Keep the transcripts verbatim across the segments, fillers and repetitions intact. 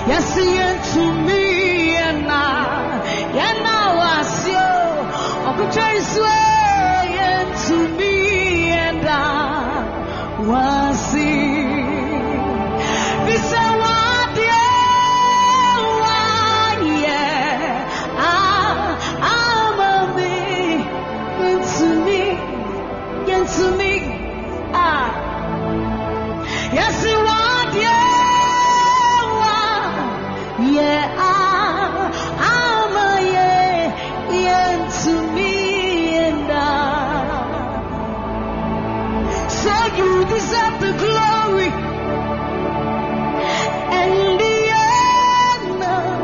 Yes, to me and now, and now I see Uncle Jason to me and I was see. This is what yeah, I'm a me, into me, into me, ah, yes, you want yeah. Yeah, I, I'm a yeah, yeah to me and I. So you deserve the glory and the honor.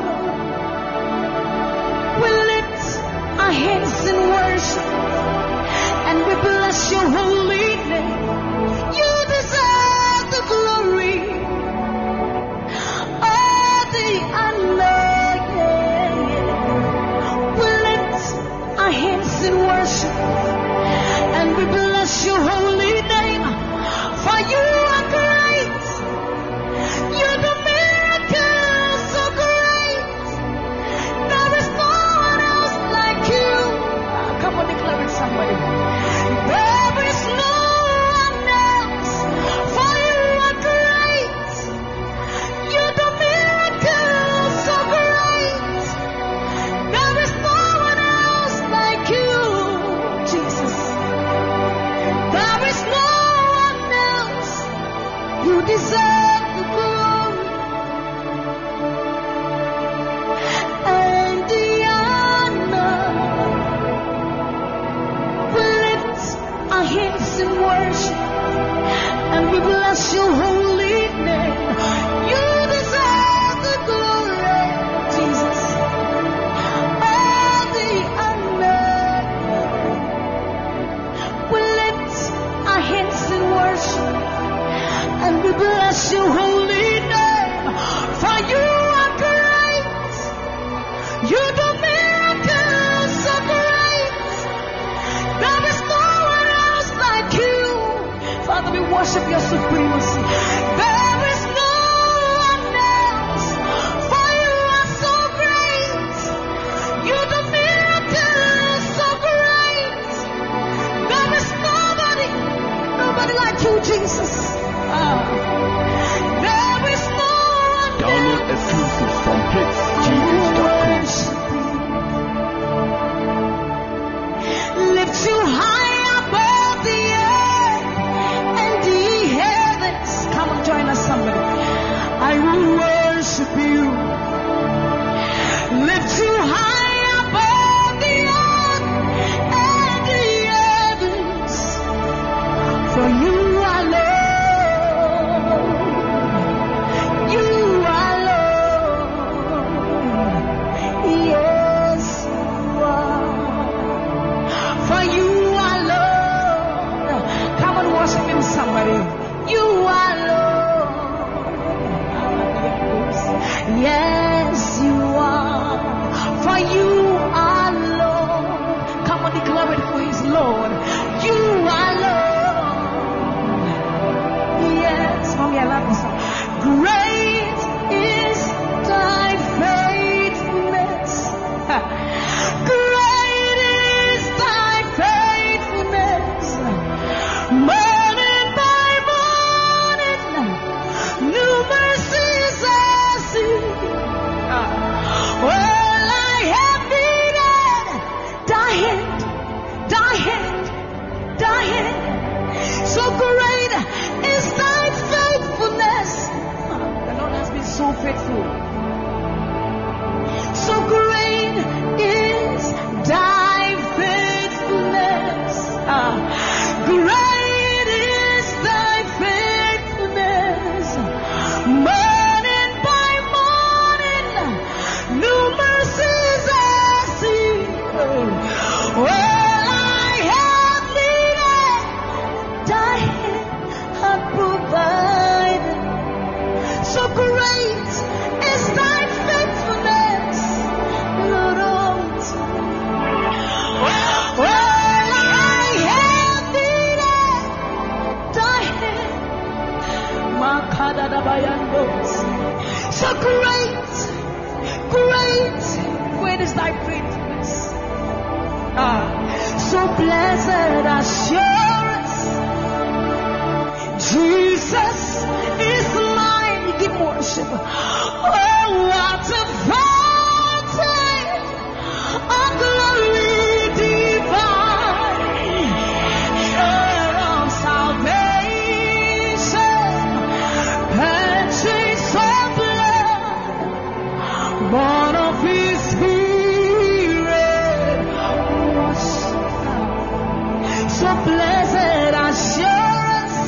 We lift our hands in worship and we bless your holy name. You deserve the glory. In worship, and we bless your holy name, for you are great. You do miracles so great. There is no one else like you. Come on, declare it, somebody. There is no one else, for you are great. You do miracles so great. There is no one else like you. You deserve the glory and the honor. We lift our hands in worship and we bless your holy name. You deserve the glory, Jesus, and the honor. We lift our hands in worship and we bless your holy name, for you are great. You do miracles so great. There is no one else like you. Father, we worship your supremacy. There is no one else, for you are so great. You do miracles so great. There is nobody, nobody like you, Jesus. There is no one. Download exclusive from hits genius dot com. Lift you high above the earth and the heavens. Come and join us, somebody. I will worship you. Lift you high above the earth and the heavens. For you are Lord. Somebody, you are Lord. Yes, you are. For you are Lord. Come on, declare it who is Lord. You are Lord. Yes, mommy, I love this song. Great is thy faithfulness. Great is thy faithfulness. Morning by morning, new mercies I see. All I have needed, thy hand, thy hand, thy hand. So great is thy faithfulness. The Lord has been so faithful. So great is thy faithfulness. Great is thy faithfulness. Morning by morning, new mercies I see. All I have needed, thy hand hath provided. So great is So great, great, great is thy faithfulness. Ah, so blessed assurance, Jesus is mine. Give worship. Oh, what a fountain of glory divine, share of salvation, purchase of blood, born of His Spirit. So blessed assurance,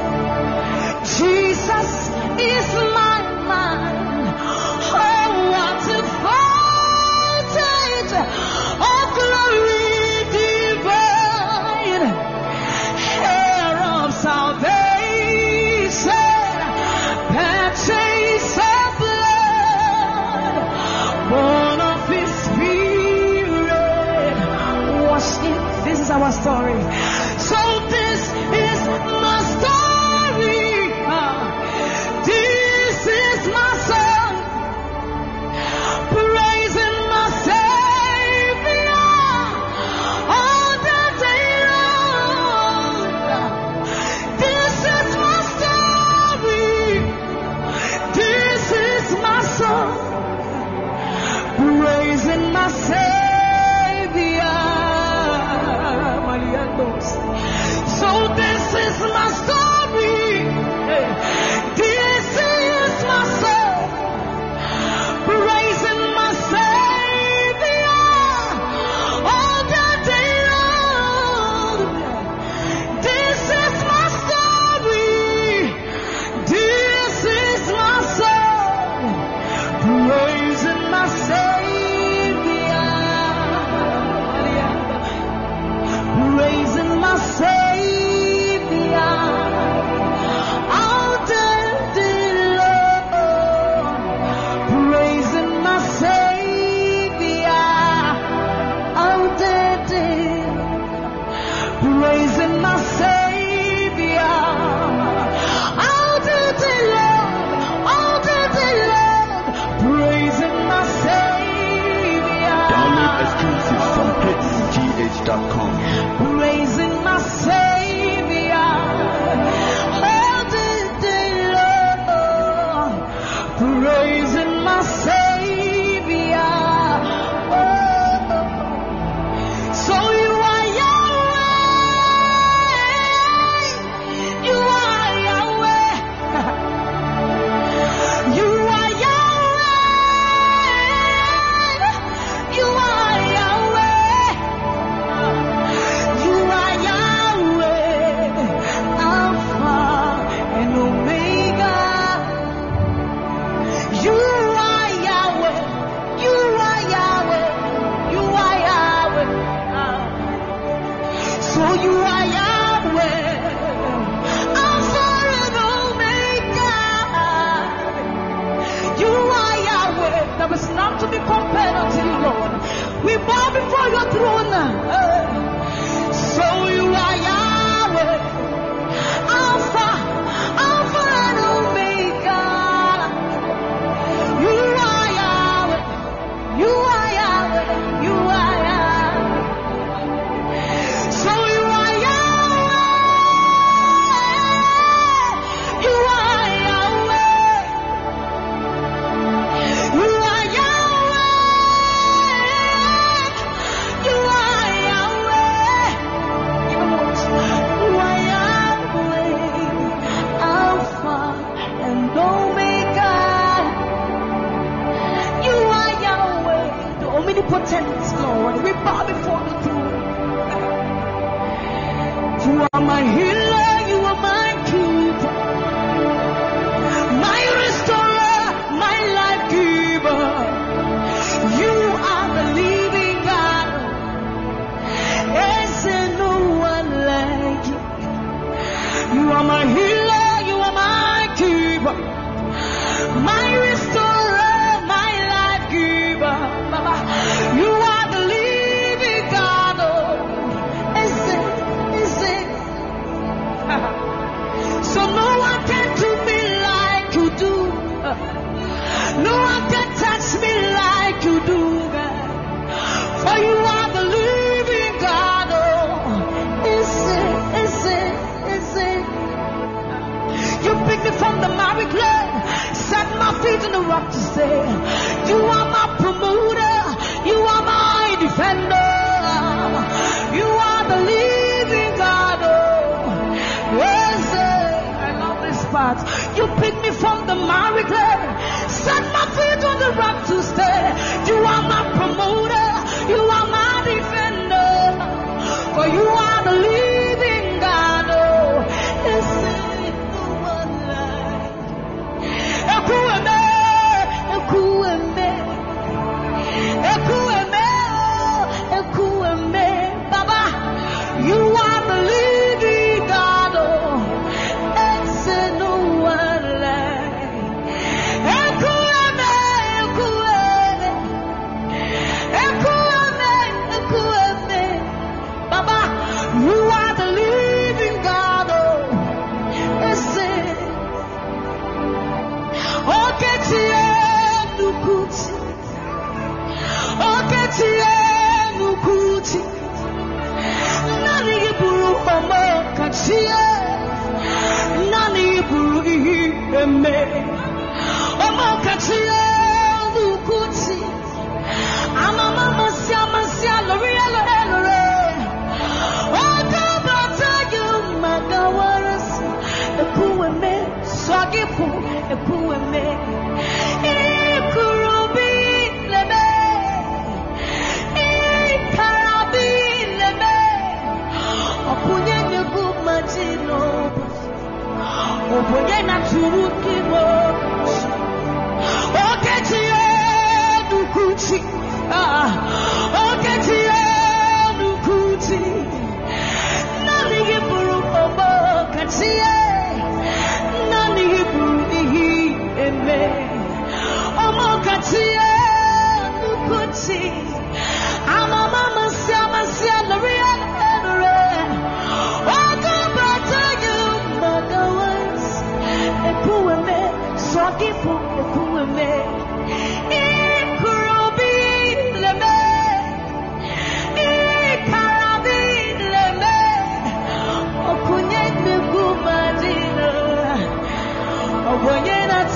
Jesus is my man. Oh, what a fountain of glory divine, heir of salvation, purchase of blood, born of His Spirit, washed in. This is our story. So this is my story. This is my song, praising my Savior all the day long. This is my story. This is my song, praising my Savior. So this is my story. This is my song, praising my Savior all the day long. This is my story. This is my song, praising my Savior, praising my Savior. Praising my Savior all the day long, praising my Savior. Oh, so you are Yahweh, you are Yahweh, you are Yahweh, you are Yahweh. You are Yahweh, Alpha and Omega. You are Yahweh, you are Yahweh, you are Yahweh. So you are Yahweh, Alpha and Omega. You are Yahweh, there is none to be compared unto you, Lord. We bow before your throne. So you are Yahweh, Alpha, Alpha and Omega. You are Yahweh, you are Yahweh, you are Yahweh. So you are Yahweh, you are Yahweh, you are Yahweh, you are Yahweh. You are Yahweh, Alpha and Omega. You are Yahweh, the omnipotent Lord. We bow before the throne. You are my healer, you are my keeper, my restorer, my life giver. You are the living God. Is there no one like you? You are my healer, you are my keeper, my restorer, my life giver. Baba, you are the living God. feet on the rock to stay. You are my promoter. You are my defender. You are the living God. Oh, yes, I love this part. You picked me from the miry clay. Set my feet on the rock to stay. You are my promoter. You are my defender. For you are the living God. Oh, yes, no one like. Ekueme, ekueme, ekueme, ekueme, Baba. You are the living God. Oh, yes, no one like. Ekueme, ekueme, ekueme, ekueme, Baba. You are the living God. Oh, yes, Oketie nukuti, oketie nukuti, nani iburu omo katie, nani iburu iheme, omo katie nukuti, amama masia masia lori lori lori, okabata you magawaras, ekueme swagipu. Ekueme, ikurubi lebe, ikarabi lebe, opunye nyebu majino, opunye na turukimo, oketie nukuti, ah, oketie nukuti, nani buru obo katie, nani buru Eme, omo katie nukuti, ama mama siama sia loria lore, ogo bata you magawas, ekueme, sogipu ekueme, ikurubi leme, ikarabi leme, okunye nukumadino, okunye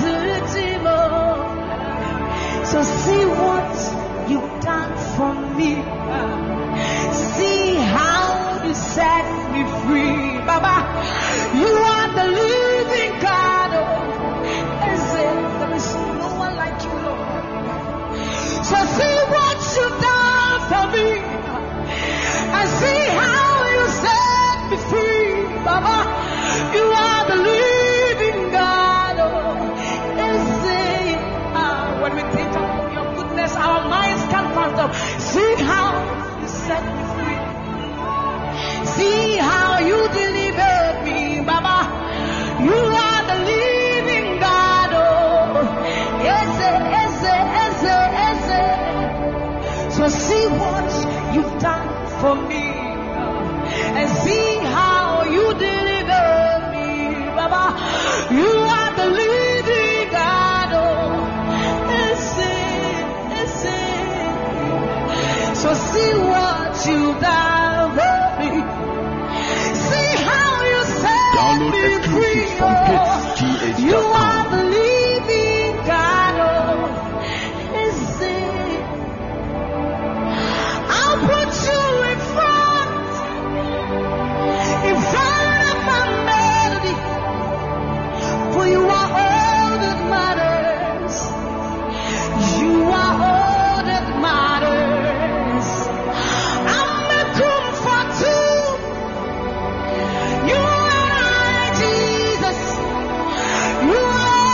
so see what you've done for me. See how you set me free. Baba, you are the living God. There is no one like you, Lord. So see what you've done for me. And see how you set me free. Baba, you are the living God. When we think of your goodness, our minds can't fathom. See how you set me free. See how you delivered me, Baba. You are the living God. Oh, yes, yes, yes, yes. So see what you've done for me, and see how you delivered me, Baba. You are the living God. Oh. So see what you've done for me. See how you set Download me exclusives free. from Oh, hits g h you dot com. are the living God. Oh, is it? I'll put you in front, in front of my melody, for you are all that matters. You are all that matters. I'm a comfort too. You are Jesus. You are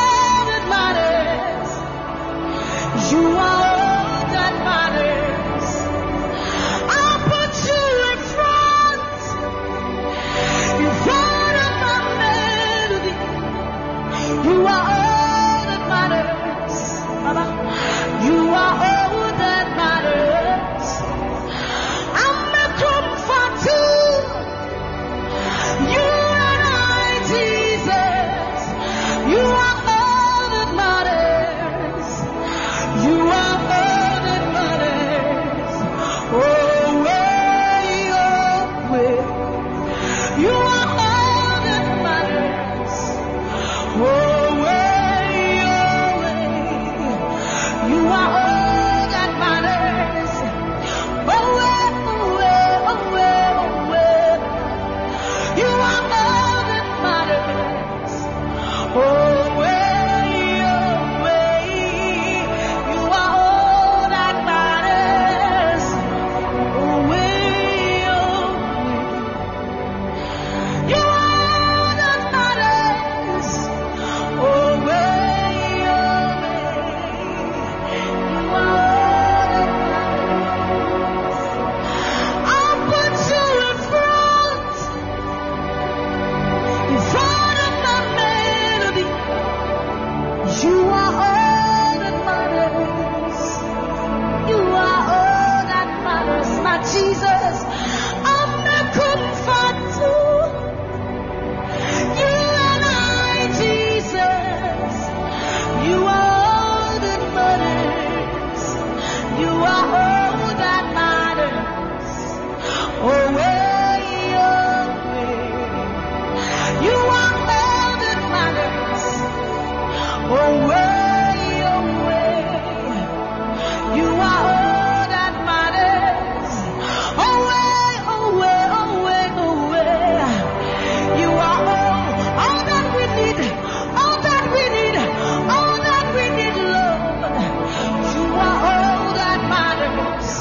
away, away. You are all that matters. Away, away, away, away. You are all, all that we need, all that we need, all that we need, Lord. You are all that matters.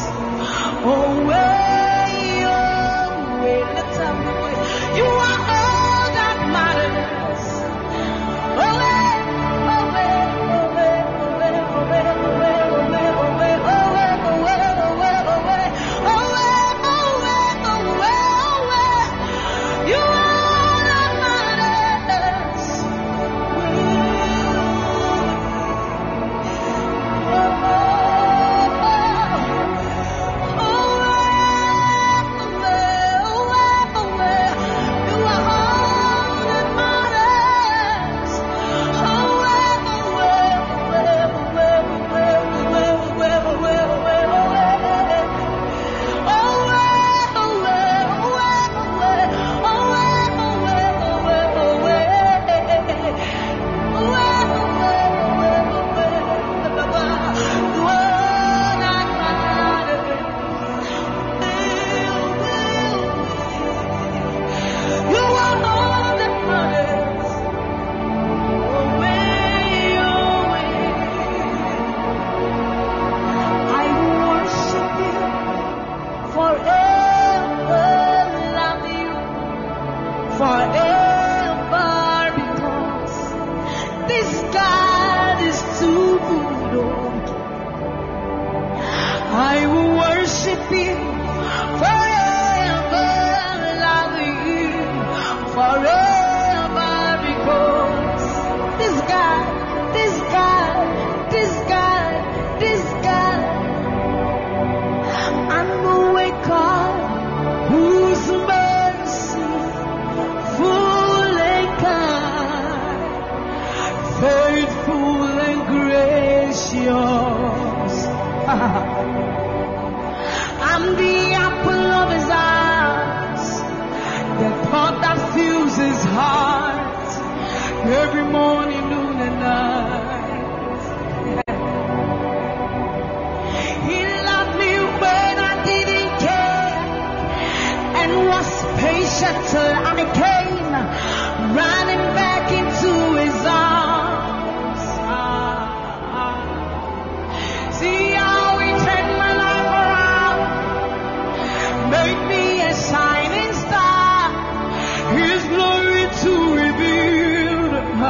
Away, away. Let's have the voice. You are all that matters. Away, away, away, away, away, away, away, away, away, away, away, away, away, away, away. You are all that matters. Forever, because this God is too good. I will worship you forever, love you forever, because this God, this God, this God, this God, I'm the way God whose mercy full and kind, faithful and gracious. I'm the apple of his eyes, the thought that fills his heart every morning, noon, and night. He loved me when I didn't care and was patient till I came running back into his arms. Ah, see how he turned my life around, made me a shining star, his glory to reveal.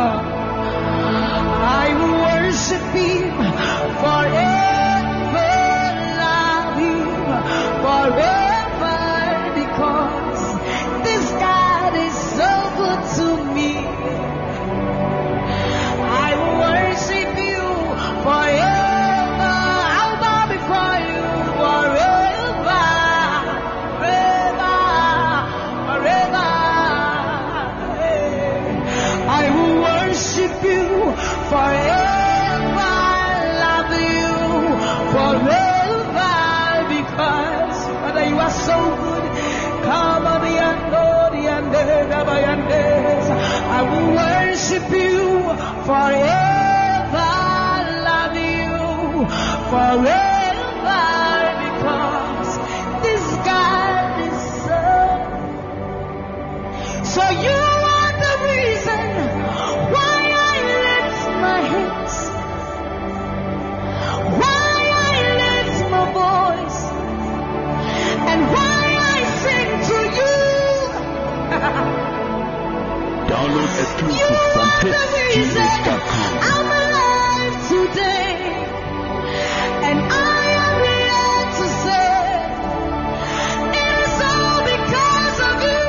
I will worship him forever, love him forever, because this God is so good to me. I will worship you forever. I'll bow before you forever, forever, forever. I will worship you forever, love you forever, because Father, you are so good. Come on, the I will worship you forever, love you forever, because this God is so. So you are the reason why I lift my hands, why I lift my voice, and why I sing to you. Download exclusive from hits g h dot com. I'm alive today, and I am here to say it is all because of you.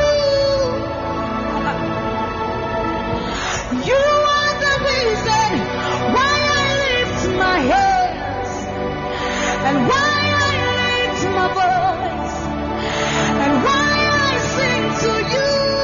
You are the reason why I lift my hands, and why I lift my voice, and why I sing to you.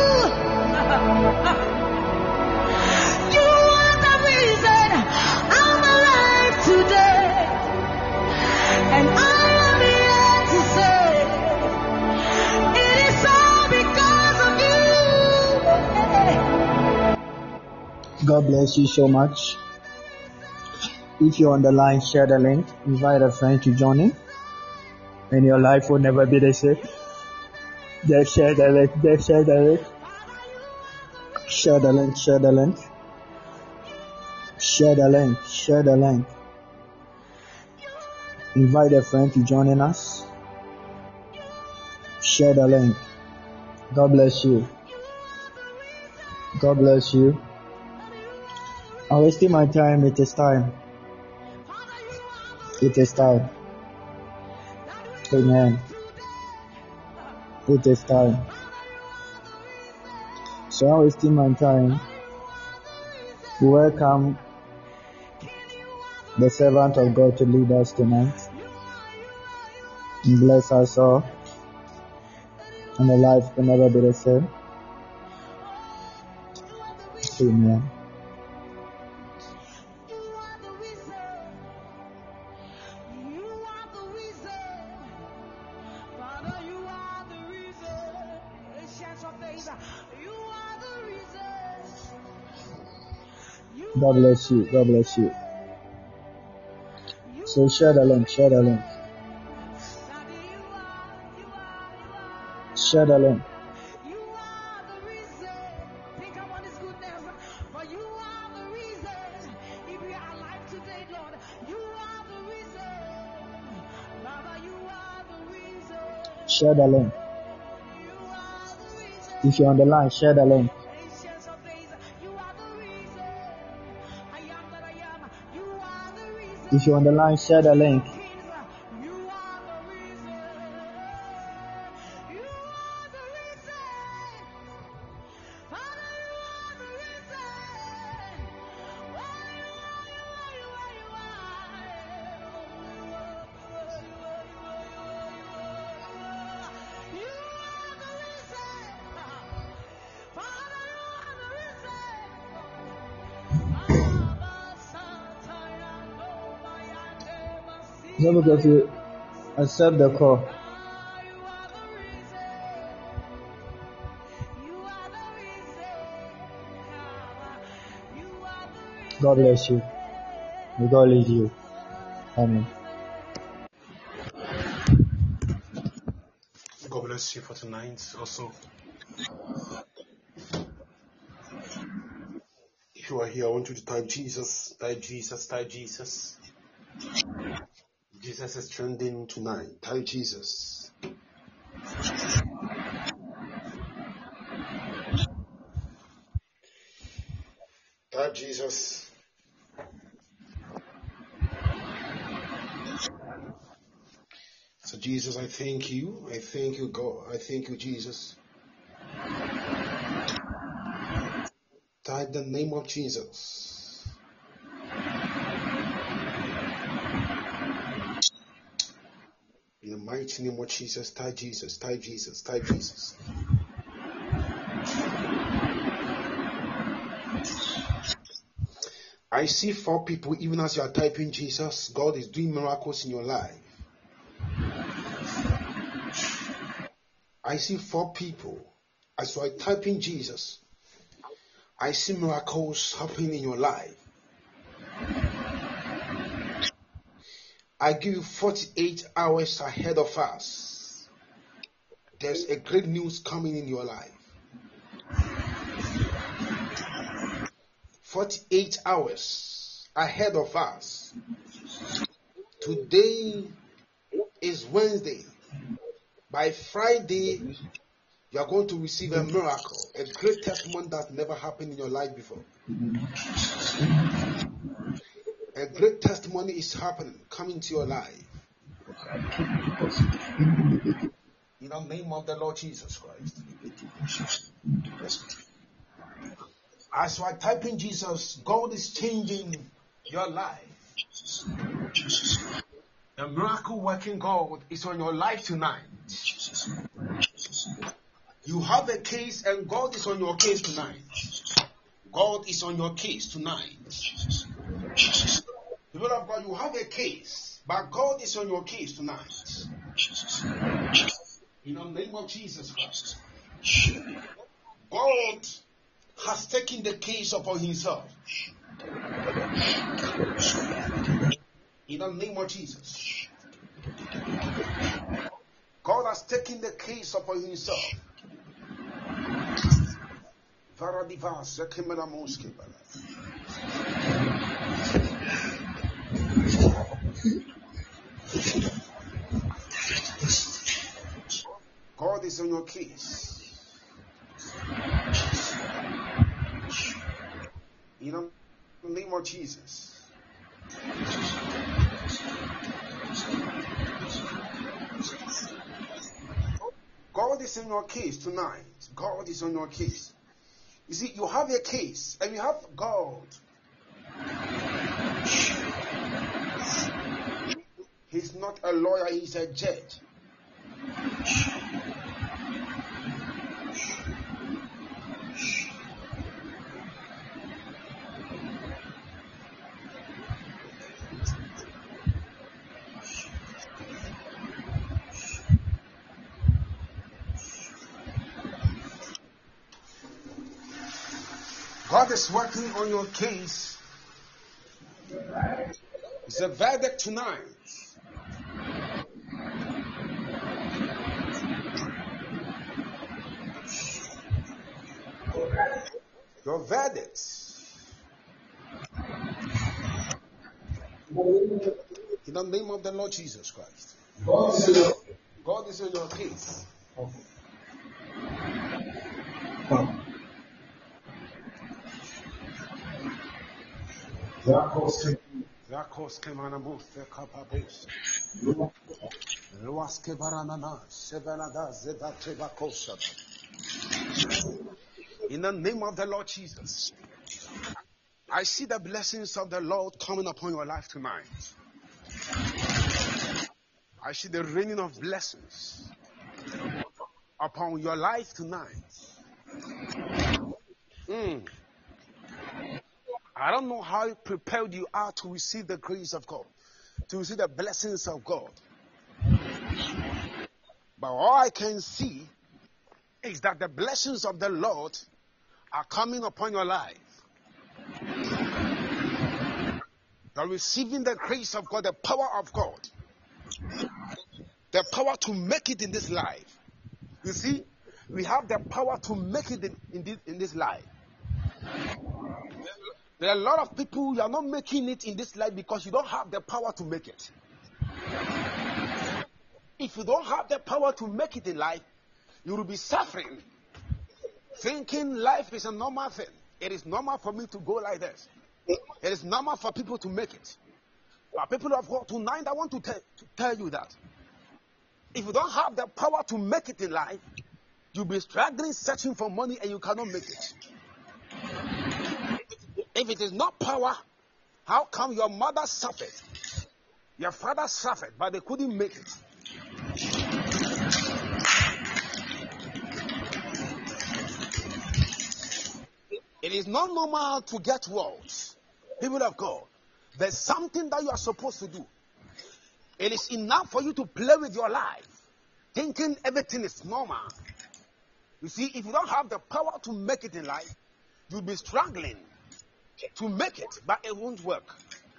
You are the reason I'm alive today, and I am here to say it is all because of you. God bless you so much. If you're on the line, share the link. Invite a friend to join in. And your life will never be the same. Just share the link. Just share the link. Share the link. Share the link. Share the link. Share the link. Invite a friend to join in us. Share the link. God bless you. God bless you. I'm wasting my time. It is time. It is time. Amen. It is time. So I'm wasting my time. We welcome the servant of God to lead us tonight. And bless us all. And the life will never be the same. Amen. God bless you. God bless you. So share the link. Share the link. Share the link. Share the link. If you're on the line, share the link. If you're on the line, share the link. No, because you accept the call. God bless you. May God lead you. Amen. God bless you for tonight also. If you are here, I want you to type Jesus, type Jesus, type Jesus. Jesus is trending tonight. Type Jesus. Type Jesus. So Jesus, I thank you. I thank you, God. I thank you, Jesus. Type the name of Jesus. In the mighty name of Jesus, type Jesus, type Jesus, type Jesus. I see four people, even as you are typing Jesus, God is doing miracles in your life. I see four people, as you are typing Jesus, I see miracles happening in your life. I give you forty-eight hours ahead of us. There's a great news coming in your life. forty-eight hours ahead of us. Today is Wednesday. By Friday, you are going to receive a miracle, a great testimony that never happened in your life before. A great testimony is happening, coming to your life. In the name of the Lord Jesus Christ. As you are typing Jesus, God is changing your life. The miracle working God is on your life tonight. You have a case and God is on your case tonight. God is on your case tonight. People of God, you have a case, but God is on your case tonight. In the name of Jesus Christ. God has taken the case upon himself. In the name of Jesus. God has taken the case upon himself. God is on your case. In the name of Jesus. God is in your case tonight. God is on your case. You see, you have a case and you have God. He's not a lawyer, he's a judge. God is working on your case. It's a verdict tonight. Your verdict. In the name of the Lord Jesus Christ. God is in your case. Rakos kemanamus kapabos. Ruas kebaranana sevenada zedatebakosha. In the name of the Lord Jesus, I see the blessings of the Lord coming upon your life tonight. I see the raining of blessings upon your life tonight. Mm. I don't know how prepared you are to receive the grace of God, to receive the blessings of God. But all I can see is that the blessings of the Lord are coming upon your life. You're receiving the grace of God, the power of God, the power to make it in this life. You see, we have the power to make it in, in, this, in this life. There are a lot of people who are not making it in this life because you don't have the power to make it. If you don't have the power to make it in life, you will be suffering, thinking life is a normal thing. It is normal for me to go like this. It is normal for people to make it. But people of God, tonight I want to, te- to tell you that if you don't have the power to make it in life, you'll be struggling, searching for money, and you cannot make it. If it is not power, how come your mother suffered? Your father suffered, but they couldn't make it. It is not normal to get wealth. People of God, there's something that you are supposed to do. It is enough for you to play with your life, thinking everything is normal. You see, if you don't have the power to make it in life, you'll be struggling to make it, but it won't work.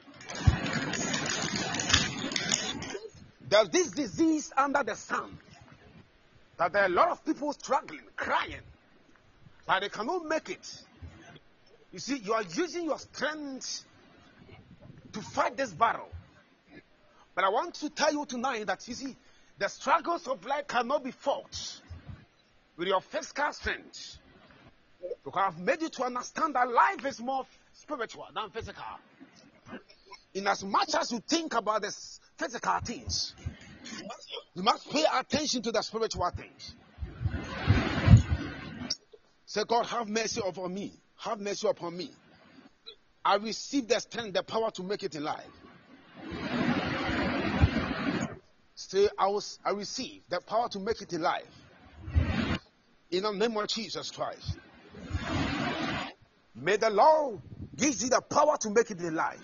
There's this disease under the sun that there are a lot of people struggling, crying, but they cannot make it. You see, you are using your strength to fight this battle. But I want to tell you tonight that, you see, the struggles of life cannot be fought with your physical strength. Because I've made you to understand that life is more spiritual than physical. In as much as you think about the physical things, you must pay attention to the spiritual things. Say, God, have mercy upon me. Have mercy upon me. I receive the strength, the power to make it in life. Say, I, was, I receive the power to make it in life. In the name of Jesus Christ. May the Lord give you the power to make it in life.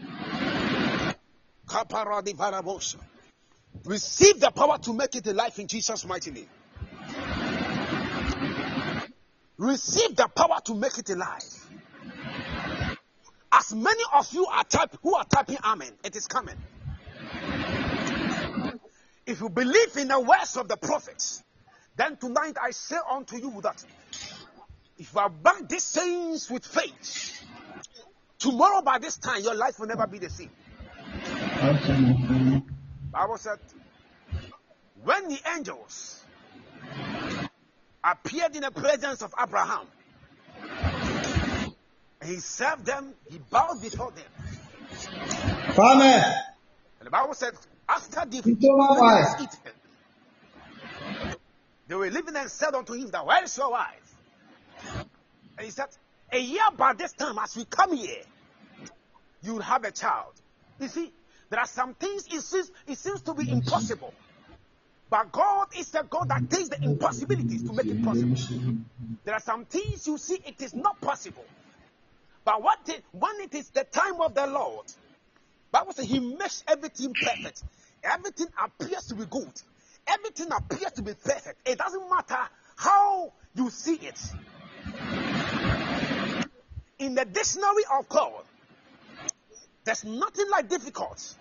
Receive the power to make it in life in Jesus' mighty name. Receive the power to make it in life. As many of you are type, who are typing amen, it is coming. If you believe in the words of the prophets, then tonight I say unto you that if you are back these sayings with faith, tomorrow by this time your life will never be the same. Bible said, when the angels appeared in the presence of Abraham, he served them, he bowed before them. Amen. And the Bible said, after the wife. eaten, they were living and said unto him that, where is your wife? And he said, a year by this time, as we come here, you will have a child. You see, there are some things it seems, it seems to be impossible. But God is the God that takes the impossibilities to make it possible. There are some things you see it is not possible. But what it, when it is the time of the Lord, Bible says he makes everything perfect. Everything appears to be good. Everything appears to be perfect. It doesn't matter how you see it. In the dictionary of God, there's nothing like difficult.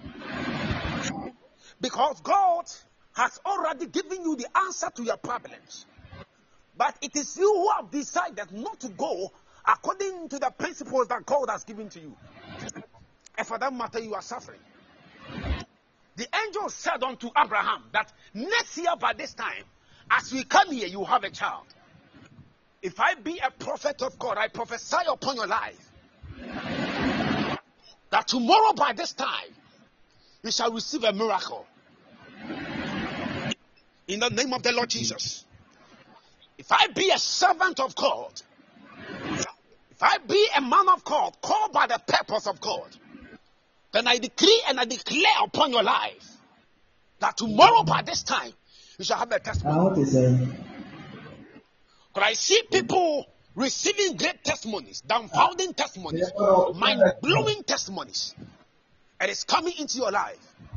Because God has already given you the answer to your problems. But it is you who have decided not to go according to the principles that God has given to you. And for that matter, you are suffering. The angel said unto Abraham that next year by this time, as we come here, you have a child. If I be a prophet of God, I prophesy upon your life that tomorrow by this time, you shall receive a miracle. In the name of the Lord Jesus. If I be a servant of God, if I be a man of God, called by the purpose of God, then I decree and I declare upon your life that tomorrow by this time, you shall have a testimony. But I see people receiving great testimonies, dumbfounding testimonies, mind-blowing testimonies. And it's coming into your life.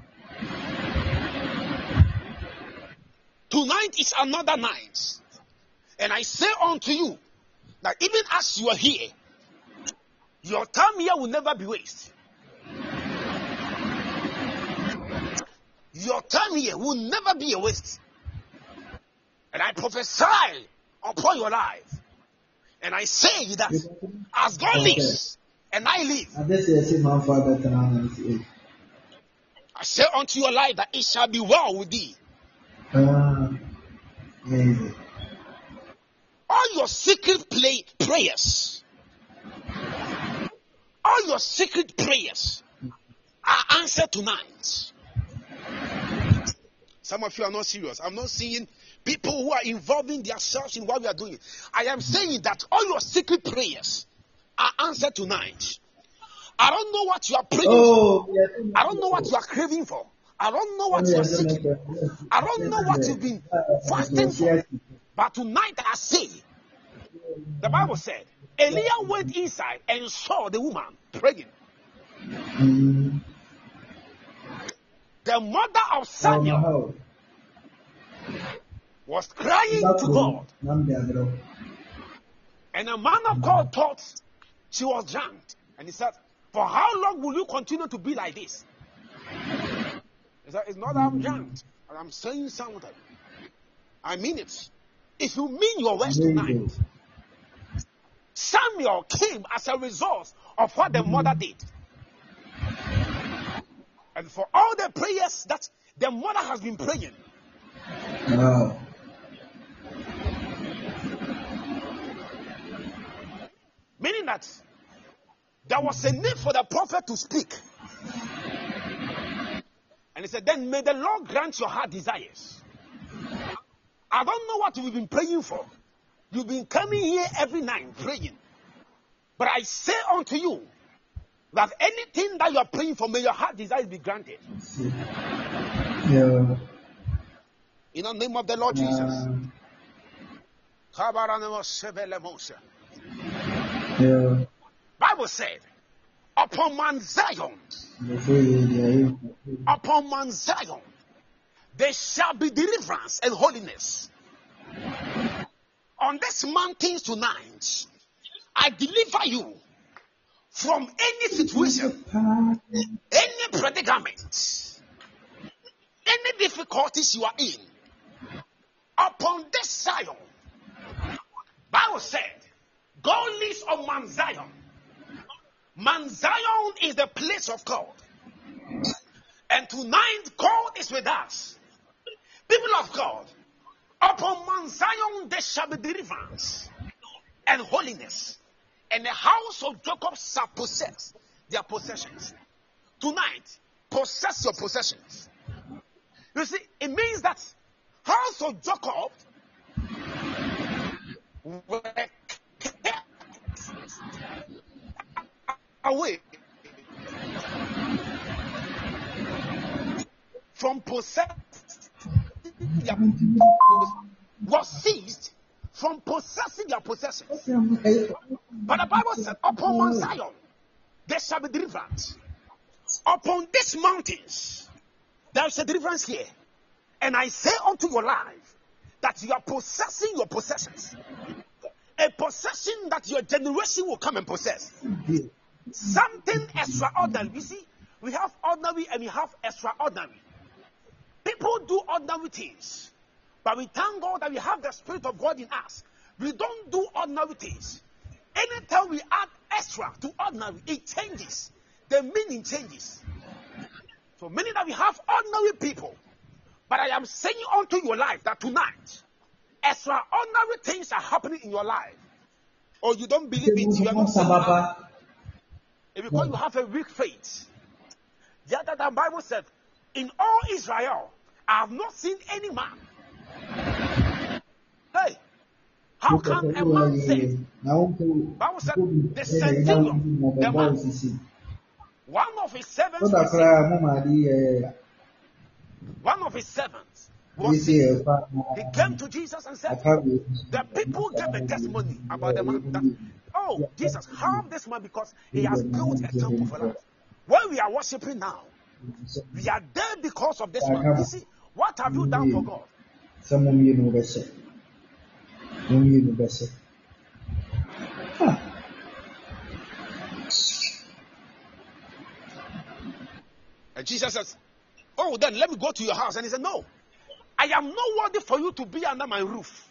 Tonight is another night. And I say unto you that even as you are here, your time here will never be wasted. Your time here will never be a waste. And I prophesy upon your life. And I say that as God lives and I live, I say unto your life that it shall be well with thee. Uh, all your secret play, prayers, all your secret prayers are answered tonight. Some of you are not serious. I'm not seeing people who are involving themselves in what we are doing. I am saying that all your secret prayers are answered tonight. I don't know what you are praying oh, for. Yes, I don't know what you are craving for. I don't know what you are seeking. I don't know what you've been fasting for. But tonight I say, the Bible said, Elijah went inside and saw the woman praying. Mm. The mother of Samuel was crying to God. And a man of God thought she was drunk. And he said, for how long will you continue to be like this? He said, it's not that I'm drunk. I'm saying something. I mean it. If you mean your words tonight, Samuel came as a result of what the mother did. And for all the prayers that the mother has been praying. No. Meaning that there was a need for the prophet to speak. And he said, then may the Lord grant your heart desires. I don't know what you've been praying for. You've been coming here every night praying. But I say unto you that anything that you are praying for, may your heart desires be granted. Yeah. In the name of the Lord Jesus. Yeah. Bible said, upon Mount Zion, upon Mount Zion, there shall be deliverance and holiness. On this mountain tonight, I deliver you from any situation, any predicament, any difficulties you are in, upon this Zion, Bible said, God lives on Mount Zion. Mount Zion is the place of God. And tonight, God is with us. People of God, upon Mount Zion there shall be deliverance and holiness. And the house of Jacob shall possess their possessions. Tonight, possess your possessions. You see, it means that house of Jacob were kept away from possess was seized from possessing their possessions. But the Bible said, upon Mount Zion there shall be deliverance. Upon these mountains there is a deliverance here. And I say unto your life that you are possessing your possessions. A possession that your generation will come and possess. Something extraordinary. You see, we have ordinary and we have extraordinary. People do ordinary things, but we thank God that we have the Spirit of God in us. We don't do ordinary things. Anytime we add extra to ordinary, it changes. The meaning changes. So meaning that we have ordinary people. But I am saying unto your life that tonight, extraordinary things are happening in your life. Or you don't believe it, you are not saying that. It's because you have a weak faith. The other time Bible said, in all Israel, I have not seen any man. Hey, how can a man say? Bible said the centurion, the man, one of his servants, was, one of his servants was sick. He came to Jesus and said, the people gave a testimony about the man. That, oh, Jesus, help this man because he has built a temple for us. When we are worshiping now, we are there because of this man. You see, what have you done for God? And Jesus says, oh, then let me go to your house. And he said, no, I am not worthy for you to be under my roof.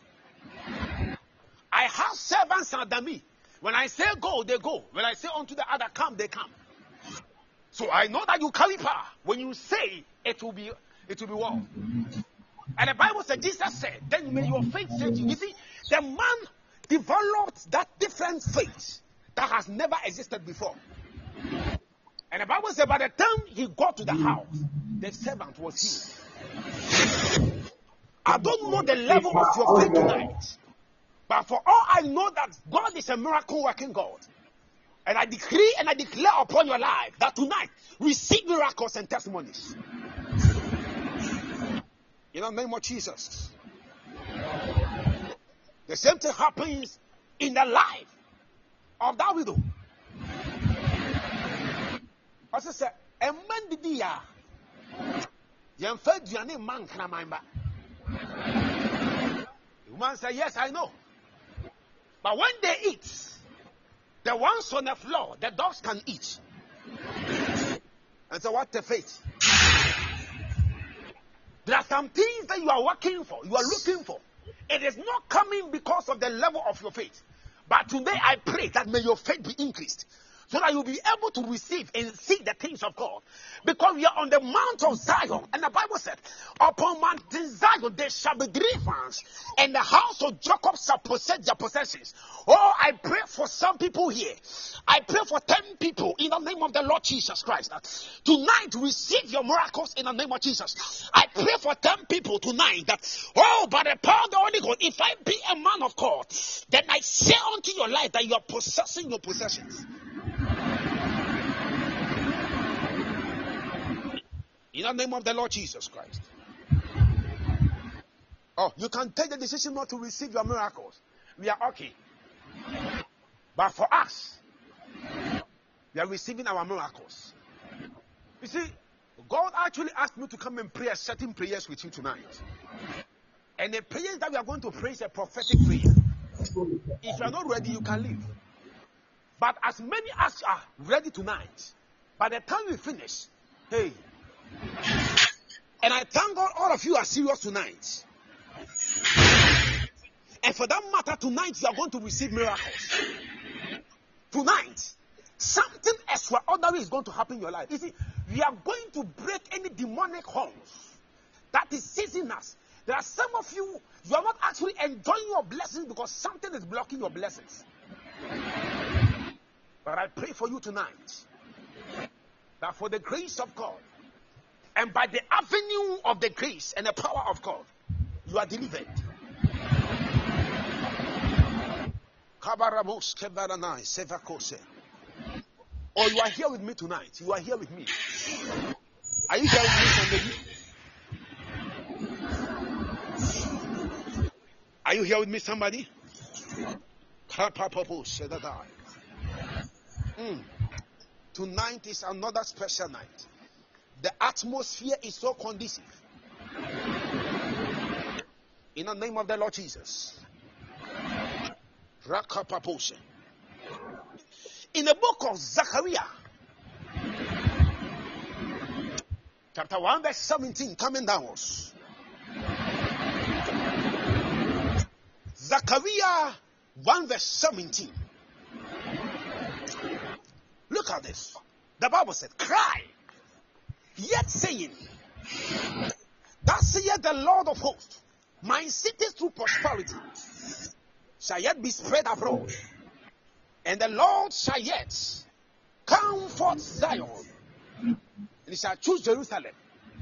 I have servants under me. When I say go, they go. When I say unto the other come, they come. So I know that you carry power. When you say, it will be, it will be well. And the Bible said, Jesus said, then may your faith save you. You see, the man developed that different faith that has never existed before. And the Bible said, by the time he got to the house, the servant was healed. I don't know the level of your faith tonight, but for all I know that God is a miracle working God. And I decree and I declare upon your life that tonight receive miracles and testimonies. In the name of Jesus. The same thing happens in the life of that widow. As I said, a man did the ya. You fed your name, man, can I mind? The woman said, yes, I know. But when they eat, the ones on the floor, the dogs can eat. And so what the faith? There are some things that you are working for, you are looking for. It is not coming because of the level of your faith. But today I pray that may your faith be increased, so that you'll be able to receive and see the things of God. Because we are on the Mount of Zion. And the Bible said, upon Mount Zion there shall be deliverance, and the house of Jacob shall possess their possessions. Oh, I pray for some people here. I pray for ten people in the name of the Lord Jesus Christ. Tonight, receive your miracles in the name of Jesus. I pray for ten people tonight that, oh, by the power of the Holy Ghost, if I be a man of God, then I say unto your life that you are possessing your possessions. In the name of the Lord Jesus Christ. Oh, you can take the decision not to receive your miracles. We are okay. But for us, we are receiving our miracles. You see, God actually asked me to come and pray certain prayers with you tonight. And the prayers that we are going to pray is a prophetic prayer. If you are not ready, you can leave. But as many as are ready tonight, by the time we finish, hey, and I thank God all of you are serious tonight. And for that matter, tonight you are going to receive miracles. Tonight, something extraordinary is going to happen in your life. You see, we are going to break any demonic horns that is seizing us. There are some of you, you are not actually enjoying your blessings because something is blocking your blessings. But I pray for you tonight that for the grace of God and by the avenue of the grace and the power of God, you are delivered. Or you are here with me tonight. You are here with me. Are you here with me, somebody? Are you here with me, somebody? Mm. Tonight is another special night. The atmosphere is so conducive. In the name of the Lord Jesus. In the book of Zechariah, chapter one, verse seventeen, coming downwards. Zechariah one, verse seventeen. Look at this. The Bible said, cry, yet saying, thus saith the Lord of hosts, my city through prosperity shall yet be spread abroad, and the Lord shall yet comfort Zion, and he shall choose Jerusalem.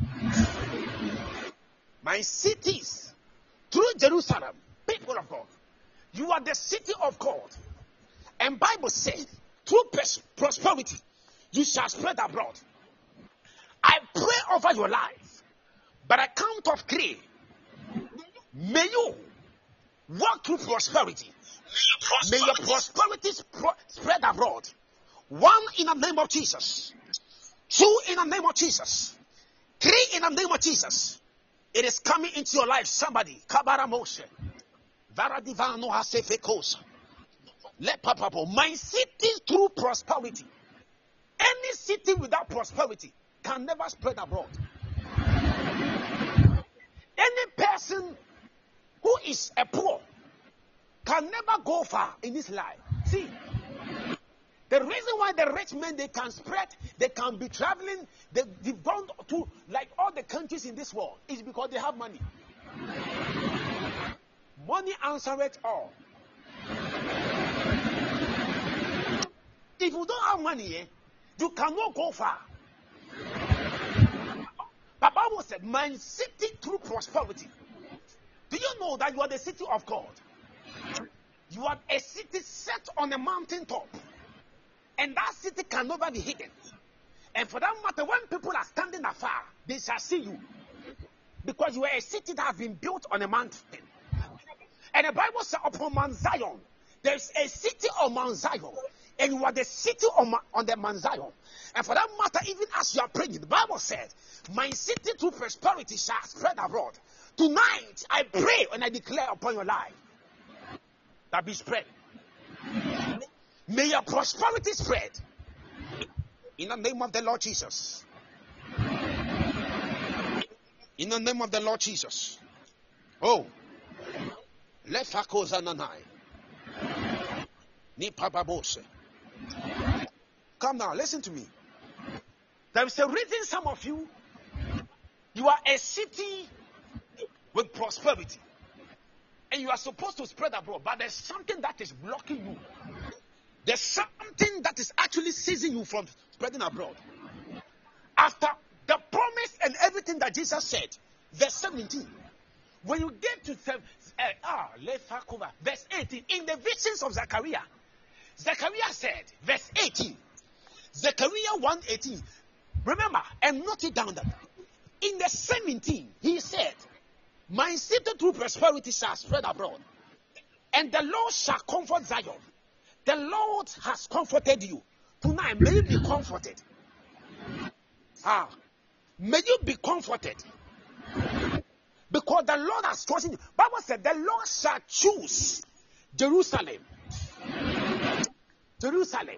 My cities through Jerusalem, people of God, you are the city of God. And Bible said, through prosperity, you shall spread abroad. I pray over your life, by the count of three, may you walk through prosperity. May your prosperity spro- spread abroad. One, in the name of Jesus. Two, in the name of Jesus. Three, in the name of Jesus. It is coming into your life. Somebody. Kabara Moshe. Varadivano Hasefekosa. Let Papa. My city through prosperity. Any city without prosperity can never spread abroad. Any person who is a poor can never go far in this life. See, the reason why the rich men, they can spread, they can be traveling, they, they've gone to like all the countries in this world, is because they have money. Money answers it all. If you don't have money, eh, you cannot go far. The Bible said, my city through prosperity. Do you know that you are the city of God? You are a city set on a mountain top. And that city can never be hidden. And for that matter, when people are standing afar, they shall see you. Because you are a city that has been built on a mountain. And the Bible says upon Mount Zion, there is a city on Mount Zion. And you are the city on, on the Mount Zion. And for that matter, even as you are praying, the Bible said, my city through prosperity shall spread abroad. Tonight, I pray and I declare upon your life that be spread. May your prosperity spread. In the name of the Lord Jesus. In the name of the Lord Jesus. Oh. Come now, listen to me. There is a reason some of you, you are a city with prosperity. And you are supposed to spread abroad. But there's something that is blocking you. There's something that is actually seizing you from spreading abroad. After the promise and everything that Jesus said, verse seventeen. When you get to uh, ah, verse eighteen, in the visions of Zechariah, Zechariah said, verse eighteen, Zechariah one eighteen. Remember, and note it down that in the seventeen, he said, my city through prosperity shall spread abroad, and the Lord shall comfort Zion. The Lord has comforted you. Tonight, may you be comforted. Ah, may you be comforted. Because the Lord has chosen you. Bible said, the Lord shall choose Jerusalem. Jerusalem,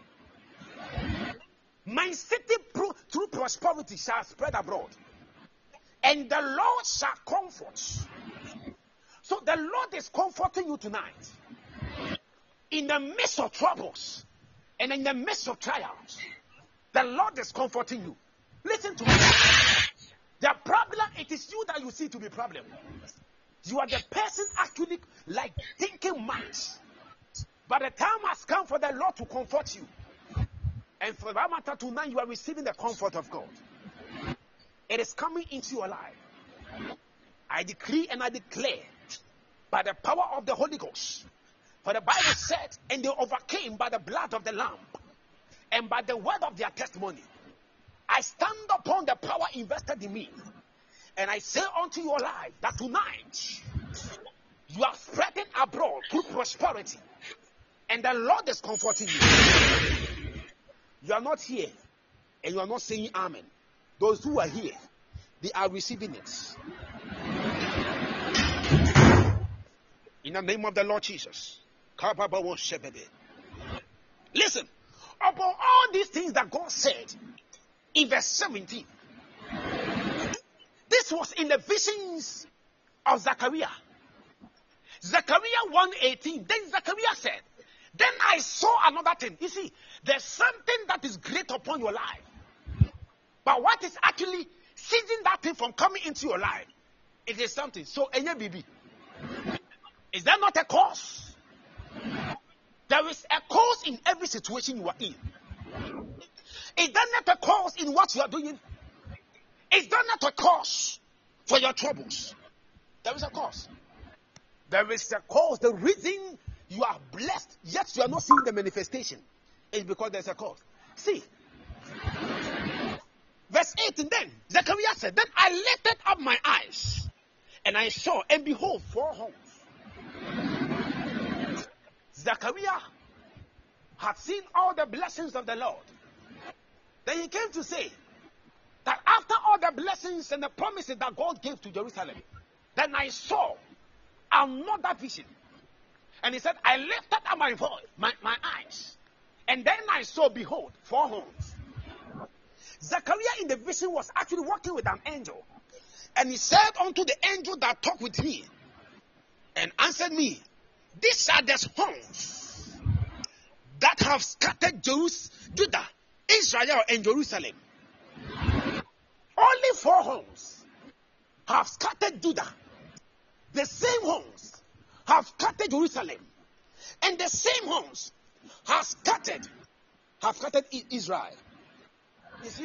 my city pro- through prosperity shall spread abroad, and the Lord shall comfort. So the Lord is comforting you tonight. In the midst of troubles and in the midst of trials, the Lord is comforting you. Listen to me. The problem, it is you that you see to be problem. You are the person actually like thinking much. But the time has come for the Lord to comfort you. And for that matter, tonight you are receiving the comfort of God. It is coming into your life. I decree and I declare by the power of the Holy Ghost. For the Bible said, and they overcame by the blood of the Lamb and by the word of their testimony. I stand upon the power invested in me, and I say unto your life that tonight you are spreading abroad through prosperity, and the Lord is comforting you. You are not here, and you are not saying amen. Those who are here, they are receiving it. In the name of the Lord Jesus. Listen, about all these things that God said in verse seventeen, this was in the visions of Zechariah. Zechariah one eighteen. Then Zechariah said, then I saw another thing. You see, there's something that is great upon your life. But what is actually seizing that thing from coming into your life? It is something. So, Enya Bibi, is that not a cause? There is a cause in every situation you are in. Is that not a cause in what you are doing? Is that not a cause for your troubles? There is a cause. There is a cause. The reason you are blessed, yet you are not seeing the manifestation, is because there's a cause. See, verse eighteen, then Zechariah said, then I lifted up my eyes, and I saw, and behold, four horns. Zechariah had seen all the blessings of the Lord. Then he came to say that after all the blessings and the promises that God gave to Jerusalem, then I saw another vision. And he said, I lifted up my voice, my, my eyes, and then I saw, behold, four horns. Zechariah in the vision was actually walking with an angel. And he said unto the angel that talked with me, and answered me, these are the horns that have scattered Jerusalem, Judah, Israel, and Jerusalem. Only four horns have scattered Judah. The same horns have scattered Jerusalem. And the same horns have scattered, have scattered Israel. You see?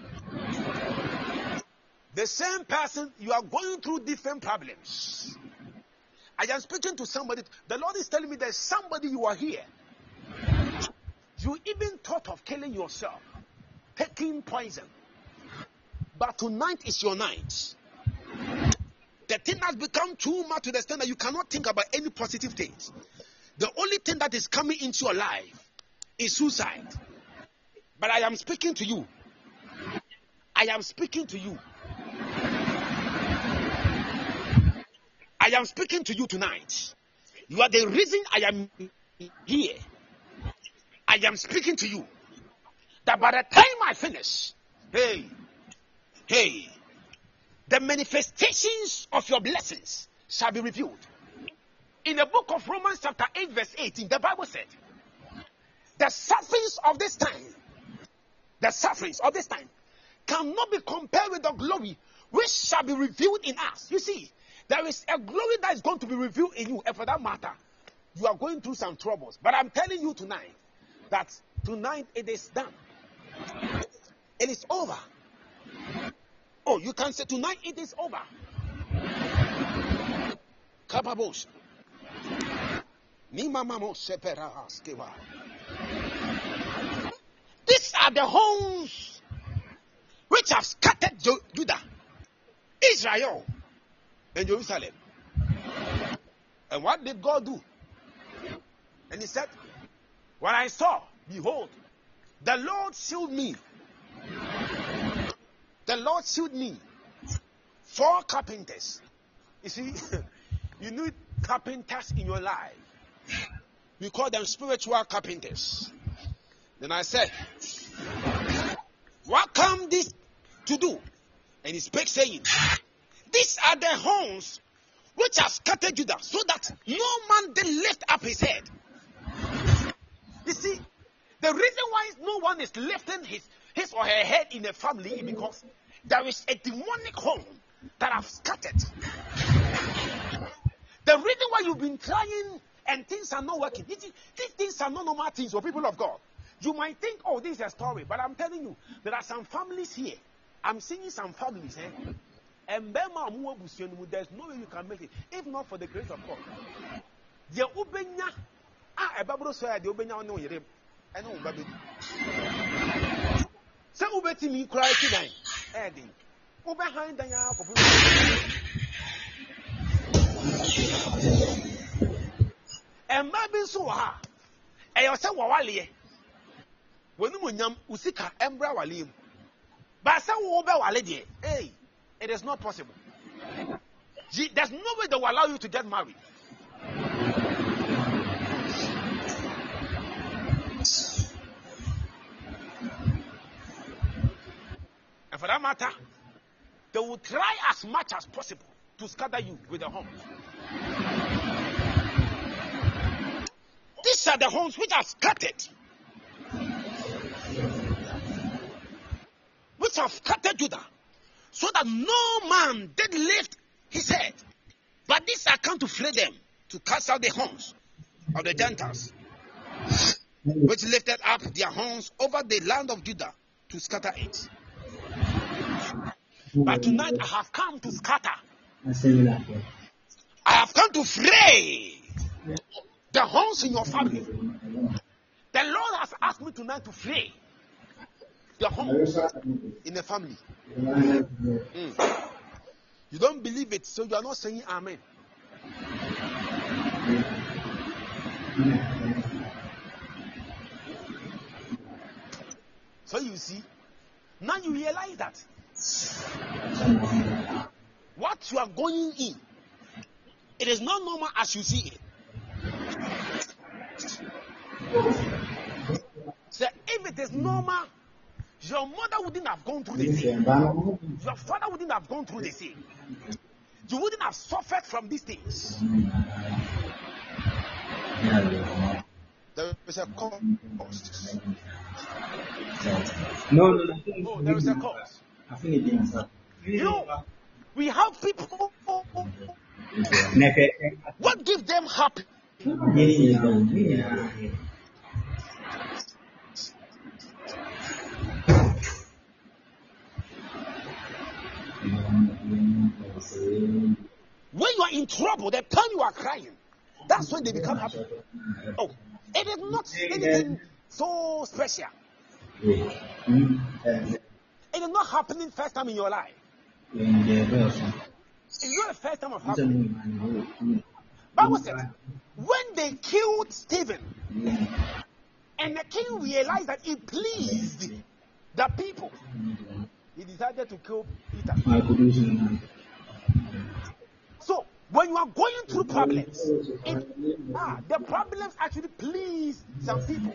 The same person, you are going through different problems. I am speaking to somebody. The Lord is telling me there's somebody you are here. You even thought of killing yourself, taking poison. But tonight is your night. The thing has become too much to the extent that you cannot think about any positive things. The only thing that is coming into your life is suicide. But I am speaking to you. I am speaking to you. I am speaking to you tonight. You are the reason I am here. I am speaking to you. That by the time I finish, hey, hey, the manifestations of your blessings shall be revealed. In the book of Romans chapter eight verse eighteen, the Bible said, the sufferings of this time, the sufferings of this time cannot be compared with the glory which shall be revealed in us. You see, there is a glory that is going to be revealed in you, and for that matter, you are going through some troubles. But I'm telling you tonight that tonight it is done. It is over. Oh, you can say tonight it is over. Kababos. These are the homes which have scattered Judah, Israel, and Jerusalem. And what did God do? And he said, when I saw, behold, the Lord showed me. The Lord showed me four carpenters. You see, you need carpenters in your life. We call them spiritual carpenters. Then I said, what come this to do? And he spake, saying, these are the horns which have scattered Judah, so that no man did lift up his head. You see, the reason why no one is lifting his, his or her head in a family is because there is a demonic horn that have scattered. The reason why you've been trying and things are not working, these, these things are not normal things for people of God. You might think, oh, this is a story, but I'm telling you, there are some families here. I'm seeing some families, eh? And there's no way you can make it, if not for the grace of God. The ubenya, ah, a Bible says the ubenya no yere, I know baby. So ubeti me cry today, Eddie. Ubehind the ya for and maybe so ha. And you say wawali. When you nyam usika embra walim. But say wo be wale die. Hey. It is not possible. There's no way they will allow you to get married. And for that matter, they will try as much as possible to scatter you with the horns. These are the horns which are scattered. Which have scattered Judah. So that no man did lift his head. But this I come to free them, to cast out the horns of the Gentiles, which lifted up their horns over the land of Judah to scatter it. But tonight I have come to scatter. I have come to fray the horns in your family. The Lord has asked me tonight to fray the horns in the family. Mm. You don't believe it, so you are not saying amen. So you see, now you realize that what you are going in, it is not normal as you see it. So if it is normal, your mother wouldn't have gone through the same. Your father wouldn't have gone through the same. You wouldn't have suffered from these things. There is a cause. No, no, no. Oh, there is a cause. You know, we have people. What gives them happy? When you are in trouble, the time you are crying, that's when they become happy. Oh, it is not anything so special. It is not happening first time in your life. It's not the first time of happening. Bible said, when they killed Stephen, and the king realized that it pleased the people, he decided to kill Peter. So, when you are going through problems, it, ah, the problems actually please some people.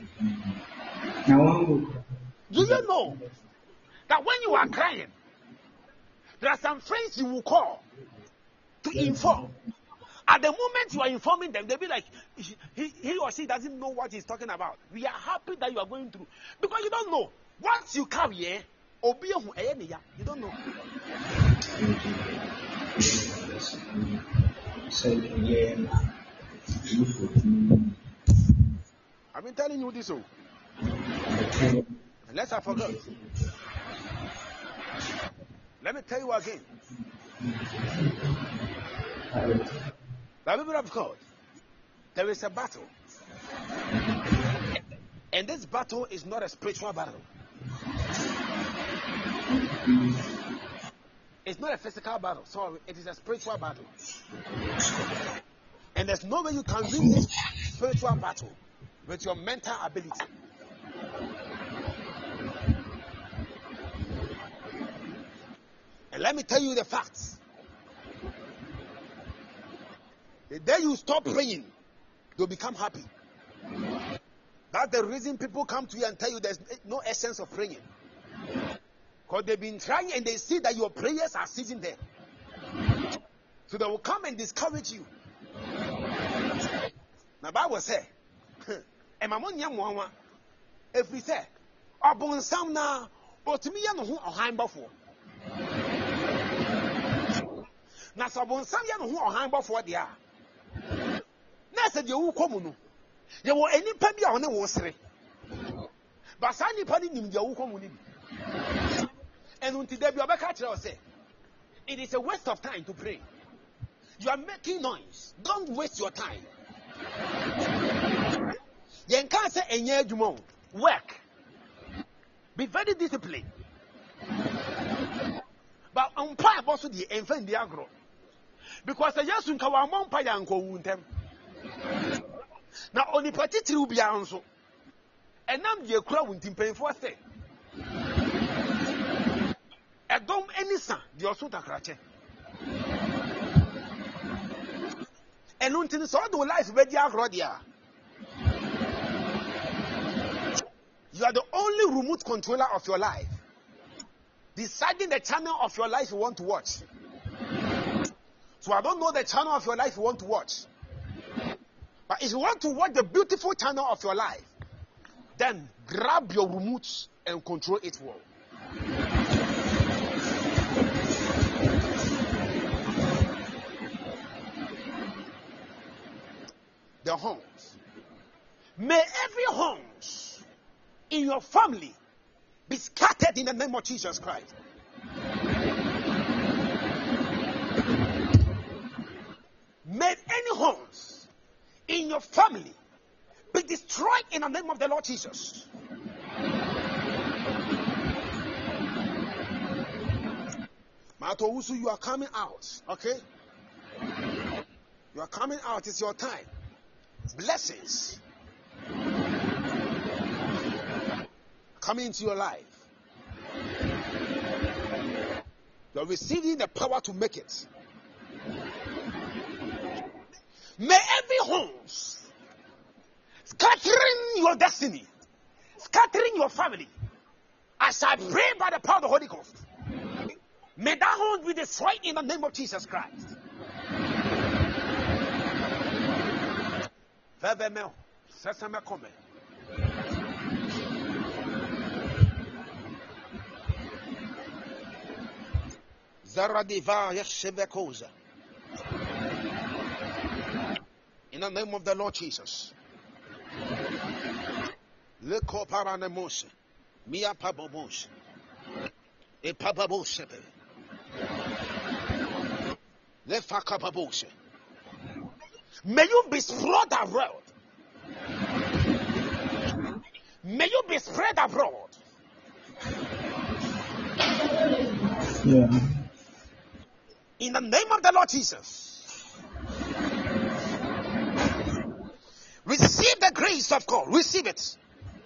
Do you know that when you are crying, there are some friends you will call to inform. At the moment you are informing them, they'll be like, he, he or she doesn't know what he's talking about. We are happy that you are going through. Because you don't know. Once you come here, you don't know. I've been telling you this. Oh. Unless I forgot. Let me tell you again. The people of God, there is a battle. And this battle is not a spiritual battle. It's not a physical battle. Sorry, it is a spiritual battle. And there's no way you can win this spiritual battle with your mental ability. And let me tell you the facts. The day you stop praying, you'll become happy. That's the reason people come to you and tell you there's no essence of praying. Because they've been trying and they see that your prayers are sitting there. So they will come and discourage you. Now, Bible says, if we say, Abon Sam na, but me and who are high before. Now, Sabon Sam yan who are high before they are. Now, said you come. You were any penny on the water. But Sunny Penny in your community. And until they be a catcher, say, it is a waste of time to pray. You are making noise. Don't waste your time. You can't say a year more. Work. Be very disciplined. But umpire also the infant the agro. Because the Yasun Kawamon Payanko wound them. Now only particular will be answer. And now you crowd won't pay for a thing. I don't any son, the Osuta Crache. And until so do life where you are, you are the only remote controller of your life. Deciding the channel of your life you want to watch. So I don't know the channel of your life you want to watch. But if you want to watch the beautiful channel of your life, then grab your remote and control it well. The homes. May every homes in your family be scattered in the name of Jesus Christ. May any homes in your family be destroyed in the name of the Lord Jesus. Matowusu, you are coming out, okay? You are coming out, it's your time. Blessings coming into your life. You are receiving the power to make it. May every homes scattering your destiny, scattering your family, as I pray by the power of the Holy Ghost, may that home be destroyed in the name of Jesus Christ. Vevemel, sesame come. Zaradiva Yeshevekoza. In the name of the Lord Jesus. Le Coparanemos, Mia Pabos, E Pababos, Le Fakababos. May you be spread abroad. May you be spread abroad. Yeah. In the name of the Lord Jesus. Receive the grace of God. Receive it.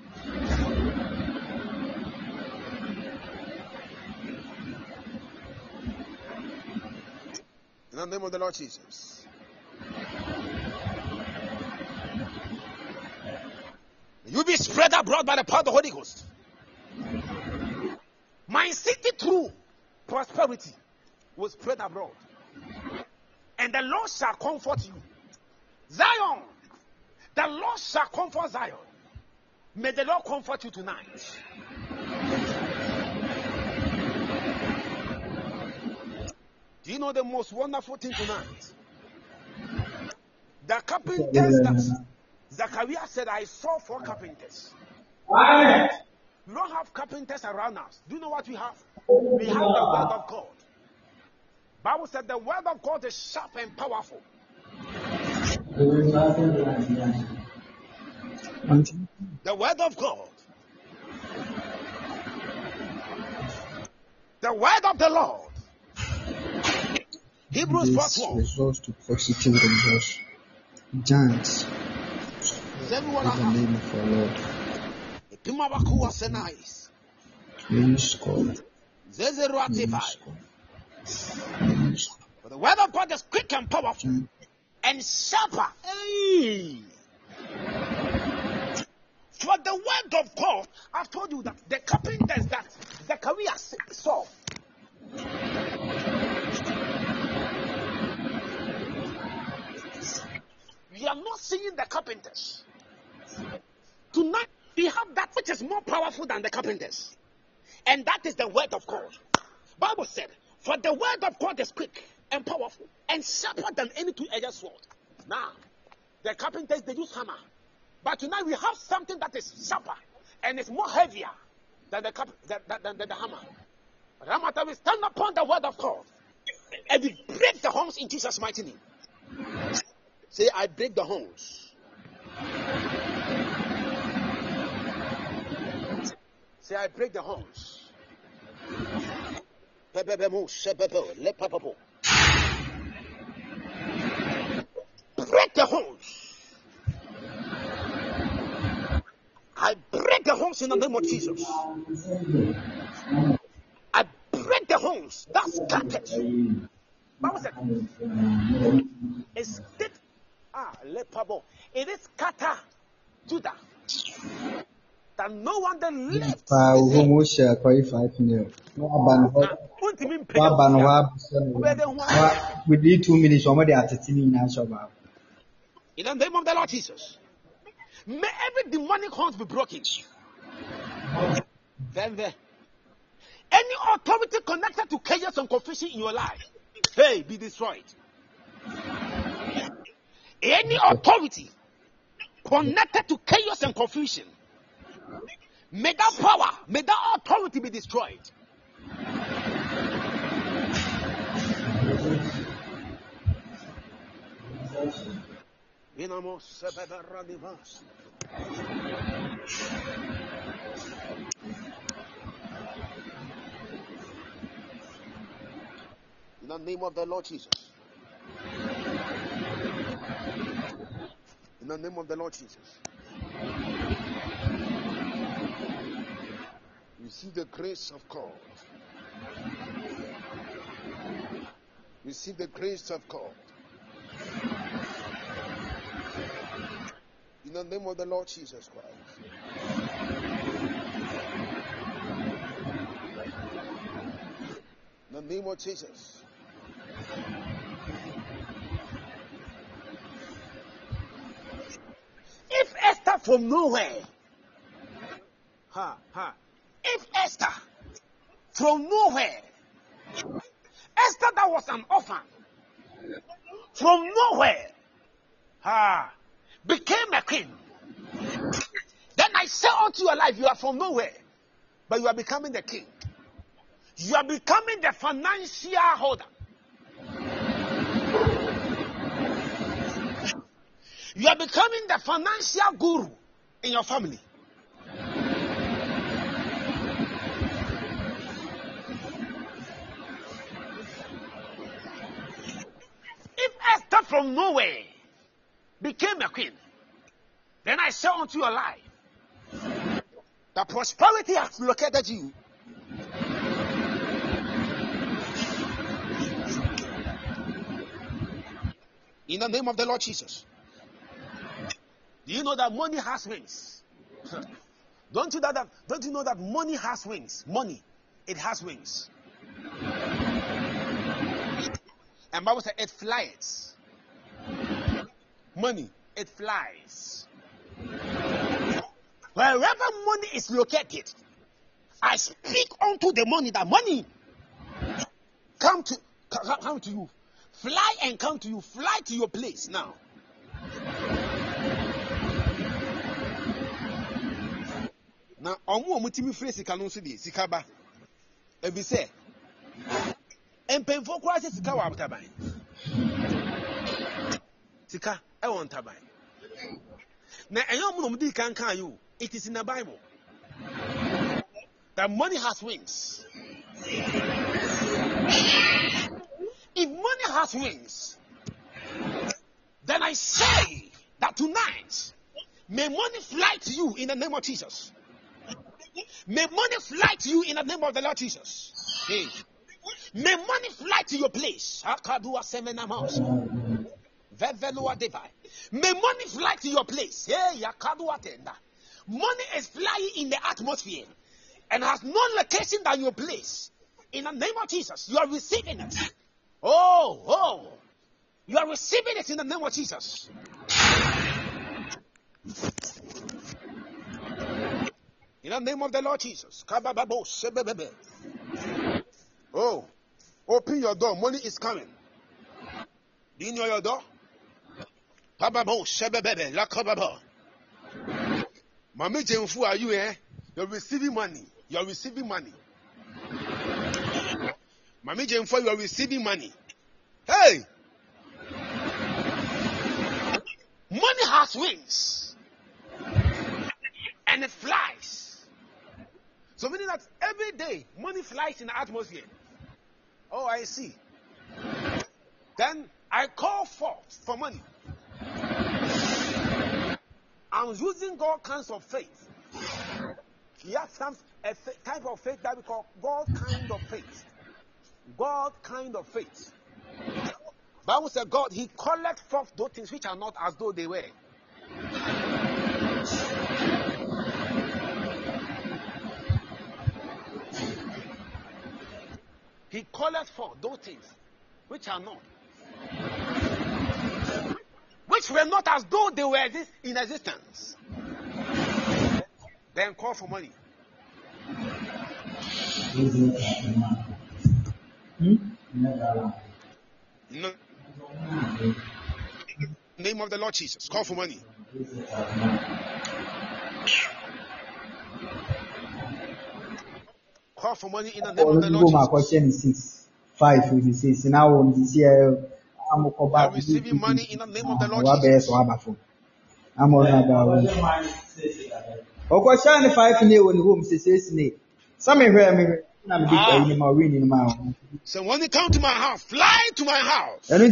In the name of the Lord Jesus. You be spread abroad by the power of the Holy Ghost. My city through prosperity will spread abroad. And the Lord shall comfort you. Zion, the Lord shall comfort Zion. May the Lord comfort you tonight. Do you know the most wonderful thing tonight? The carpenters that Zachariah said, I saw four carpenters. We don't have carpenters around us. Do you know what we have? We have the word of God. Bible said the word of God is sharp and powerful. The word of God. The word of the Lord. Hebrews four twelve. Results to positive results. Giants. Is everyone In the name of our Lord. Please call. For the word of God is quick and powerful and sharper. Hey. For the word of God, I've told you that the carpenters that Zechariah saw. We are not seeing the carpenters. Tonight, we have that which is more powerful than the carpenters. And that is the word of God. Bible said, for the word of God is quick and powerful and sharper than any two-edged sword. Now, the carpenters, they use hammer. But tonight we have something that is sharper and is more heavier than the, cap- than, than, than the hammer. But no matter, we stand upon the word of God and we break the horns in Jesus' mighty name. Say, I break the horns. Say, I break the horns. Break the horns. I break the horns in the name of Jesus. I break the horns. That's scattered. Bible said, it's it. Ah, lepabo. It is scatter Judah. That no one then left. Within two minutes, somebody at the team in In the name of the Lord Jesus. May every demonic horns be broken. Then there. Any authority connected to chaos and confusion in your life, hey, be destroyed. Any authority connected to chaos and confusion, may that power, may that authority be destroyed. In the name of the Lord Jesus. In the name of the Lord Jesus. We see the grace of God. We see the grace of God. In the name of the Lord Jesus Christ. In the name of Jesus. If Esther from nowhere, ha, ha, if Esther from nowhere, Esther that was an orphan, from nowhere, ha, became a queen. Then I say unto your life, you are from nowhere, but you are becoming the king. You are becoming the financial holder. You are becoming the financial guru in your family. If Esther from nowhere became a queen, then I say unto your life, the prosperity has located you. In the name of the Lord Jesus. Do you know that money has wings? Don't you know that? Don't you know that money has wings? Money, it has wings. And Bible says it flies. Money, it flies. Wherever money is located, I speak unto the money. That money come to come to you, fly and come to you, fly to your place now. Now, omu omu timi free sika no so de sika ba. E bi se. Empemfo kwa se sika wa taban. Sika e won taban. Na enyo omu no mu di kan kan you. It is in the Bible. That money has wings. If money has wings, then I say that tonight, may money fly to you in the name of Jesus. May money fly to you in the name of the Lord Jesus. Hey. May money fly to your place. May money fly to your place. Hey, Money is flying in the atmosphere and has no location than your place. In the name of Jesus, you are receiving it. Oh, oh. You are receiving it in the name of Jesus. In the name of the Lord Jesus. Oh, open your door. Money is coming. Do you know your door? Mami Jenfu, are you here? You're receiving money. You're receiving money. Mami Jenfu, you are receiving money. Hey! Money has wings. And it flies. So meaning that every day, money flies in the atmosphere. Oh, I see. Then I call forth for money. I'm using all kinds of faith. He has some a type of faith that we call God kind of faith. God kind of faith. Bible said God, he collects forth those things which are not as though they were. He collects forth those things which are not. Which were not as though they were in existence. Then call for money. No. Name of the Lord Jesus. Call for money. Call for money in the name of the Lord Jesus. Five fifty-six. Now on this year, I'm receiving money in the name of the Lord Jesus. I'm on about. Okay, shine five in the home says me. Some hear me. So when you come to my house, fly to my house. The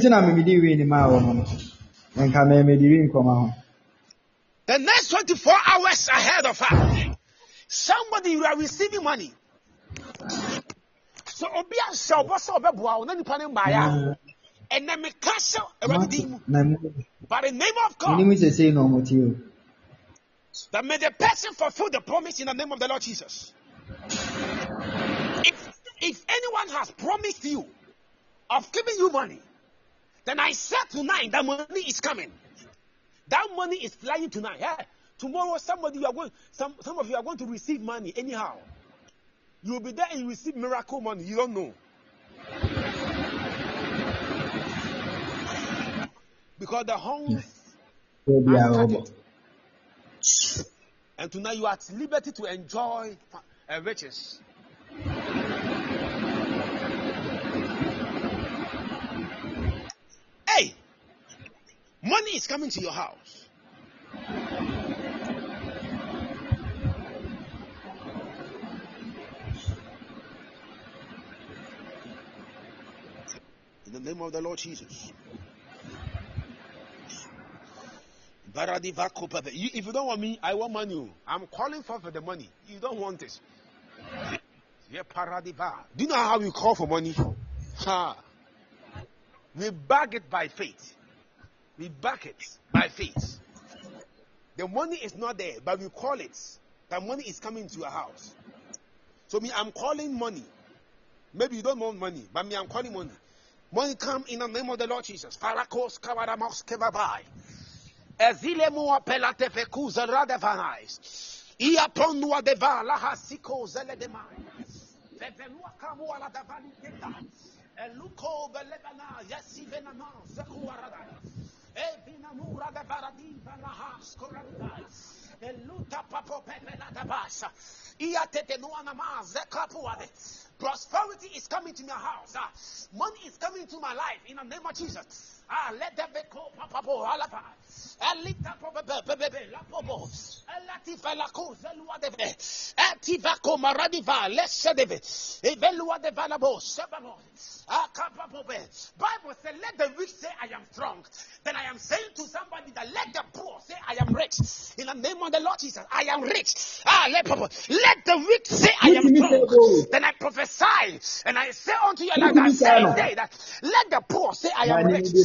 next twenty-four hours ahead of us, somebody you are receiving money. So obia shall be bow, none upon him and then make castle by the name of God. That may the person fulfill the promise in the name of the Lord Jesus. If, if anyone has promised you of giving you money, then I said tonight that money is coming. That money is flying tonight. Yeah? Tomorrow somebody you are going, some, some of you are going to receive money anyhow. You will be there and you receive miracle money. You don't know. Because the hungry and tonight you are at liberty to enjoy uh, riches. Hey, money is coming to your house. In the name of the Lord Jesus. If you don't want me, I want money. I'm calling for, for the money. You don't want it. Do you know how we call for money? Ha. We bag it by faith. We back it by faith. The money is not there, but we call it. The money is coming to your house. So me, I'm calling money. Maybe you don't want money, but me, I'm calling money. Money come in the name of the Lord Jesus. Farakos kavaramos kevabai. Ezilemu apelate fekuza radevanais. Ia ponua deva la hasiko zele demai. Vevelua kamu ala davani keta. Eluko velebana yasivenana zekuaradai. Evinamura de varadi vanahas koradai. Eluta papo pepela dabasa. Ia tetenuanama zekapuade. Prosperity is coming to my house. Ah, money is coming to my life in the name of Jesus. Ah, let them be called Papa Alapa. Elita Bebe, La Pobo, Elatifa La Cosa, Lua de Ve, Ativaco Maradiva, Lesedeve, Evelua de Valabo, Sebamo, Akapapobe. Bible says, let the rich say, I am strong. Then I am saying to somebody that let the poor say, I am rich. In the name of the Lord Jesus, I am rich. Ah, let, let the rich say, I am strong. Then I prophesy, and I say unto you like I said today, that let the poor say, I am rich.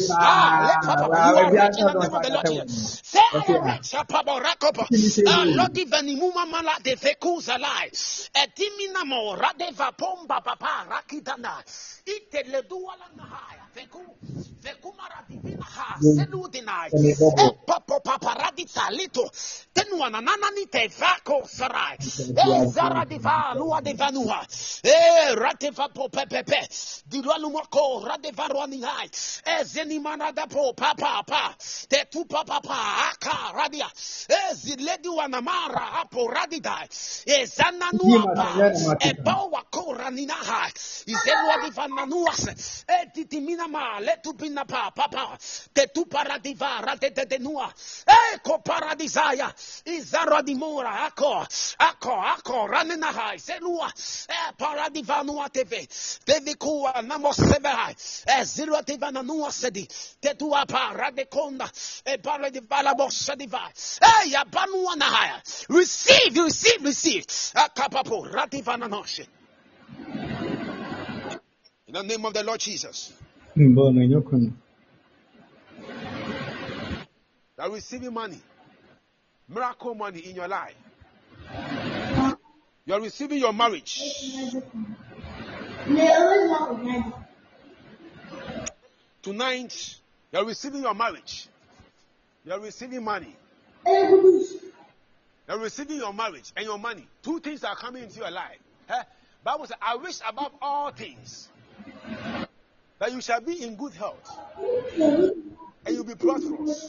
Ah, let Papa, you are rich in the name of the Lord Jesus. Say, I am rich. Papa, Rakopa. Ah, Lord, Ivanimuma Mala de Vekuzalai. Etimina mo Radeva Pomba Papa Rakidana. Ite Leduala Nahaya. Veku. Vekumara Divina Ha. Selu Dinai. E Papa Paparadita Lito. Tenuana Nanani Te Vako Sarai. E Zara Diva Lua de Vanua. E Rateva Popepe. Diluanumako Radeva Ruanihai. E Zenimana da Po Papa Pa. Te Tu Papa Pa Aka Radia. E Ziledu Anamara Apo Radidai. E Zananuapa. E Bawa Koraninaha. Izelua Divananuas. E Titiminama. Letu Pinapa Papa. Te Tu Paradiva Radete de Nua. E Ko Paradisaya. Izara Dimora Ako. Ako Ako Raninaha. Zelua. E Paradivanua T V. Devicua Namo Severa. E Zilua Divananua Sedi. Te Tua Paradeconda. E Paradivala Bossadiva. E Yabanuanahaya. Receive, receive, receive. Akapapo Radivananoshe. In the name of the Lord Jesus. You are receiving money. Miracle money in your life. You are receiving your marriage. Tonight, you are receiving your marriage. You are receiving money. You are receiving your marriage and your money. Two things are coming into your life. Eh? Bible says, I wish above all things that you shall be in good health and you'll be prosperous.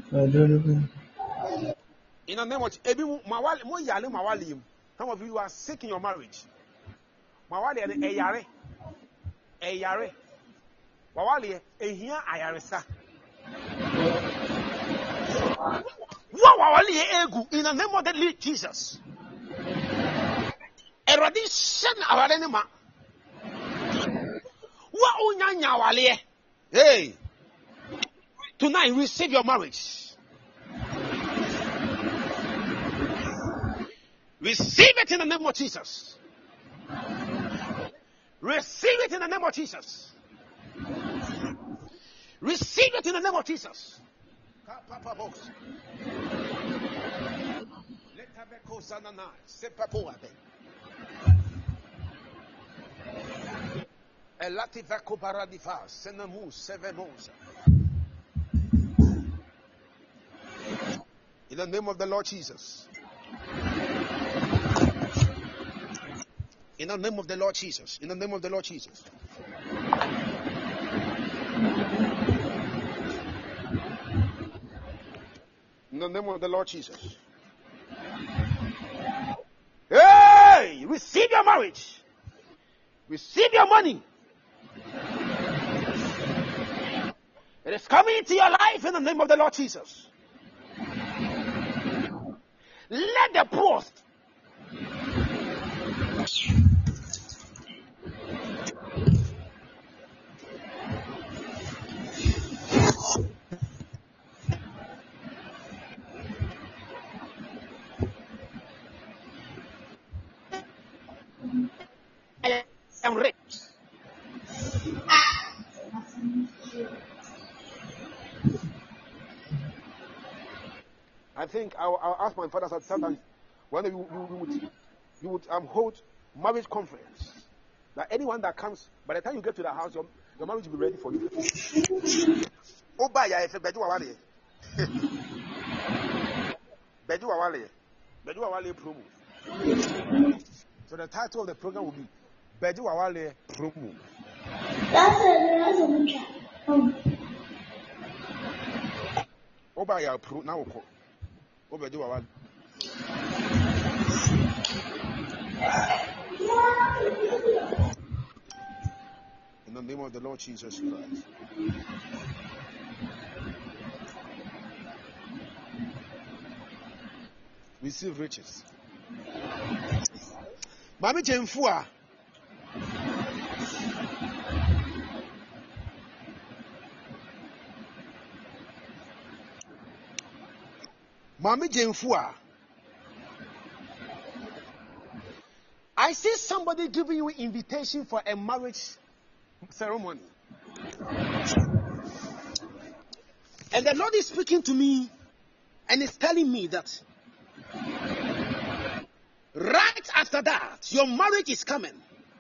In the name of some of you are sick in your marriage. Mawali and Eyare. Eyare. Mawali, Ehia Ayaresa. Wawali Egu in the name of the Lord Jesus. Eradishan Awarenema. Wa unyanya wale. Hey. Tonight receive your marriage. Receive it in the name of Jesus. Receive it in the name of Jesus. Receive it in the name of Jesus. In the name of the Lord Jesus. In the name of the Lord Jesus. In the name of the Lord Jesus. In the name of the Lord Jesus. Hey! Receive your marriage. Receive your money. It is coming into your life in the name of the Lord Jesus. Let the poor. I am rich. I think I'll, I'll ask my father sometimes when you, you, you would, you would um, hold marriage conference. That anyone that comes, by the time you get to the house, your, your marriage will be ready for you. Oh, bye, yeah, if Bedu Awale. Bedu Awale. Bedu Awale promo. So the title of the program will be Bedu Awale promo. That's it. Oh, bye, yeah, pro now. Oh, Bedu Awale. In the name of the Lord Jesus Christ. Receive riches. Mami Jemfua. Mami Jemfua. I see somebody giving you invitation for a marriage ceremony. And the Lord is speaking to me and is telling me that right after that, your marriage is coming.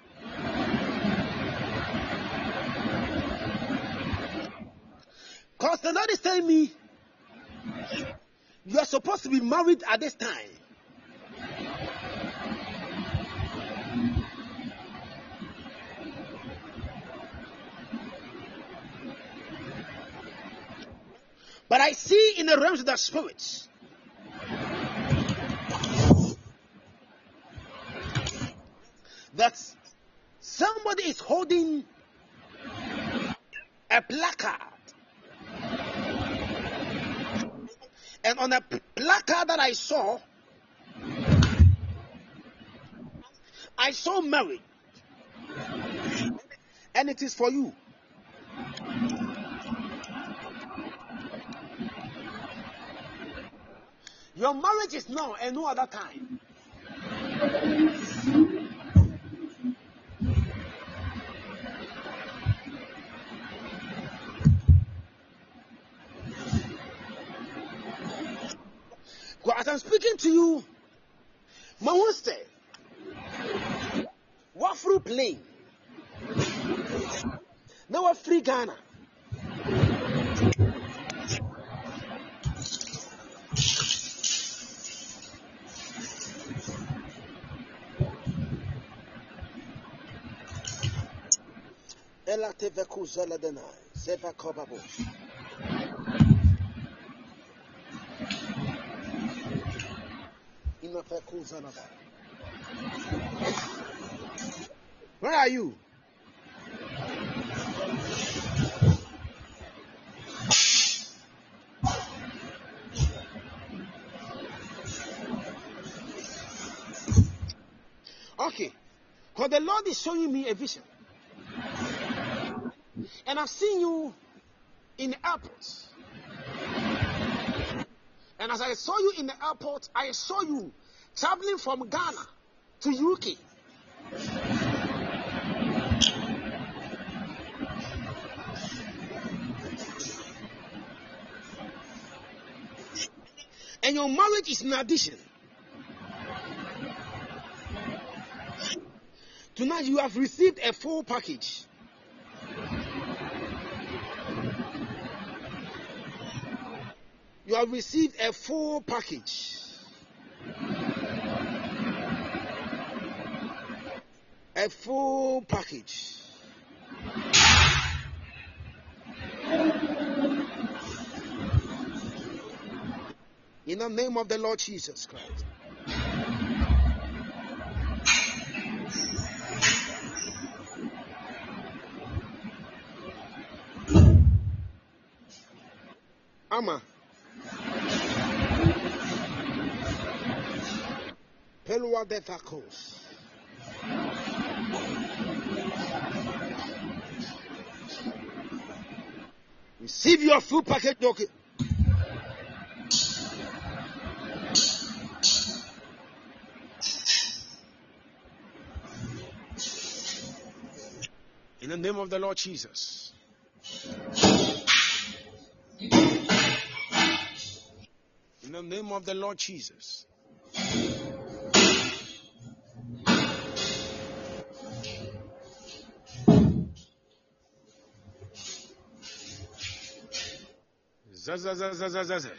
Because the Lord is telling me you are supposed to be married at this time. But I see in the realms of the spirits that somebody is holding a placard. And on a placard that I saw, I saw Mary. And it is for you. Your marriage is now and no other time. As I'm speaking to you, Mawuste, what through plane? Now we're free Ghana. Ela teve kuzala denai, seva kobabo. Where are you? Okay, because the Lord is showing me a vision, and I've seen you in the airport. And as I saw you in the airport, I saw you traveling from Ghana to U K. And your marriage is an addition. Tonight you have received a full package. You have received a full package. A full package. In the name of the Lord Jesus Christ. Ama. Pelua de tacos. Receive your full package, okay? In the name of the Lord Jesus. In the name of the Lord Jesus. Zazazazazazaza.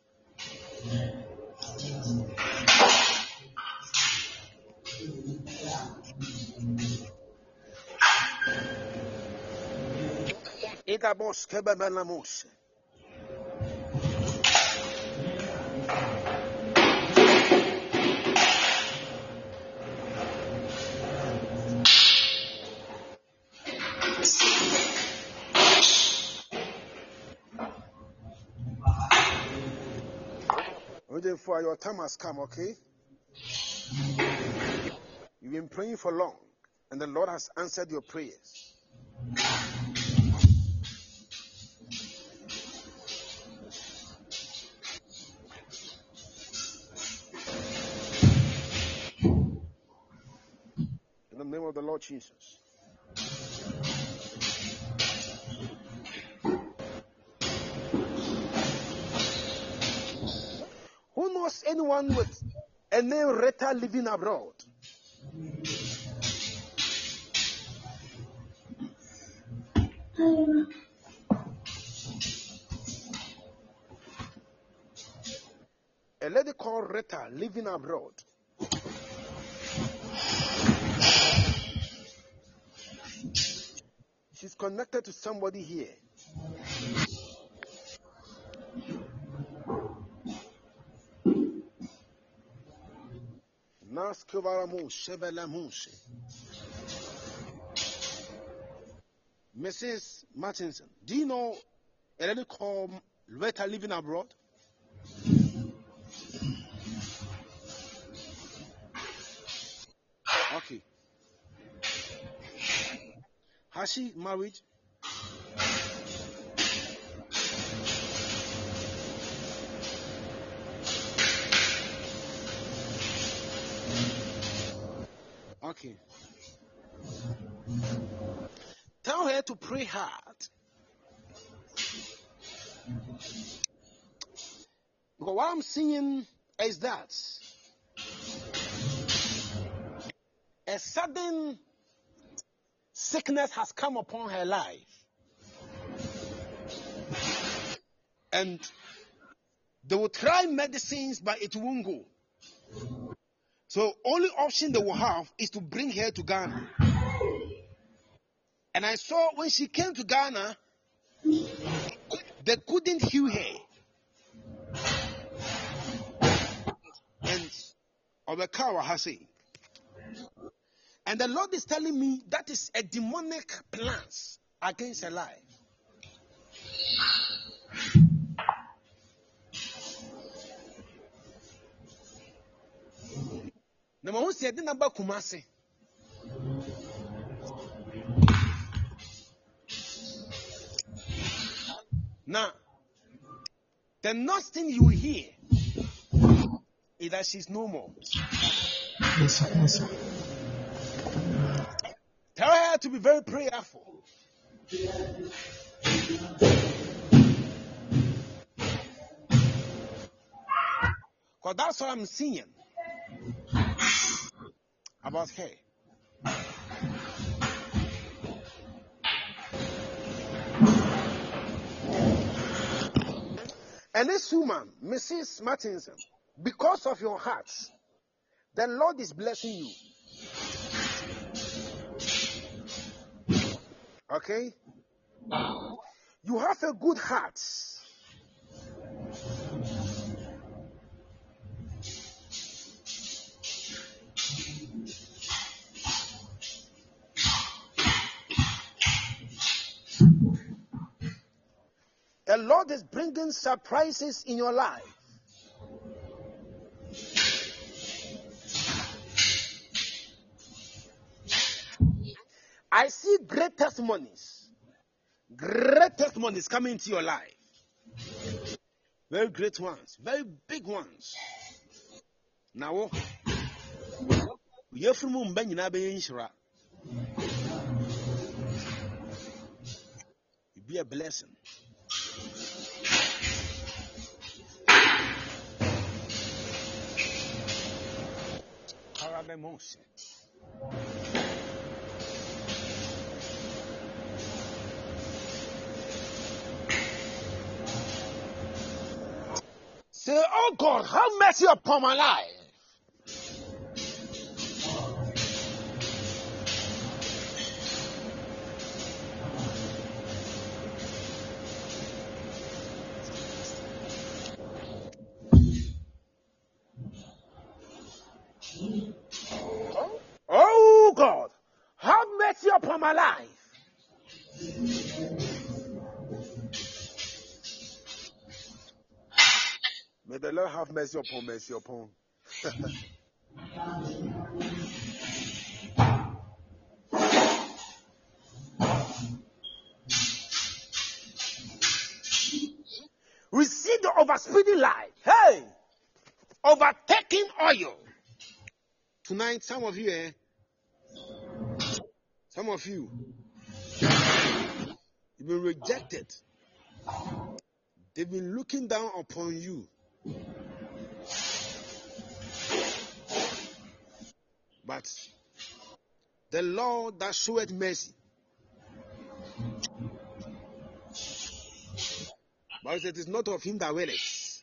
Itabos kebebenamos. For your time has come, okay? You've been praying for long, and the Lord has answered your prayers. In the name of the Lord Jesus. knows anyone with a name Retta living abroad? A lady called Retta living abroad. She's connected to somebody here. Missus Martinson, do you know a lady called Retta living abroad? Okay. Has she married? Okay. Tell her to pray hard. Because what I'm seeing is that a sudden sickness has come upon her life. And they will try medicines, but it won't go. So only option they will have is to bring her to Ghana. And I saw when she came to Ghana, they couldn't heal her. And Obekawa has said. And the Lord is telling me that is a demonic plans against her life. Na mahu si edi naba Kumasi. Now, the next thing you hear is that she's no more. Yes, sir. Yes, sir. Tell her to be very prayerful. Because that's what I'm seeing about her. And this woman, Missus Martinson, because of your heart, the Lord is blessing you. Okay? You have a good heart. The Lord is bringing surprises in your life. I see great testimonies. Great testimonies coming into your life. Very great ones. Very big ones. Now, you're from Mumbai, you be a blessing. Emotion. Say, oh God, have mercy upon my life. Oh God, have mercy upon my life. May the Lord have mercy upon mercy upon. Receive the overspeeding life. Hey, overtaking oil. Tonight, some of you, eh? Some of you, you've been rejected. They've been looking down upon you. But the Lord that showeth mercy. But it is not of him that willeth.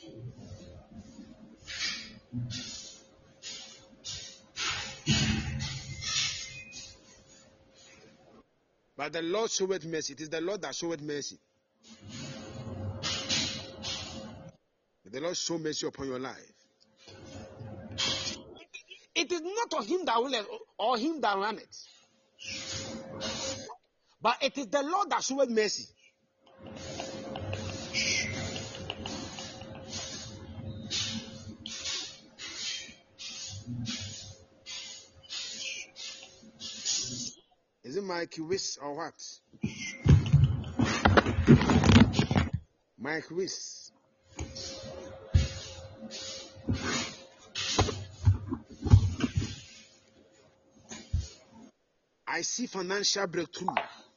But the Lord showeth mercy. It is the Lord that showeth mercy. May the Lord show mercy upon your life. It is not of him that willeth or him that runneth. But it is the Lord that showeth mercy. Is it Mike Wiss or what? Mike Wiss. I see financial breakthrough.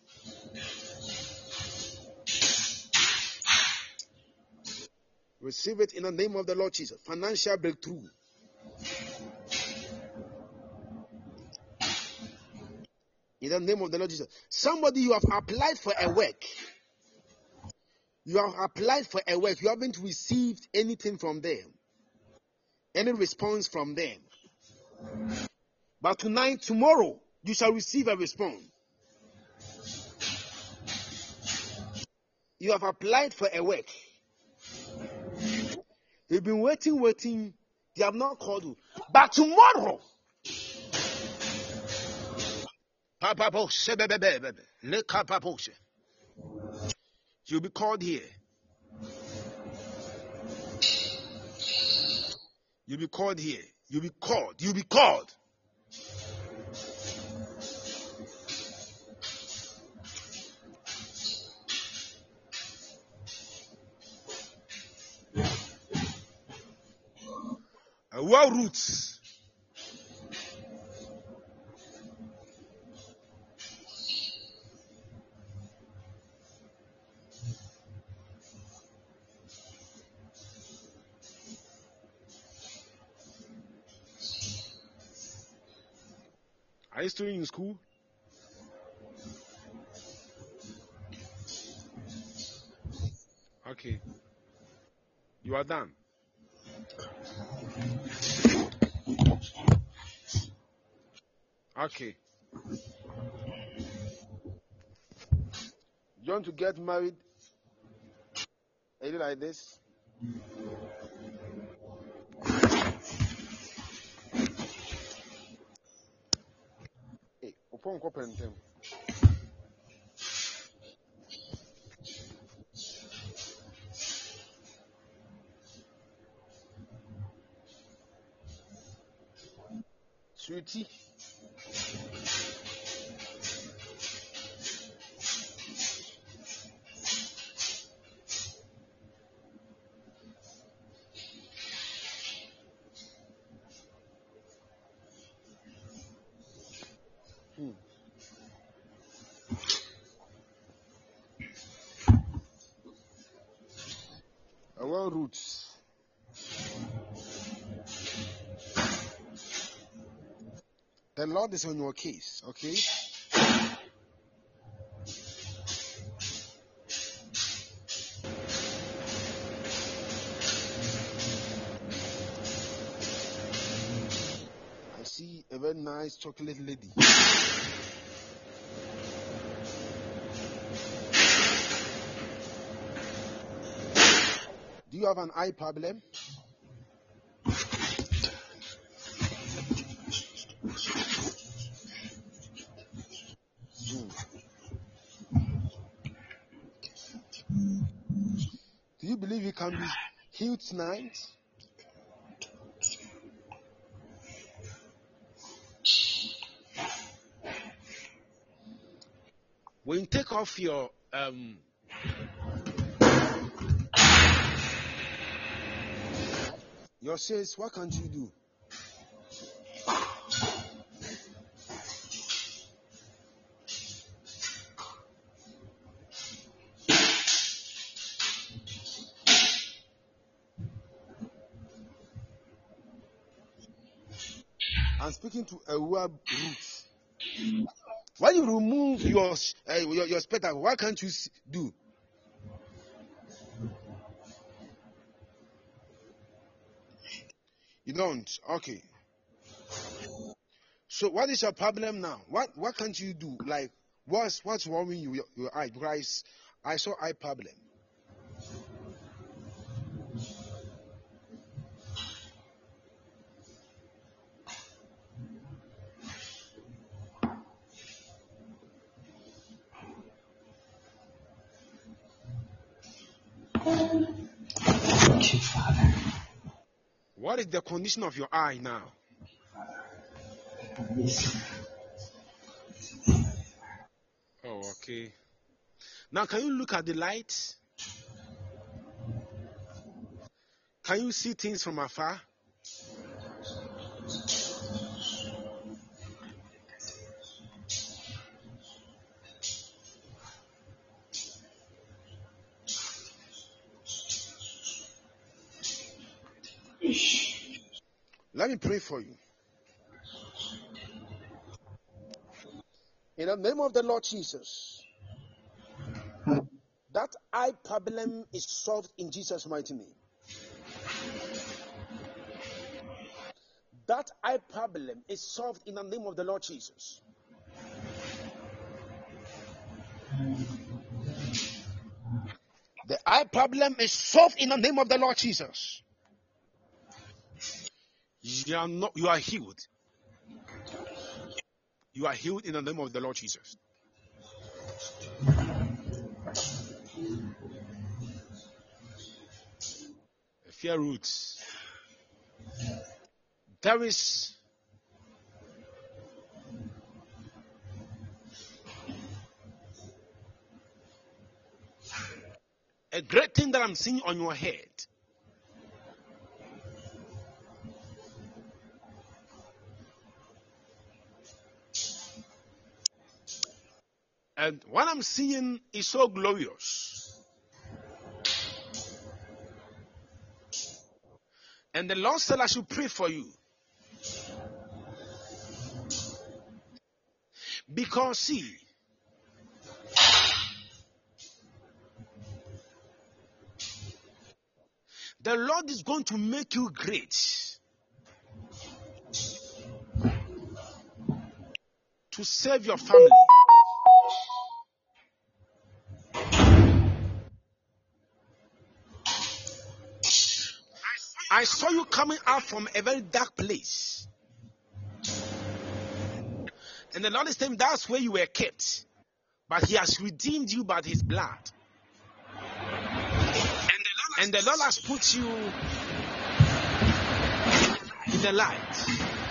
Receive it in the name of the Lord Jesus. Financial breakthrough. In the name of the Lord Jesus. Somebody, you have applied for a work. You have applied for a work. You haven't received anything from them. Any response from them. But tonight, tomorrow, you shall receive a response. You have applied for a work. You've been waiting, waiting. They have not called you. But tomorrow, you'll be called here. You'll be called here. You'll be called. You'll be called. Well, roots. Are you still in school? Okay. You are done. Okay. You want to get married? Are you like this? Hey, upon copentem. Sweetie. Hmm. Our roots. The Lord is on your case, okay? I see a very nice chocolate lady. Do you have an eye problem? Do you believe you can be healed tonight? When you take off your um your says, what can't you do? I'm speaking to a web root. When you remove your uh, your, your spectacle, what can't you do? You don't. Okay. So what is your problem now? What what can't you do? Like what's what's worrying you? Your, your eye? Because I saw eye problem. Thank you, Father. What is the condition of your eye now? Oh, okay. Now, can you look at the light? Can you see things from afar? Let me pray for you. In the name of the Lord Jesus, that eye problem is solved in Jesus' mighty name. That eye problem is solved in the name of the Lord Jesus. The eye problem is solved in the name of the Lord Jesus. You are not, you are healed. You are healed in the name of the Lord Jesus. Fear roots. There is a great thing that I'm seeing on your head. And what I'm seeing is so glorious. And the Lord said I should pray for you. Because see, the Lord is going to make you great. To save your family. I saw you coming out from a very dark place. And the Lord is saying that's where you were kept. But He has redeemed you by His blood. And the Lord has put you in the light.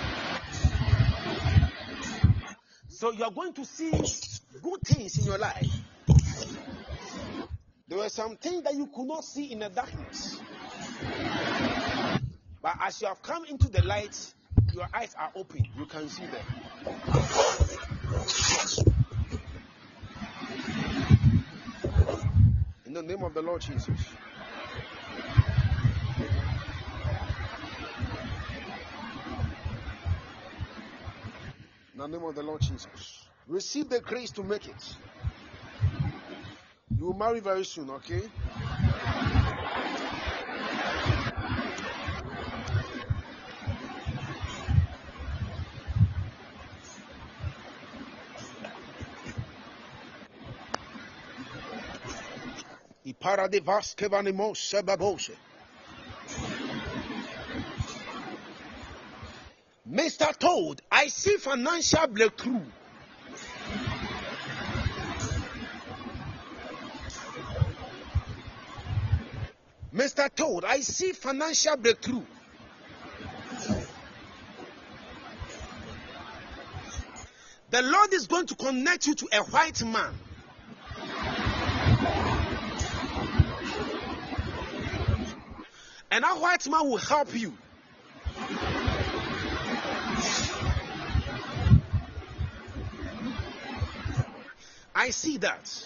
So you are going to see good things in your life. There were some things that you could not see in the darkness. But as you have come into the light, your eyes are open. You can see them. In the name of the Lord Jesus. In the name of the Lord Jesus. Receive the grace to make it. You will marry very soon, okay? Mister Toad, I see financial breakthrough. Mister Toad, I see financial breakthrough. The Lord is going to connect you to a white man. And that white man will help you. I see that.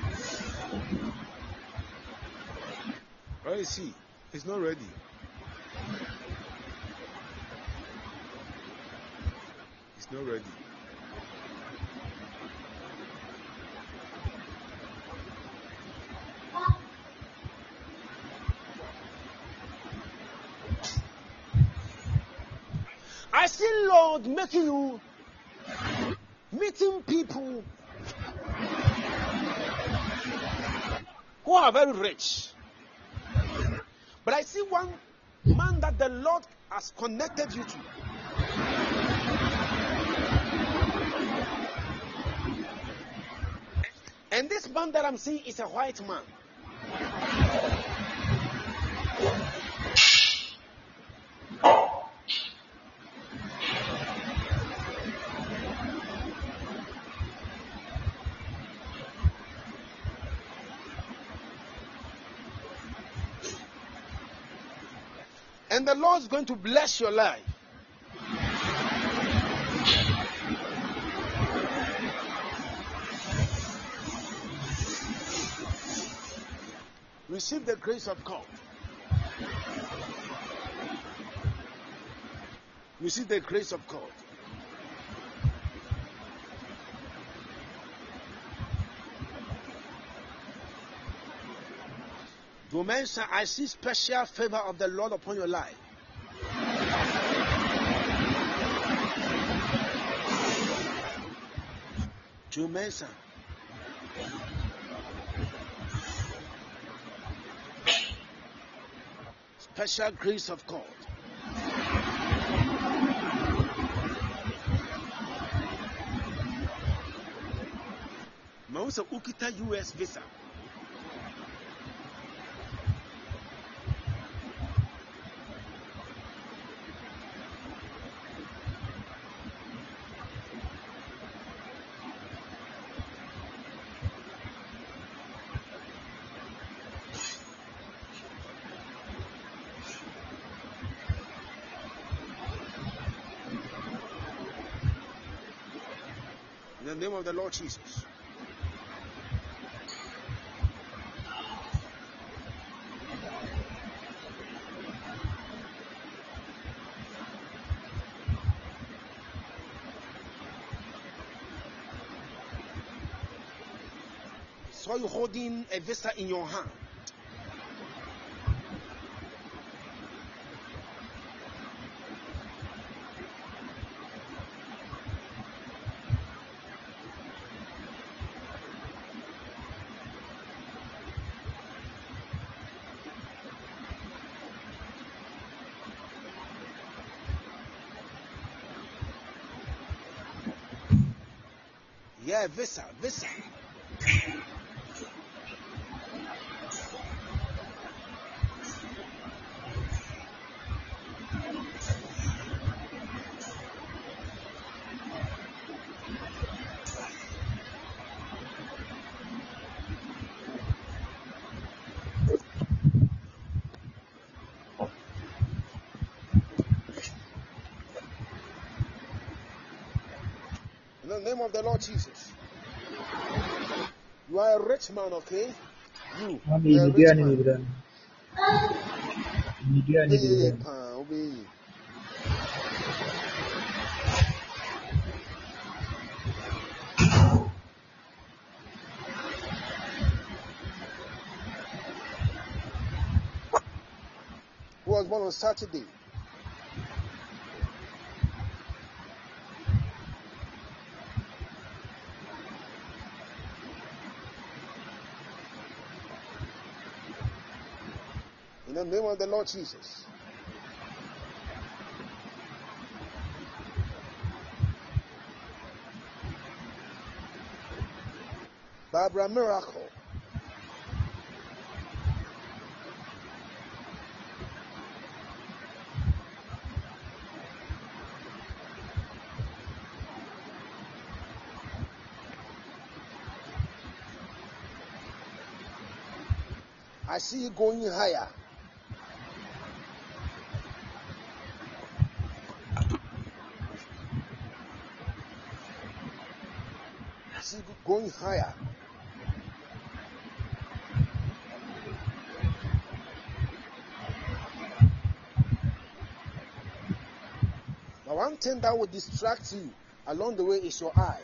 Where is he? He's not ready. It's not ready. I see Lord making you meeting people who are very rich. But I see one man that the Lord has connected you to. And this man that I'm seeing is a white man. And the Lord is going to bless your life. Receive the grace of God. Receive the grace of God. Domensa, I see special favor of the Lord upon your life. Domensa. Special grace of God. Mausa ukita U S visa. In the name of the Lord Jesus. Saw you holding a visa in your hand. Yeah, visa, visa. In the name of the Lord Jesus. You are a rich man, okay? You, you are a rich man. Obey, obey. Who was born on Saturday? In the name of the Lord Jesus. Barbara Miracle. I see you going higher. I see you going higher. Now, one thing that will distract you Along the way is your eye.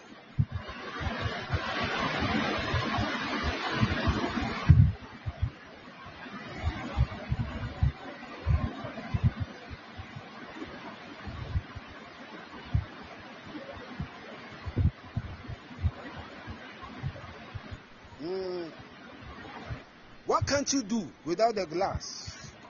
Mm. What can't you do without the glass?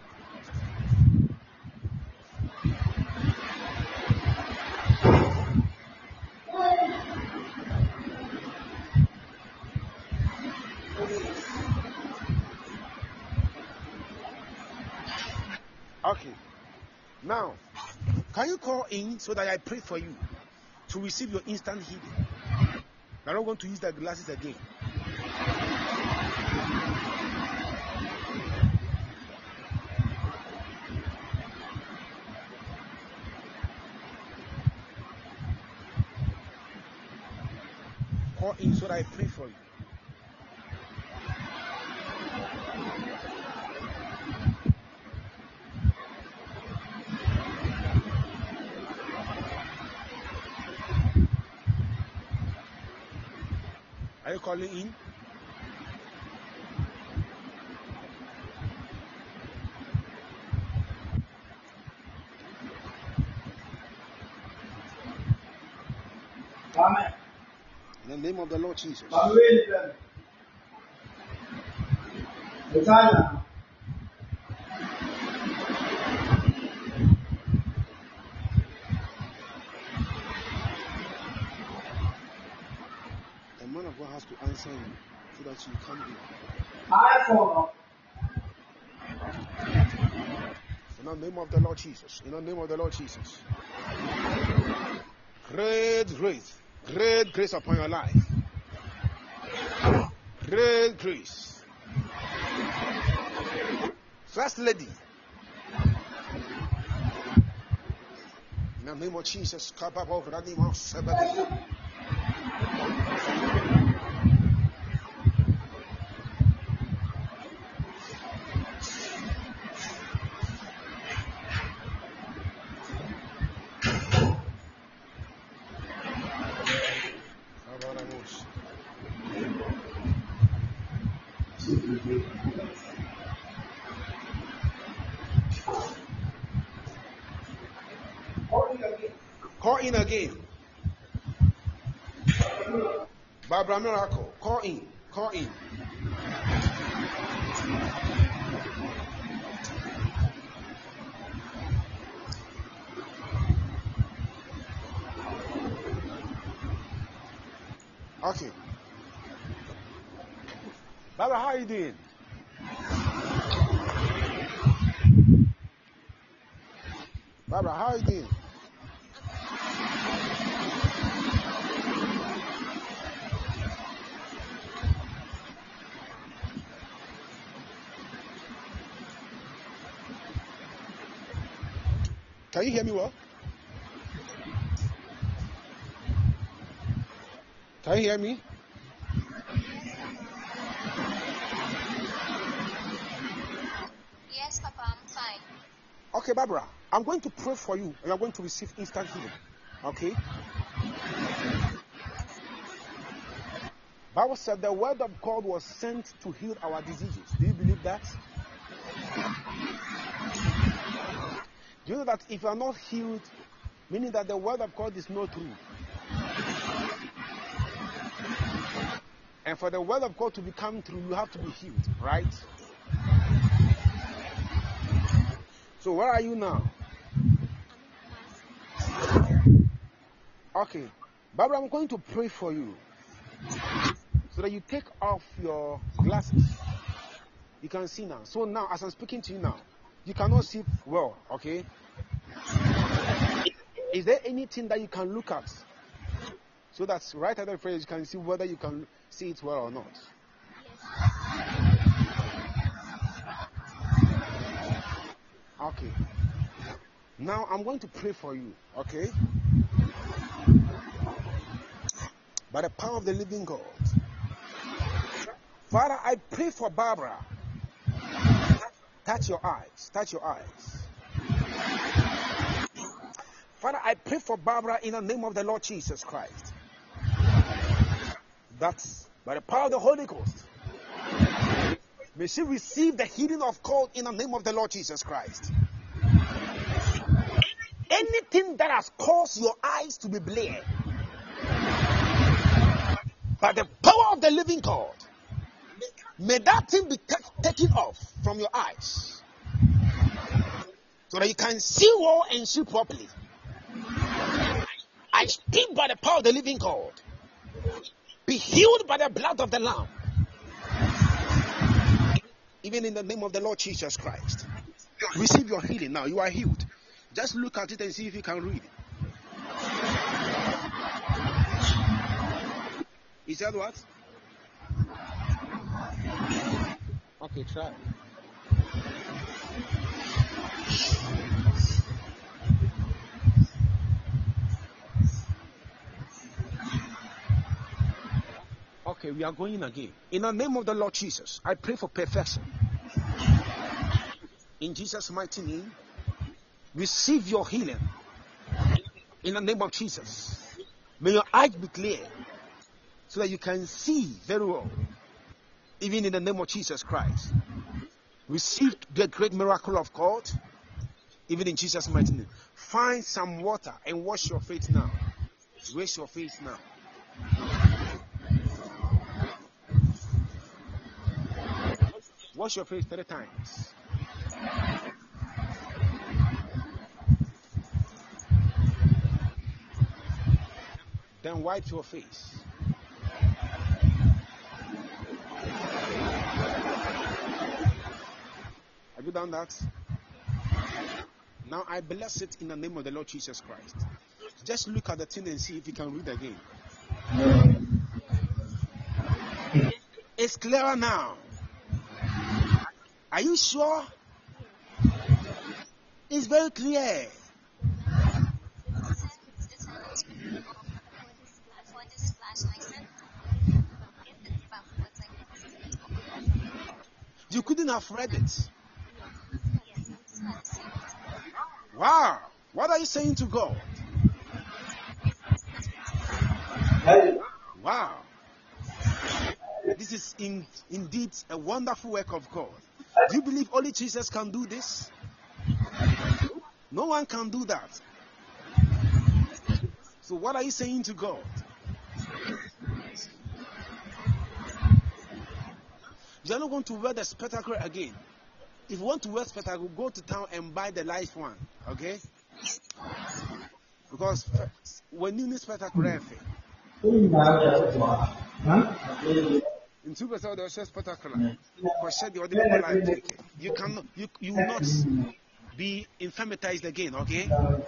Okay. Now, can you call in so that I pray for you to receive your instant healing? I'm not going to use the glasses again. Call in so that I pray for you. Are you calling in? Amen. In the name of the Lord Jesus. The man of God has to answer you so that you come in. I follow. In the name of the Lord Jesus. In the name of the Lord Jesus. Great grace. Great grace upon your life. Great grace. First lady. In the name of Jesus. Call in again. Barbara Miracle. Call in. Call in. Okay. Barbara, how are you doing? Barbara, how are you doing? Can you hear me well? Can you hear me? Yes, Papa, I'm fine. Okay, Barbara, I'm going to pray for you and you're going to receive instant healing. Okay? Bible said the word of God was sent to heal our diseases. Do you believe that? Do you know that if you are not healed, meaning that the word of God is not true? And for the word of God to become true, you have to be healed, right? So where are you now? Okay. Barbara, I'm going to pray for you so that you take off your glasses. You can see now. So now, as I'm speaking to you now, you cannot see well, okay? Is there anything that you can look at so that right after the prayer you can see whether you can see it well or not? Okay. Now I'm going to pray for you, okay? By the power of the living God. Father, I pray for Barbara. Touch your eyes. Touch your eyes. Father, I pray for Barbara in the name of the Lord Jesus Christ. That's by the power of the Holy Ghost. May she receive the healing of cold in the name of the Lord Jesus Christ. Anything that has caused your eyes to be bleared, by the power of the living God, may that thing be t- taken off from your eyes, so that you can see well and see properly. I speak by the power of the living God. Be healed by the blood of the Lamb. Even in the name of the Lord Jesus Christ. Receive your healing now. You are healed. Just look at it and see if you can read it. He said what? Okay, try. Okay, we are going again. In the name of the Lord Jesus, I pray for perfection. In Jesus' mighty name, receive your healing. In the name of Jesus, may your eyes be clear so that you can see very well. Even in the name of Jesus Christ, receive the great miracle of God. Even in Jesus' mighty name, find some water and wash your face now. Wash your face now. Wash your face three times. Then wipe your face. Have you done that? Now I bless it in the name of the Lord Jesus Christ. Just look at the thing and see if you can read again. It's clearer now. Are you sure? It's very clear. You couldn't have read it. Wow. What are you saying to God? Wow. This is in, indeed a wonderful work of God. Do you believe only Jesus can do this? No one can do that. So what are you saying to God? You are not going to wear the spectacle again. If you want to wear spectacle, go to town and buy the light one. Okay? Because when you need spectacle, in two percent there was just spectacular. You cannot, you you will not be infirmatized again. Okay?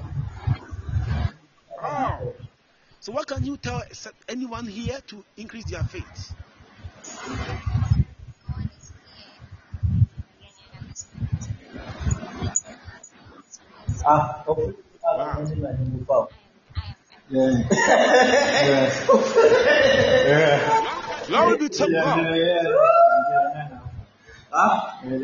Oh. So what can you tell anyone here to increase their faith? Ah, okay. Wow. Yeah. Yeah. Glory be to God. Ah, In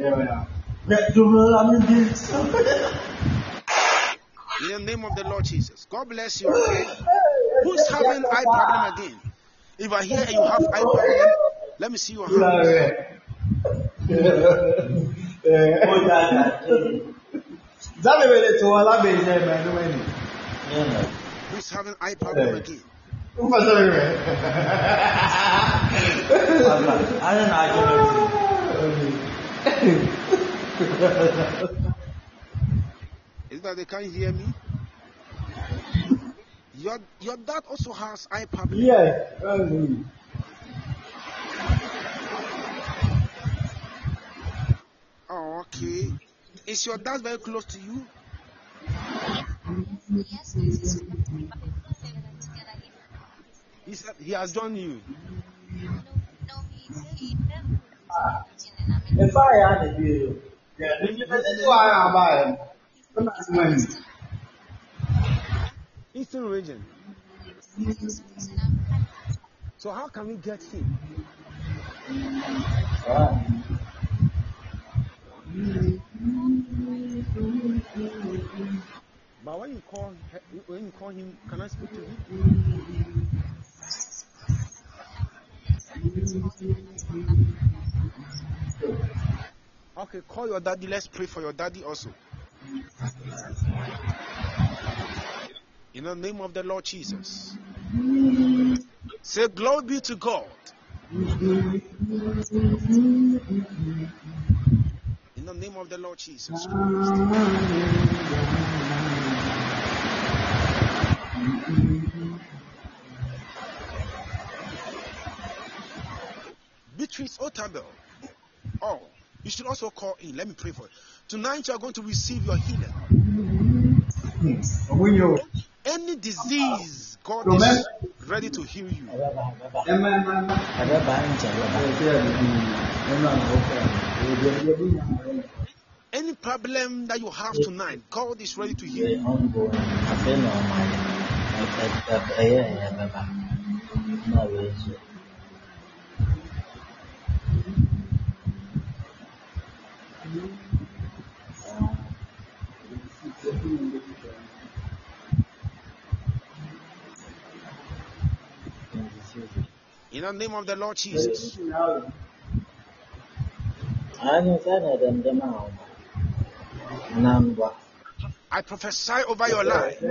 the name of the Lord Jesus. God bless you. Okay? Who's having eye problem again? If I hear you have eye problem, let me see your hands. Who's having eye problem again? Is it that they can't hear me? Your your dad also has eye problem. Yeah. Oh, okay. Is your dad very close to you? Yes, yes. He said he has joined you. No, no, he's he. If I had a deal, yeah, that's why I'm buying. Eastern region. So how can we get him? Ah. But when you call when you call him, can I speak to him? Okay, call your daddy. Let's pray for your daddy also. In the name of the Lord Jesus. Say glory be to God. In the name of the Lord Jesus Christ. Beatrice Otabel. Oh, you should also call in. Let me pray for you. Tonight you are going to receive your healing. Any disease, God is ready to heal you. Any problem that you have tonight, God is ready to heal you. In the name of the Lord Jesus. I prophesy over your life.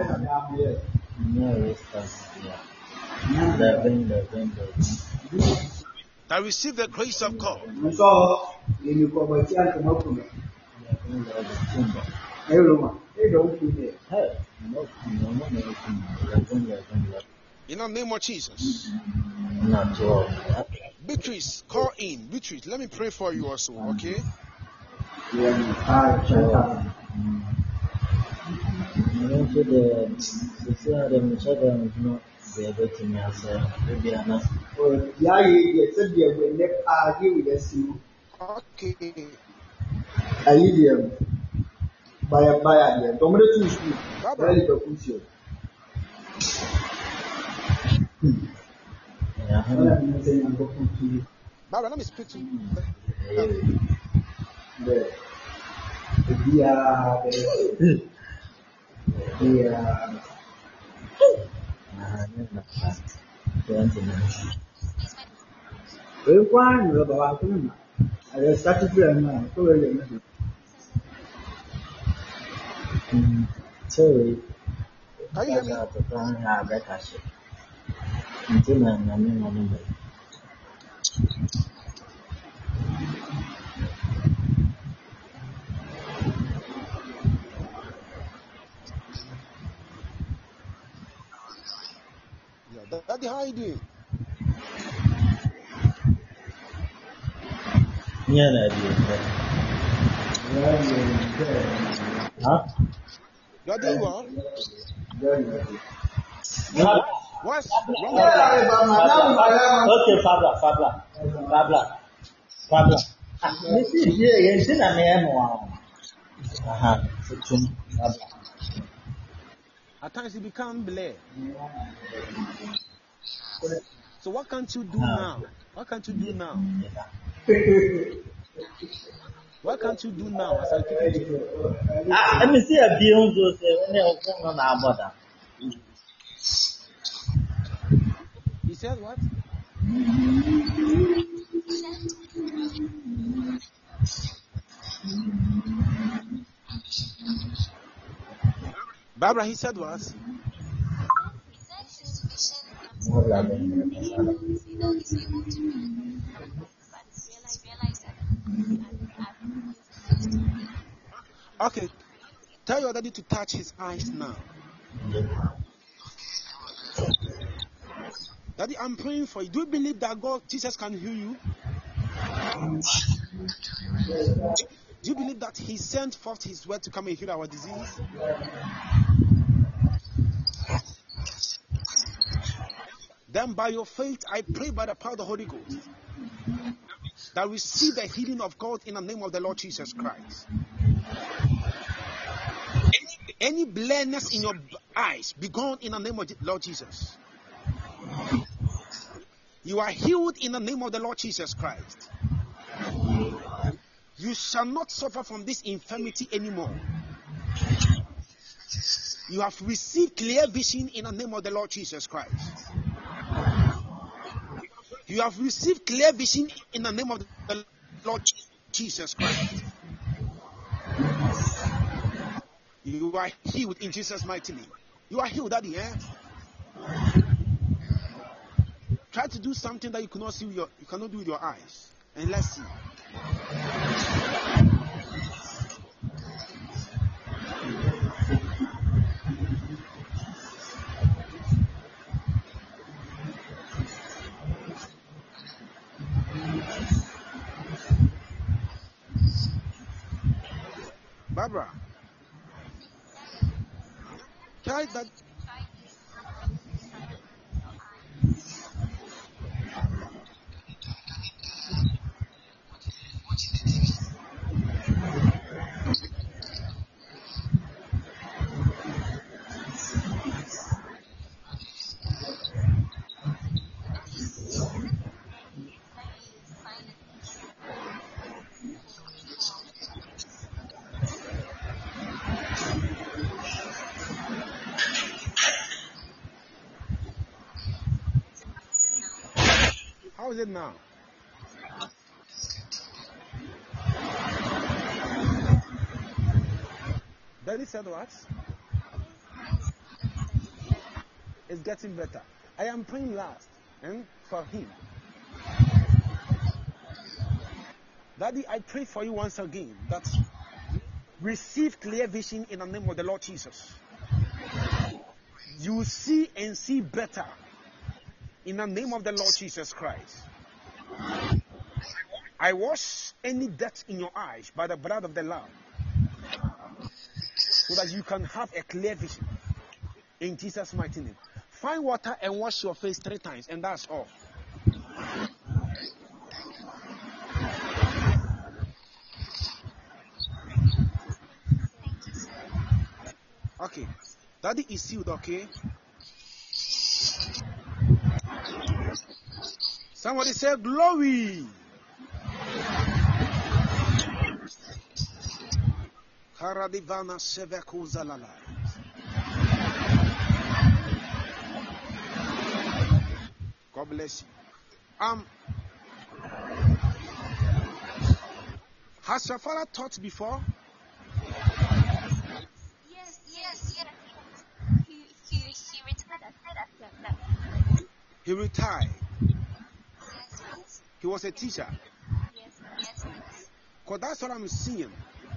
That receive the grace of God. In the name of Jesus. Beatrice, call in. Beatrice, let me pray for you also, okay? Okay. Baya baya dia. Domre tu isu. Bali berfungsi. Baba, let me speak to you. Dia, dia, dia. Với quan rồi bảo tôi mà, ở sát chuyện mà tôi lấy nó. Sorry. Can you hear me? Yeah, Daddy, how are you doing? Yeah, Daddy. Huh? You are doing well? What? What's wrong? Okay, Fabla, Fabla, Fabla, Fabla. This is here. You see that name? Aha, Fabla. At times you become blurred. So what can't you do now? What can't you do now? What can't you do now as I keep it to you? Ah, let me see a beyond those when they are on our border. He said what? Barbara, he said what? Okay, tell your daddy to touch his eyes now. Daddy, I'm praying for you. Do you believe that God, Jesus, can heal you? Do you believe that He sent forth His word to come and heal our disease? Then by your faith, I pray by the power of the Holy Ghost that receive the healing of God in the name of the Lord Jesus Christ. Any, any blindness in your eyes, be gone in the name of the Lord Jesus. You are healed in the name of the Lord Jesus Christ. You shall not suffer from this infirmity anymore. You have received clear vision in the name of the Lord Jesus Christ. You have received clear vision in the name of the Lord Jesus Christ. You are healed in Jesus' mighty name. You are healed, Daddy. Eh? Try to do something that you cannot see with your, you cannot do with your eyes, and let's see. Barbara, try that. How is it now? Daddy said what? It's getting better. I am praying last and for him. Daddy, I pray for you once again that receive clear vision in the name of the Lord Jesus. You see and see better in the name of the Lord Jesus Christ. I wash any dirt in your eyes by the blood of the Lamb, so that you can have a clear vision in Jesus' mighty name. Find water and wash your face three times, and that's all. Okay, Daddy is sealed, okay? Somebody say glory. Karadivana Sevekuzalala. God bless you. Um, has your father taught before? Yes, yes, yes. He, he, he retired after that. He retired. Yes, yes. He was a teacher. Yes, yes, yes. Because that's what I'm seeing.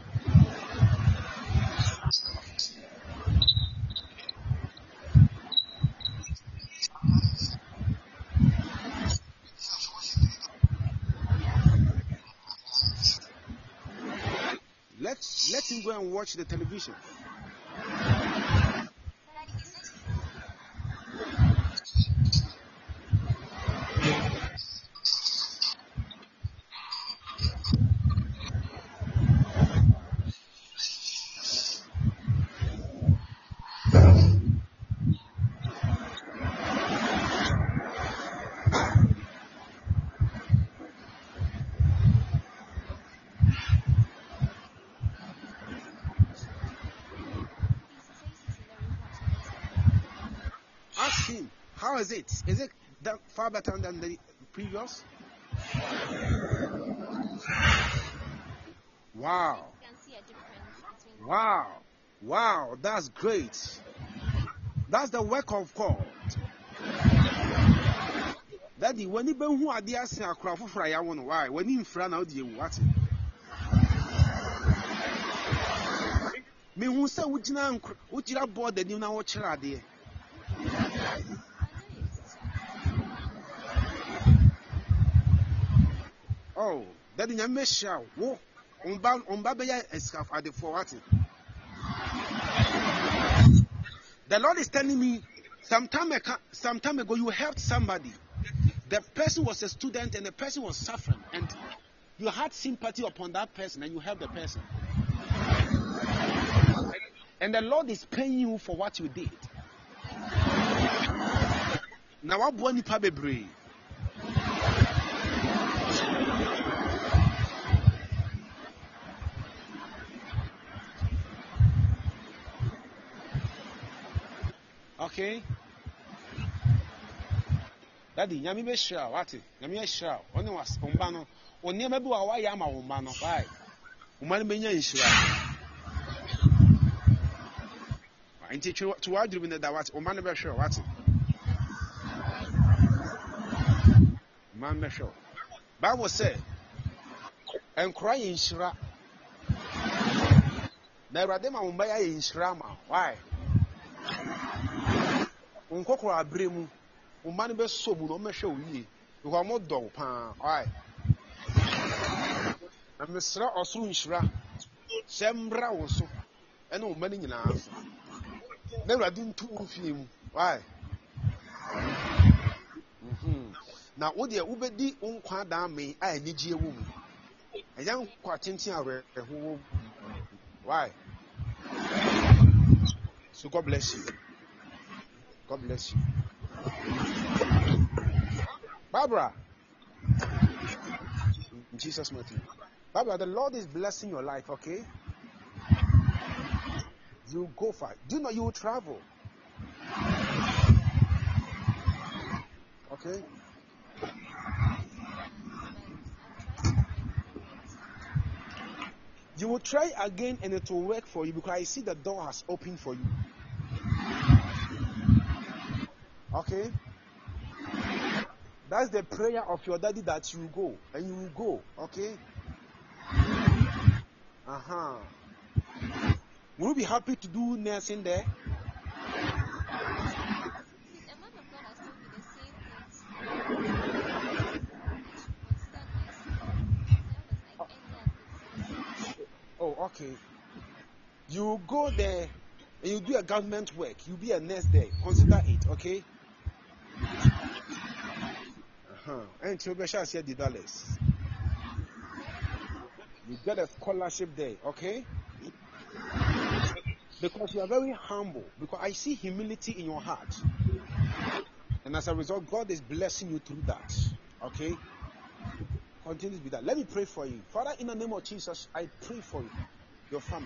Let, let him go and watch the television. Ask him, how is it? Is it that far better than the previous? Wow. You can see a difference between Wow. Wow. That's great. That's the work of God. Daddy, when you been who are there saying a crowd for fry, I want to why. When you in front of you, what? Me who say, would you not would you not board the new now watch her there? Oh, that in a mesh. Whoa, on bound on Babaya escaf at the forward. The Lord is telling me some time, some time ago you helped somebody. The person was a student and the person was suffering, and you had sympathy upon that person and you helped the person. And the Lord is paying you for what you did. Now what boni pa bebre? Okay? Daddy, nyami be shira, what? Nyami be shira. Oni was umbano. Oni maybe wa wa yama umbano. Why? Umani be nya shira. Inti to to what do you mean that what? Umani be shira, what? Man be shira. Bible say, and cry in shira. Na Awurade ma wo mbaya ye nhyira ma. Why? Unkokoro abremu. Umani be so mu no mehwe wo yie. Because mo do pa. Why? Na mesra osuru nhyira. Sembra wo so. Ene umani nyina so. Na Awurade ntu mfie mu. Why? Mhm. Na wo de ubedi unkwa da me a anigye wo mu. Eya nkwa tintin awe eho. Why? So God bless you. God bless you. Barbara. In Jesus' mighty name. Barbara, the Lord is blessing your life, okay? You go for it. Do you know you will travel? Okay? You will try again and it will work for you because I see the door has opened for you. Okay? That's the prayer of your daddy that you go and you will go. Okay? Uh-huh. Will you be happy to do nursing there? Oh, okay. You go there and you do a government work. You be a nurse there. Consider it, okay? Uh-huh. And you shall see the dollars. You get a scholarship there, okay? Because you are very humble. Because I see humility in your heart. And as a result, God is blessing you through that. Okay? Continue with that. Let me pray for you. Father, in the name of Jesus, I pray for you, your family.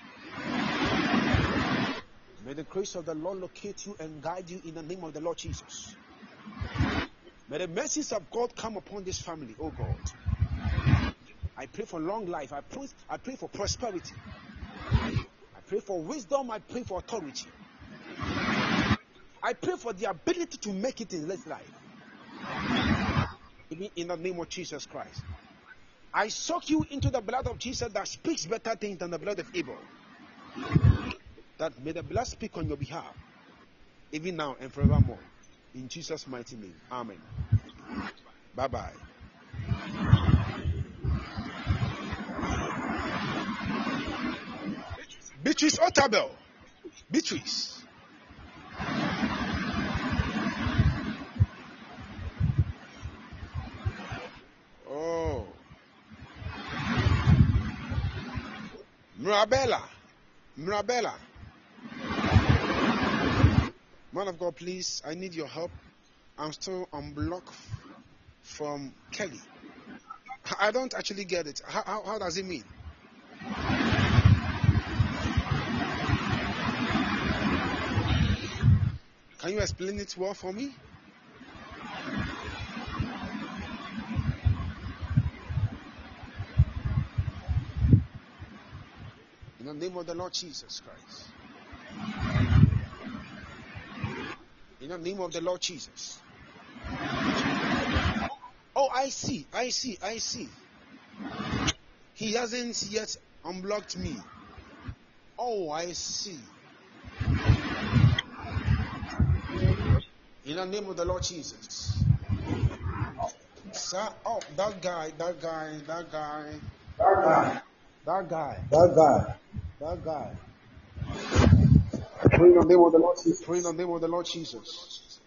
May the grace of the Lord locate you and guide you in the name of the Lord Jesus. May the mercies of God come upon this family, oh God. I pray for long life. I pray, I pray for prosperity. I pray for wisdom. I pray for authority. I pray for the ability to make it in this life. In the name of Jesus Christ. I soak you into the blood of Jesus that speaks better things than the blood of Abel. That may the blood speak on your behalf, even now and forevermore. In Jesus' mighty name. Amen. Bye-bye. Beatrice Otabel. Beatrice. Oh. Mirabella. Mirabella. Man of God, please, I need your help. I'm still on block from Kelly. I don't actually get it. How, how, how does it mean? Can you explain it well for me? In the name of the Lord Jesus Christ. In the name of the Lord Jesus. Oh, I see, I see, I see. He hasn't yet unblocked me. Oh, I see. In the name of the Lord Jesus. Sir, oh, that guy, that guy, that guy. That guy. That guy. That guy. That guy. Pray in the name of the Lord Jesus. Pray in the name of the Lord Jesus.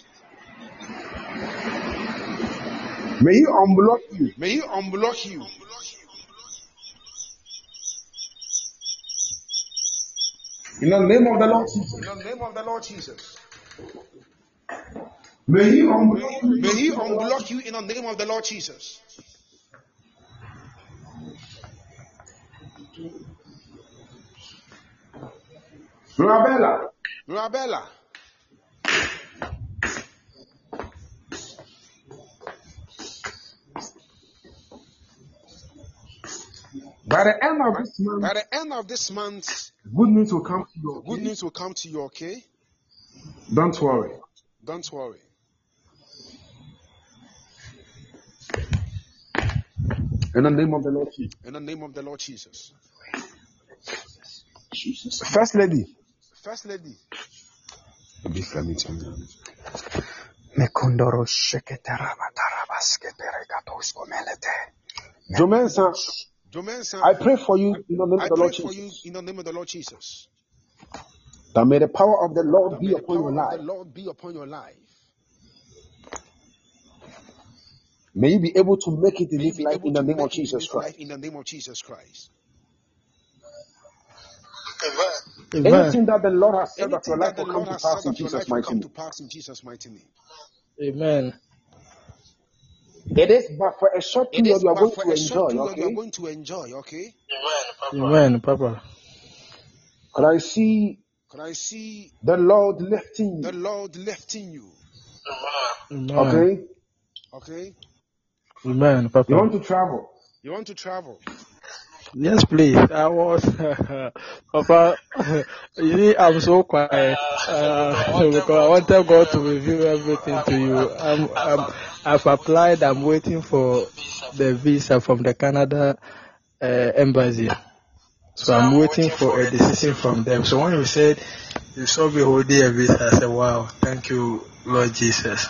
May He unblock you. May He unblock you. In the name of the Lord Jesus. In the name of the Lord Jesus. May He unblock you. May He unblock you in the name of the Lord Jesus. Mirabella. Mirabella. By the end of this month, by the end of this month, good news will come to you. Okay? Good news will come to you. Okay. Don't worry. Don't worry. In the name of the Lord Jesus. In the name of the Lord Jesus. Jesus. First lady. First lady. This let me tell you. Jomensa, I pray for you in the name of the Lord Jesus. In the name of the Lord Jesus. That may the power of the Lord be upon your life. The Lord be upon your life. May you be able to make it in this life in the name of Jesus Christ. In the name of Jesus Christ. Amen. Anything that the Lord has said that your life will come to pass in Jesus' mighty name. In Jesus' mighty name. Amen. It is but for a short period you are going to enjoy, okay? You are going to enjoy, okay? Amen, Papa. Could I see? Could I see the Lord lifting you? The Lord lifting you. Amen. Okay. Okay. Amen, Papa. You want to travel? You want to travel? Yes, please. I was, Papa. You see, I'm so quiet uh, because I wanted God to reveal everything to you. I'm, I'm, I've applied. I'm waiting for the visa from the Canada uh, embassy. So I'm waiting for a decision from them. So when you said you saw me holding a visa, I said, "Wow, thank you, Lord Jesus."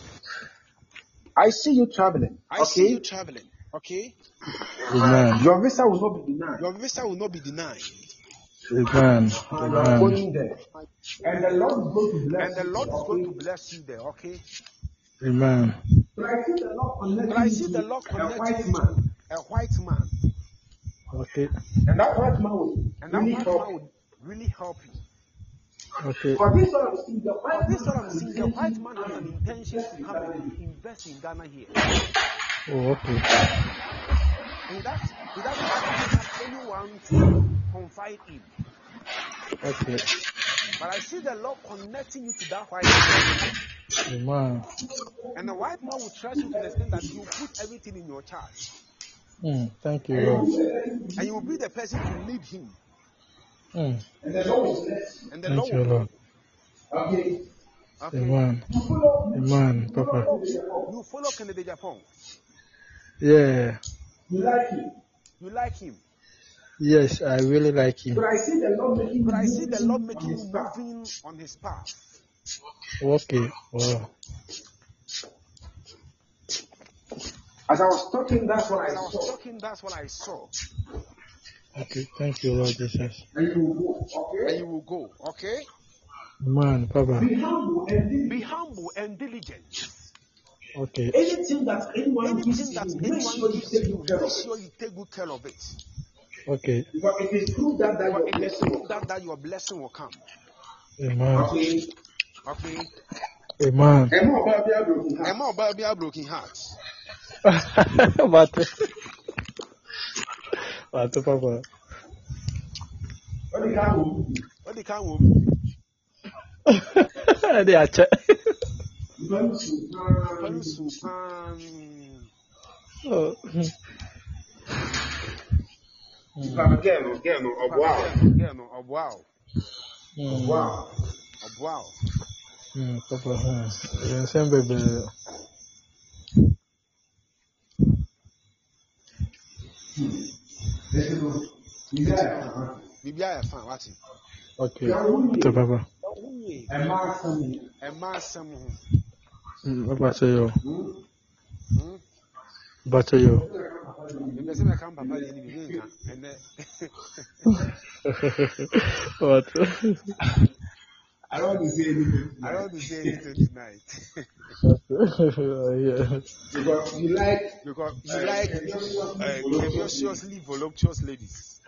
I see you traveling. I okay? see you traveling. Okay. Amen. Your visa will not be denied. Your visa will not be denied. Amen. You are going there. And the Lord is going to bless and the Lord you, is going okay? to bless you there, okay? Amen. But I see the Lord connecting, but I see the Lord connecting a white man. A white man. Okay. And that white man will and that really white help man will really help you. Okay. For this sort of thing, the white, this sort of thing, the white man has an intention to come and invest in Ghana here. Oh, okay. And he doesn't, he doesn't actually have anyone to confide in. Okay. But I see the Lord connecting you to that white man. Amen. And the white man will trust you to the extent that he will put everything in your charge. Mm, thank you, Lord. And you will be the person to lead him. Mm. And the Lord will bless. And the thank Lord you, will Lord. Okay. Okay. Amen. Amen, Papa. You follow Kennedy Japan. Yeah. You like him. You like him. Yes, I really like him. But I see the Lord making, but I see the Lord making you moving on his path. Okay. Wow. As I was talking, that's what I saw. As I was talking, that's what I saw. Okay, thank you, Lord Jesus. And you will go, okay? And you will go, okay? Man, Papa. Be humble and diligent. Be humble and diligent. Okay. Anything that anyone Anything gives that you, anyone make sure you take good care of it. Make sure you take good care of it. Okay. Because it is through that that your blessing will that, that your blessing will come. Amen. Okay. Okay. Amen. Emma Obabia broken heart. Emma Obabia broken heart. But, but, Papa. What the can we? What the can we? They are check. Very super. Oh. Again, again, wow, again, wow, wow, wow. Hmm, Papa, huh? You same baby. Bibi I fan what? Okay. To Papa. Emma Sam, Emma Sam. Hmm, Papa say yo. Hmm. Papa say yo. Bibi say me come Papa dey ni bibi nka. Ene. What? I don't want to say anything. I don't want to say anything tonight. Yeah. Because you like, because you uh, like uh, voluptuously voluptuous ladies.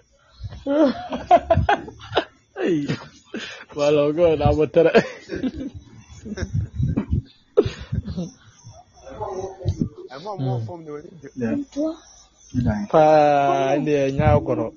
Hey, well, oh God, I'm a tell I'm not more from the yeah. Pa, ndi nyao koro.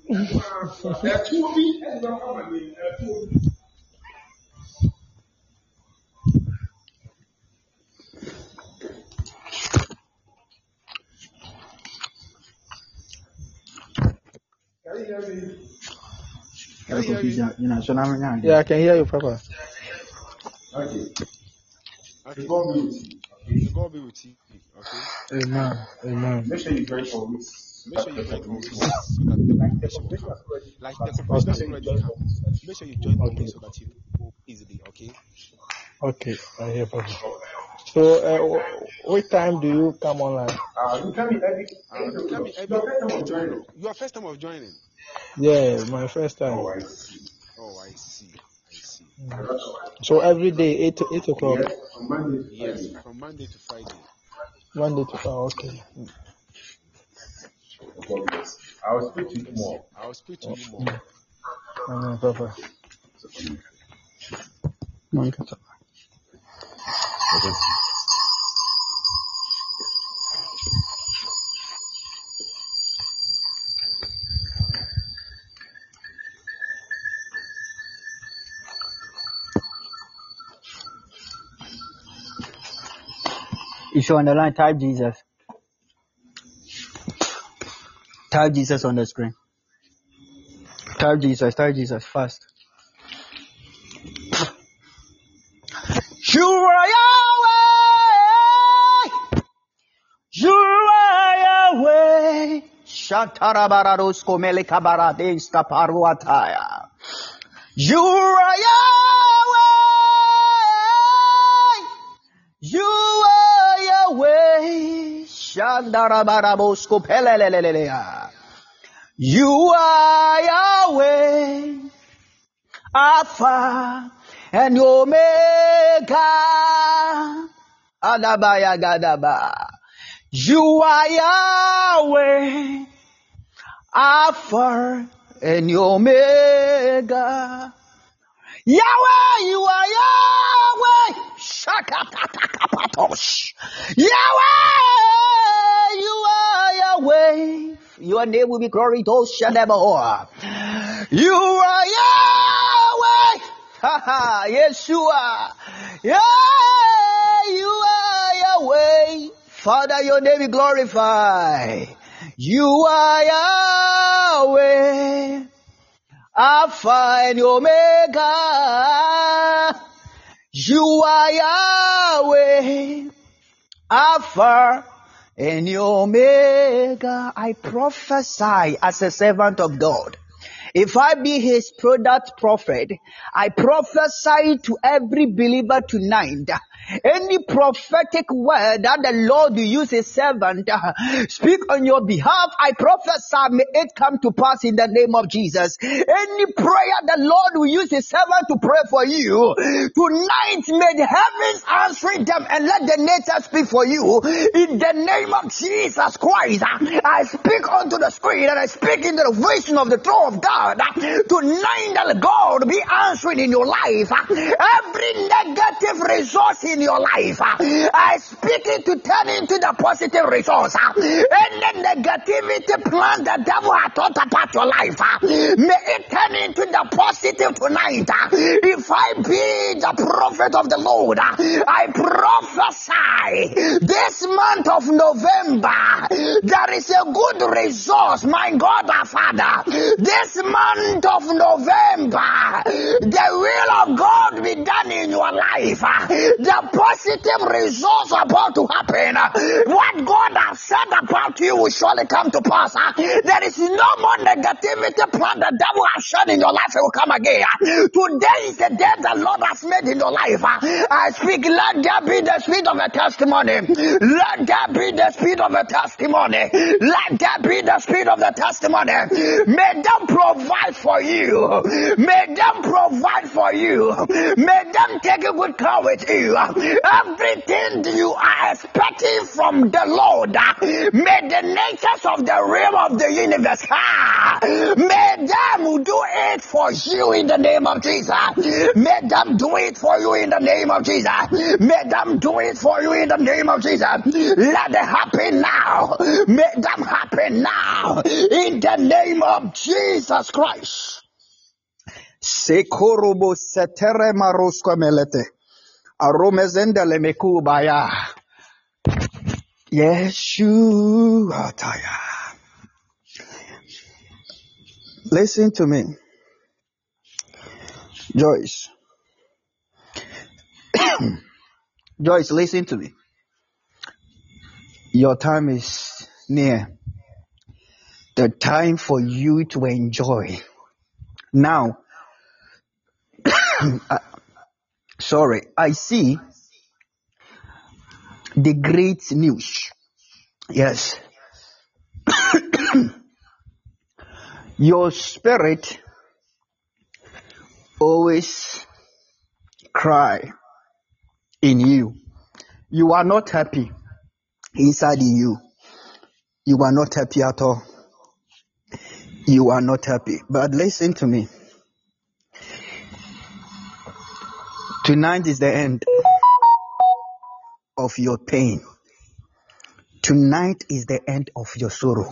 Can you hear me? Yeah, I can hear you, Papa. Okay. Okay. God be with you. God be with you. Okay. Amen. Amen. Make sure you drink for weeks. Make sure you drink for weeks so that the confirmation will come. Like the confirmation has already come. Make sure you join for weeks so that you go easily. Okay. Okay, I hear Papa. So, uh, what time do you come online? Uh, you come in every. Uh, you come in every. Join. Your first time of joining. Yeah, my first time. Oh, I see. Oh, I see. I see. Mm. So every day, eight eight o'clock. Yes, from Monday to Yes, Friday. from Monday to Friday. Monday to Friday. Okay. God bless. I will speak to you more. I will speak to you more. Amen, Papa. If you're on the line, type Jesus. Type Jesus on the screen. Type Jesus, type Jesus, fast. You are Yahweh! You are Yahweh! Shatarabaros komeleka barades kaparuataya. You are Yahweh! You are Yahweh! Shandarabarabos kopelelelelea. You are Yahweh, Alpha and Omega. Adabaya gadaba. You are Yahweh, Alpha and Omega. Yahweh, you are Yahweh. Shakatatakapatos. Yahweh, you are Yahweh. Your name will be glorified. You are Yahweh. Haha, Yeshua. Yeah, you are Yahweh. Father, your name be glorified. You are Yahweh, Alpha and Omega. You are Yahweh, Alpha and Omega. I prophesy as a servant of God. If I be his product prophet, I prophesy to every believer tonight. Any prophetic word that the Lord will use his servant uh, speak on your behalf, I prophesy may it come to pass in the name of Jesus. Any prayer the Lord will use his servant to pray for you tonight, may the heavens answer them and let the nature speak for you in the name of Jesus Christ. I speak unto the Spirit and I speak into the vision of the throne of God. Tonight that God be answering in your life every negative resource in your life. I speak it to turn into the positive resource. Any negativity plan the devil has thought about your life, may it turn into the positive tonight. If I be the prophet of the Lord, I prophesy this month of November there is a good resource, my God our Father. This month of November, the will of God be done in your life. The positive results about to happen. What God has said about you will surely come to pass. There is no more negativity plan the devil has shed in your life. It will come again. Today is the day the Lord has made in your life. I speak, let there be the spirit of a testimony. Let there be the spirit of a testimony. Let there be the spirit of the testimony. May them provide for you. May them provide for you. May them take a good care with you. Everything you are expecting from the Lord, may the natures of the realm of the universe, may them do it for you in the name of Jesus. May them do it for you in the name of Jesus. May them do it for you in the name of Jesus. Let it happen now. May them happen now in the name of Jesus Christ. Sekorobo setere marosko melete. Aromezendele mekubaya. Yeshua taya. Listen to me, Joyce. Joyce, listen to me. Your time is near. The time for you to enjoy. Now, I, sorry, I see the great news. Yes. Your spirit always cry in you. You are not happy inside in you. You are not happy at all. You are not happy. But listen to me. Tonight is the end of your pain. Tonight is the end of your sorrow.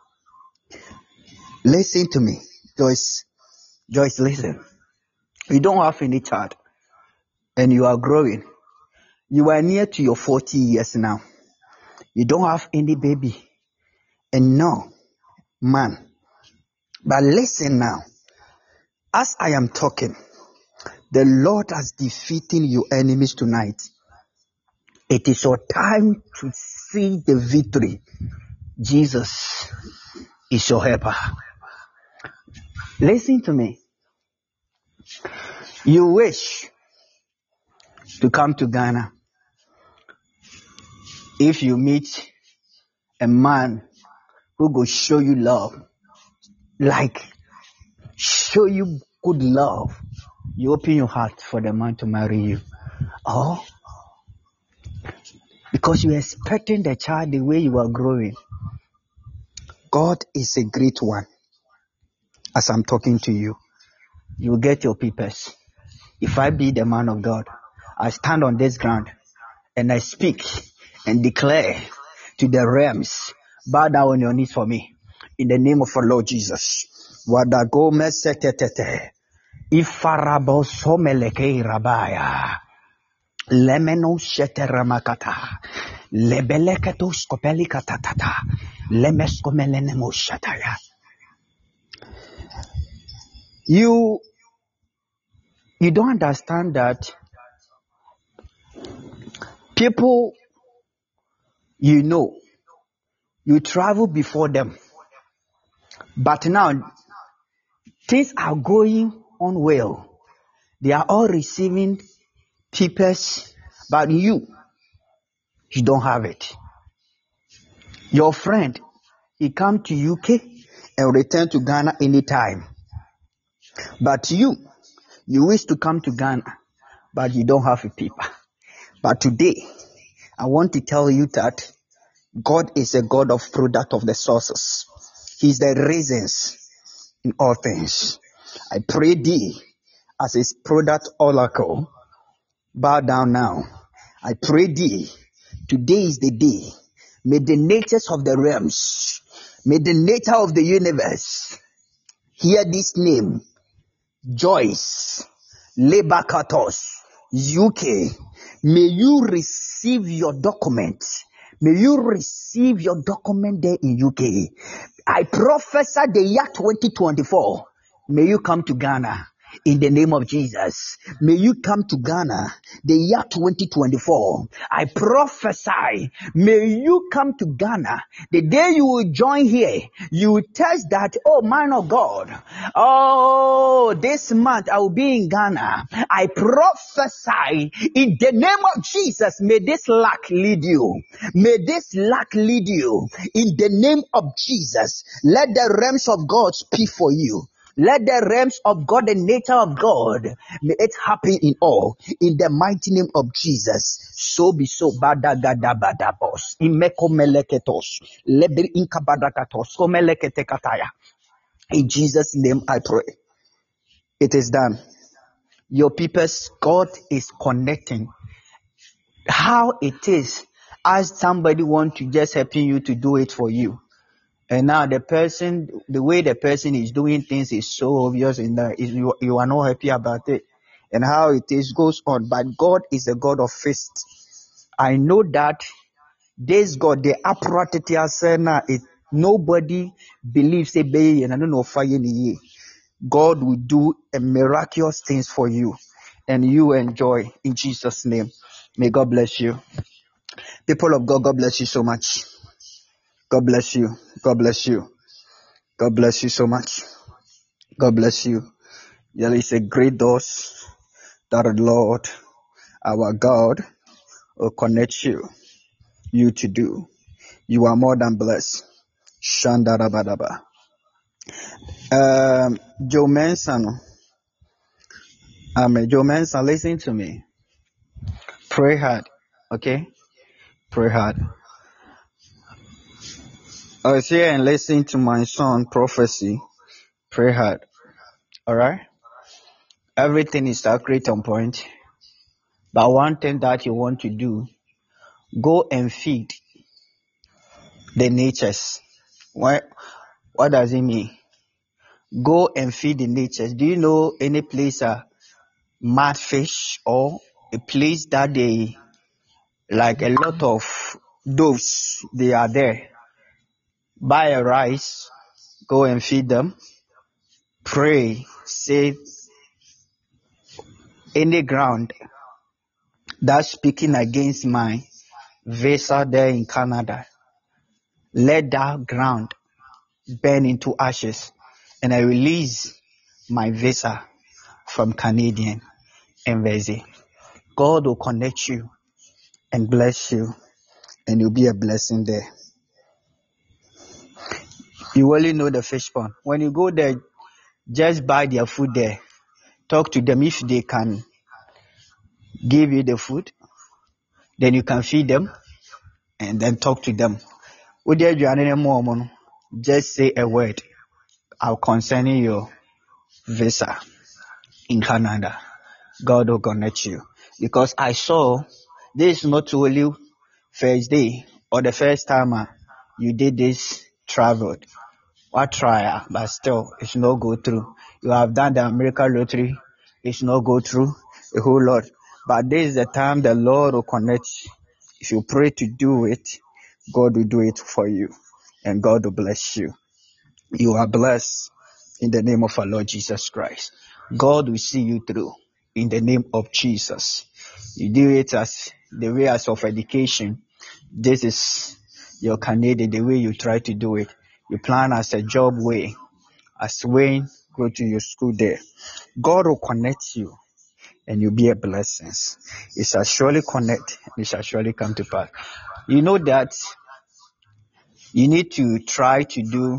Listen to me, Joyce. Joyce, listen. You don't have any child and you are growing. You are near to your forty years now. You don't have any baby and no man. But listen now. As I am talking, the Lord has defeated your enemies tonight. It is your time to see the victory. Jesus is your helper. Listen to me. You wish to come to Ghana. If you meet a man who will show you love, like show you good love, you open your heart for the man to marry you. Or because you're expecting the child the way you are growing. God is a great one. As I'm talking to you, you get your papers. If I be the man of God, I stand on this ground and I speak and declare to the realms, bow down on your knees for me. In the name of our Lord Jesus. Wadagome setetete. Ifarabo someleke rabaya. Lemeno sheteramakata. Lebeleketo skopelikatata. Lemeskomelenemo shataya. You, you don't understand that people you know, you travel before them. But now, things are going on well. They are all receiving papers, but you, you don't have it. Your friend, he come to U K and return to Ghana anytime. But you, you wish to come to Ghana, but you don't have a paper. But today, I want to tell you that God is a God of product of the sources. He's the reasons in all things. I pray thee as his product oracle. Bow down now. I pray thee. Today is the day. May the natures of the realms, may the nature of the universe hear this name. Joyce, Lebakatos, U K. May you receive your document. May you receive your document there in U K. I prophesy the year twenty twenty-four. May you come to Ghana in the name of Jesus. May you come to Ghana the year twenty twenty-four. I prophesy, may you come to Ghana. The day you will join here, you will test that, oh man of God, oh, this month I will be in Ghana. I prophesy in the name of Jesus, may this luck lead you. May this luck lead you in the name of Jesus. Let the realms of God speak for you. Let the realms of God, the nature of God, may it happen in all. In the mighty name of Jesus. So be so. Badagadabadabos. Imeko meleketos. Lebri inkabadakatos. Komeleketekataya. In Jesus' name I pray. It is done. Your peoples, God is connecting. How it is, as somebody want to just helping you to do it for you. And now the person, the way the person is doing things is so obvious in that you, you are not happy about it. And how it is goes on. But God is a God of feast. I know that this God, the apparatus, it nobody believes a baby and I don't know fire in the year. God will do a miraculous things for you and you enjoy in Jesus' name. May God bless you. People of God, God bless you so much. God bless you. God bless you. God bless you so much. God bless you. There is a great doors that the Lord, our God, will connect you, you to do. You are more than blessed. Shandarabadaba. Um, Joe Manson. Amen. Joe Manson, listen to me. Pray hard. Okay? Pray hard. I was here and listening to my son prophecy. Pray hard. Alright? Everything is accurate on point. But one thing that you want to do, go and feed the natures. What, what does it mean? Go and feed the natures. Do you know any place uh, mad fish or a place that they like a lot of doves, they are there? Buy a rice, go and feed them. Pray, say any ground that's speaking against my visa there in Canada, let that ground burn into ashes and I release my visa from Canadian embassy. God will connect you and bless you and you'll be a blessing there. You only know the fish pond. When you go there, just buy their food there. Talk to them if they can give you the food. Then you can feed them and then talk to them. Just say a word concerning your visa in Canada. God will connect you. Because I saw this is not only first day or the first time uh, you did this travel. What try, but still it's not go through. You have done the American lottery, it's not go through a whole lot. But this is the time the Lord will connect. If you pray to do it, God will do it for you. And God will bless you. You are blessed in the name of our Lord Jesus Christ. God will see you through in the name of Jesus. You do it as the way as of education. This is your Canadian, the way you try to do it. You plan as a job way, as when go to your school there. God will connect you and you'll be a blessing. It shall surely connect and it shall surely come to pass. You know that you need to try to do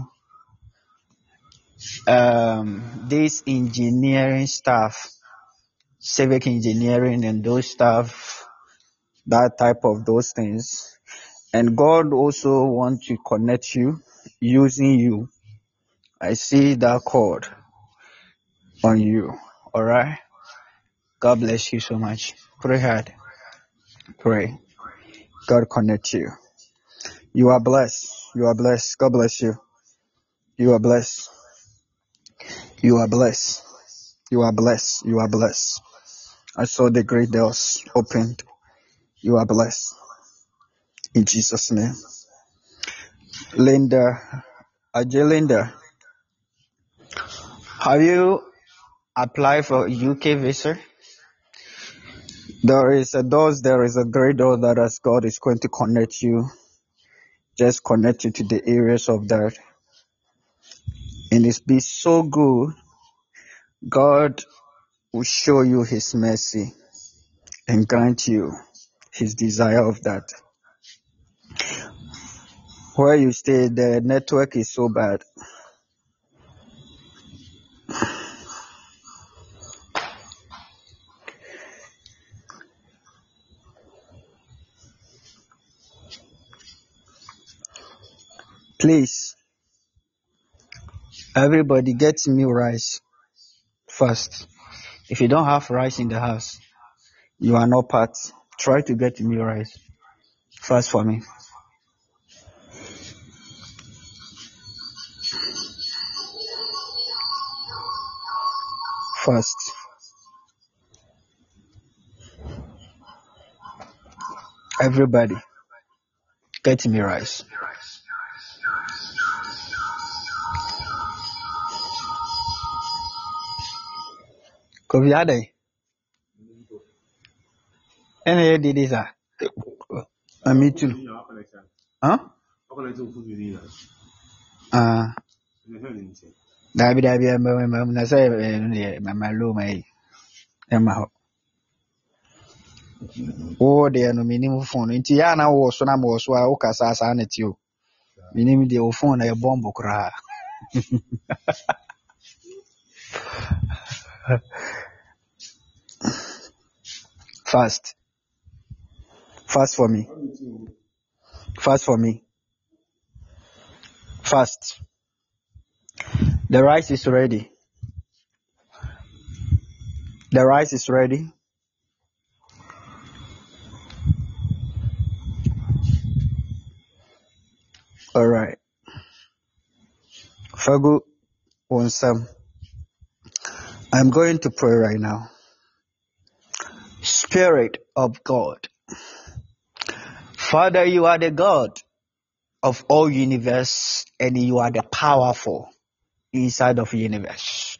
um, this engineering stuff, civic engineering and those stuff, that type of those things. And God also wants to connect you using you. I see that cord on you. All right. God bless you so much. Pray hard. Pray. God connect you. You are blessed. You are blessed. God bless you. You are blessed. You are blessed. You are blessed. You are blessed. I saw the great doors opened. You are blessed. In Jesus' name. Linda, Ajay Linda, have you applied for U K visa? There is a doors, there is a great door that as God is going to connect you. Just connect you to the areas of that. And it's been so good. God will show you his mercy and grant you his desire of that. Where you stay, the network is so bad. Please, everybody get me rice first. If you don't have rice in the house, you are not part. Try to get me rice first for me. First. Everybody, get me rice. Kofi Adey. Any did this? Ah, me too. Huh? Ah. Dabi dabi am na say mama lo mai ema ho. Oh de no minim phone nti ya na wo so na mo so a wo kasa asa na ti o. Minim de wo phone na e bomb kra. Fast. Fast for me. Fast for me. Fast. The rice is ready. The rice is ready. All right. Fagu Wonsam. I'm going to pray right now. Spirit of God. Father, you are the God of all universe and you are the powerful inside of universe.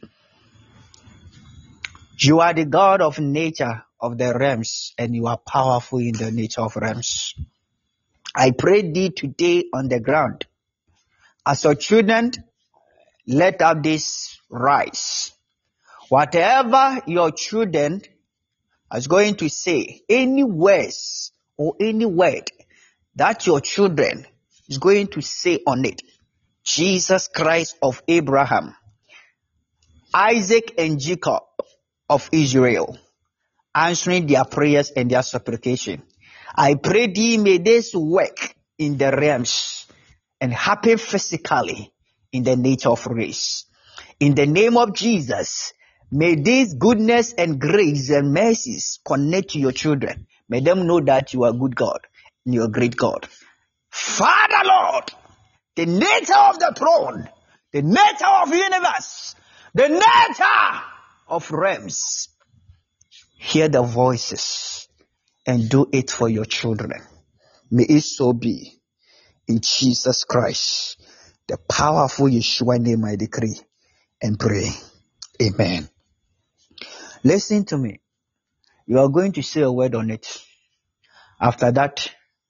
You are the God of nature of the realms and you are powerful in the nature of realms. I pray thee today on the ground. As your children, let up this rise. Whatever your children is going to say, any words or any word that your children is going to say on it, Jesus Christ of Abraham, Isaac and Jacob of Israel, answering their prayers and their supplication. I pray thee, may this work in the realms and happen physically in the nature of race. In the name of Jesus, may this goodness and grace and mercies connect to your children. May them know that you are good God and you are great God. Father Lord, the nature of the throne, the nature of the universe, the nature of realms, hear the voices and do it for your children. May it so be. In Jesus Christ, the powerful Yeshua name I decree and pray. Amen. Listen to me. You are going to say a word on it. After that,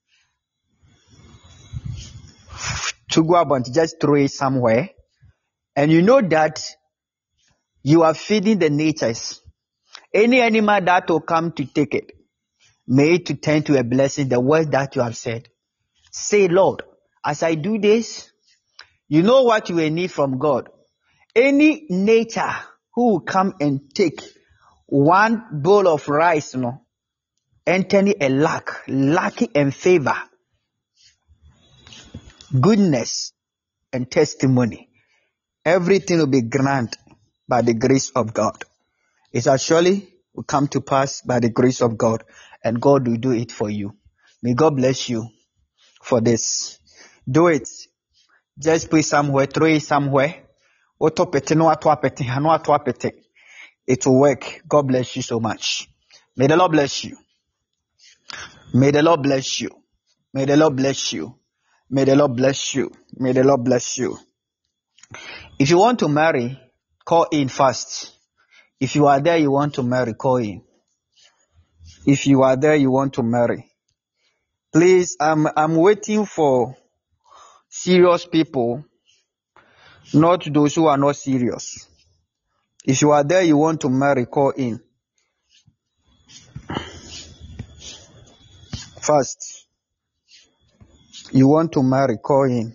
to go about, just throw it somewhere. And you know that you are feeding the natures. Any animal that will come to take it, may it turn to a blessing, the word that you have said. Say, Lord, as I do this, you know what you will need from God. Any nature who will come and take one bowl of rice, you know, entering a lack, lucky and favor, goodness and testimony, everything will be granted by the grace of God. It shall surely will come to pass by the grace of God, and God will do it for you. May God bless you for this. Do it. Just put somewhere, throw it somewhere. It will work. God bless you so much. May the Lord bless you. May the Lord bless you. May the Lord bless you. May the Lord bless you. May the Lord bless you. If you want to marry, call in first. If you are there, you want to marry, call in. If you are there, you want to marry. Please, I'm, I'm waiting for serious people, not those who are not serious. If you are there, you want to marry, call in. First, you want to marry, call in.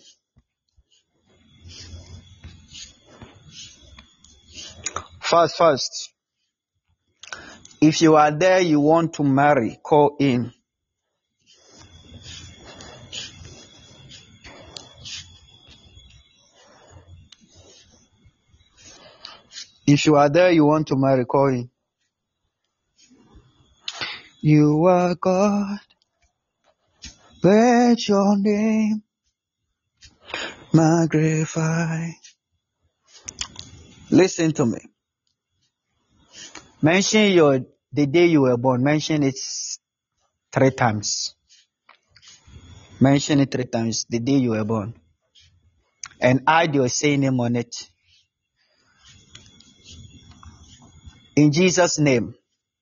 First, first. If you are there, you want to marry, call in. If you are there, you want to marry, call in. You are God, let your name magnify. Listen to me. Mention your the day you were born. Mention it three times. Mention it three times, the day you were born. And add your say name on it. In Jesus' name,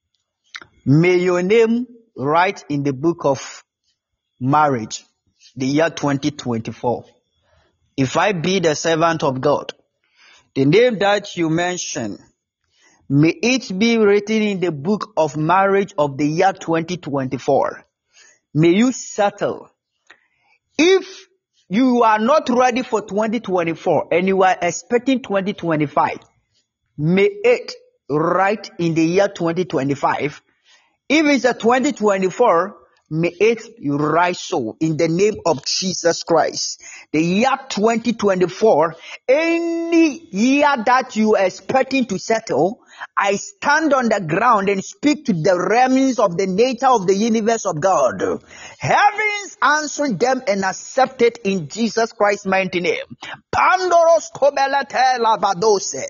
may your name write in the book of marriage, the year twenty twenty-four. If I be the servant of God, the name that you mention, may it be written in the book of marriage of the year twenty twenty-four. May you settle. If you are not ready for twenty twenty-four and you are expecting twenty twenty-five, may it write in the year twenty twenty-five. If it's a twenty twenty-four, may it rise so in the name of Jesus Christ. The year twenty twenty-four, any year that you are expecting to settle, I stand on the ground and speak to the realms of the nature of the universe of God. Heavens answer them and accept it in Jesus Christ's mighty name. Pandoros kobelete lavadose,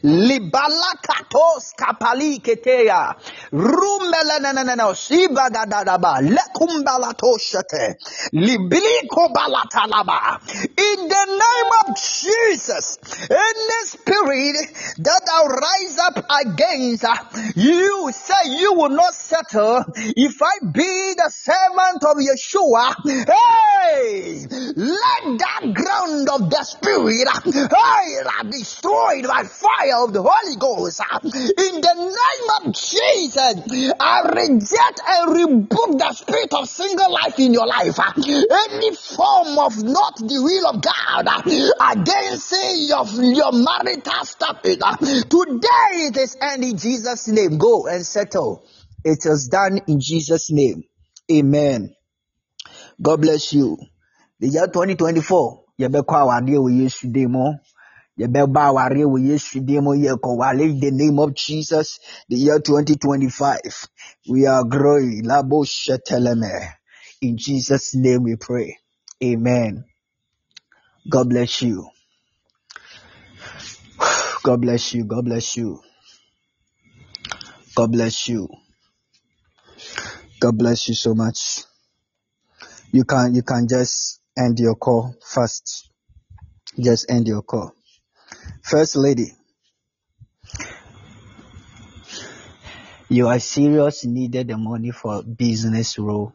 libalakatos kapali keteya, rumeleneneneno sivagadadaba, lekumbalatoshete, libiliko balatalaba. In the name of Jesus, any spirit that will rise up against uh, you, say you will not settle. If I be the servant of Yeshua, hey, let that ground of the spirit uh, hey, be destroyed by fire of the Holy Ghost. Uh, in the name of Jesus, I reject and rebuke the spirit of single life in your life. Uh, any form of not the will of God uh, against uh, your, your marital stuff. Uh, today it is end in Jesus' name. Go and settle. It is done in Jesus' name. Amen. God bless you. The year twenty twenty-four, you be kwa wadi we yesterday mo. You be ba wadi we yesterday mo. You ko wale the name of Jesus. The year twenty twenty-five, we are growing. Labo sheteleme. In Jesus' name we pray. Amen. God bless you. God bless you. God bless you. God bless you. God bless you so much. You can you can just end your call first. Just end your call. First lady, you are serious, needed the money for business role.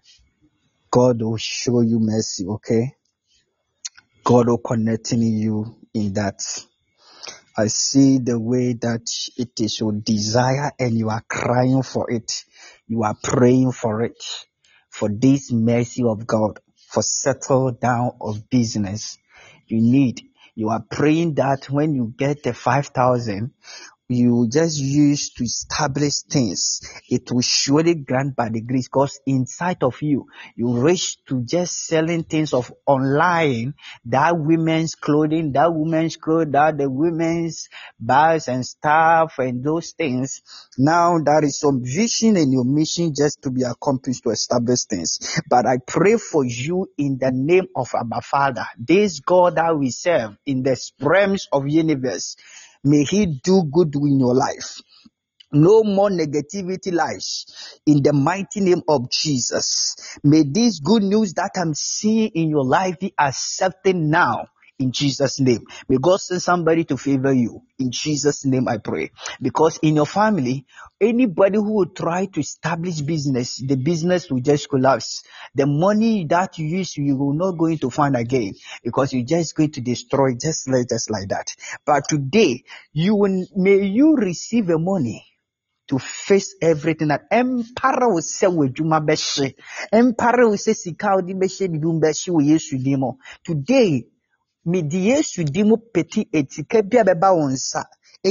God will show you mercy, okay? God will connect you in that. I see the way that it is your desire and you are crying for it. You are praying for it. For this mercy of God, for settle down of business. You need, you are praying that when you get the five thousand, you just use to establish things. It will surely grant by the grace, because inside of you, you wish to just selling things of online, that women's clothing, that women's clothes, that the women's bags and stuff and those things. Now there is some vision and your mission just to be accomplished to establish things. But I pray for you in the name of Abba Father, this God that we serve in the realms of universe. May he do good in your life. No more negativity lies in the mighty name of Jesus. May this good news that I'm seeing in your life be accepted now in Jesus' name. May God send somebody to favor you. In Jesus' name I pray. Because in your family, anybody who will try to establish business, the business will just collapse. The money that you use, you will not going to find again, because you're just going to destroy just like, just like that. But today, you will, may you receive the money to face everything that empire will say with Juma Beshe. Empire will say Sikao di Beshe Bidum Beshe with Yesu Demo. Today, may the Yesu Demo Peti Etikebia Beba Onsa.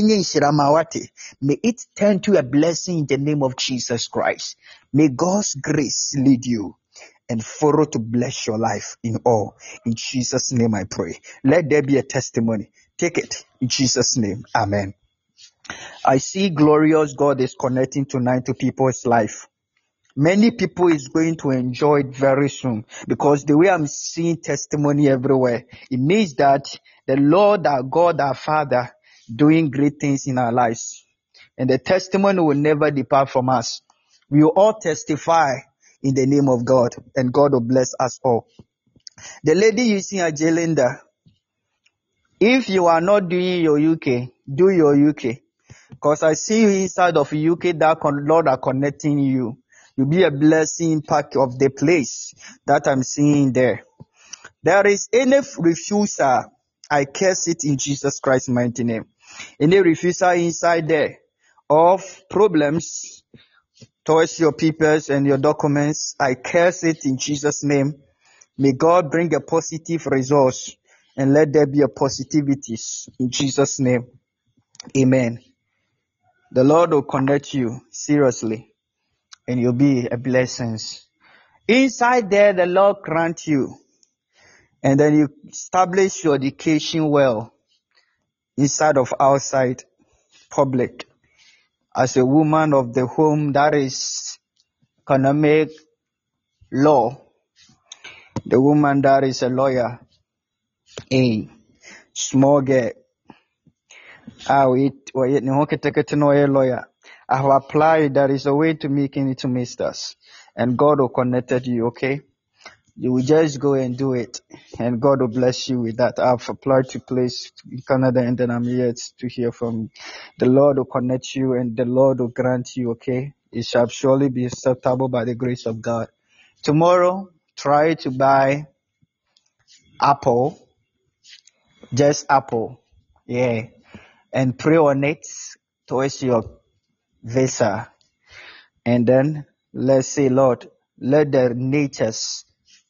May it turn to a blessing in the name of Jesus Christ. May God's grace lead you and follow to bless your life in all. In Jesus' name I pray. Let there be a testimony. Take it in Jesus' name. Amen. I see glorious God is connecting tonight to people's life. Many people is going to enjoy it very soon, because the way I'm seeing testimony everywhere, it means that the Lord, our God, our Father, doing great things in our lives. And the testimony will never depart from us. We will all testify in the name of God, and God will bless us all. The lady you see at Jelinda, if you are not doing your U K, do your U K. Because I see you inside of U K that con- Lord are connecting you. You'll be a blessing part of the place that I'm seeing there. There is any refuser, I curse it in Jesus Christ's mighty name. Any refuser inside there of problems towards your papers and your documents, I curse it in Jesus' name. May God bring a positive resource and let there be a positivity in Jesus' name. Amen. The Lord will connect you seriously and you'll be a blessing. Inside there, the Lord grant you and then you establish your education well inside of outside public as a woman of the home that is economic law, the woman that is a lawyer, a small girl. Ah, wait, wait, no, lawyer. I have applied. There is a way to making it to masters, and God will connect you. Okay, you will just go and do it, and God will bless you with that. I've applied to place in Canada, and then I'm yet to hear from you. The Lord will connect you, and the Lord will grant you. Okay, it shall surely be acceptable by the grace of God. Tomorrow, try to buy apple, just apple, yeah, and pray on it towards your visa. And then let's say, Lord, let the natures,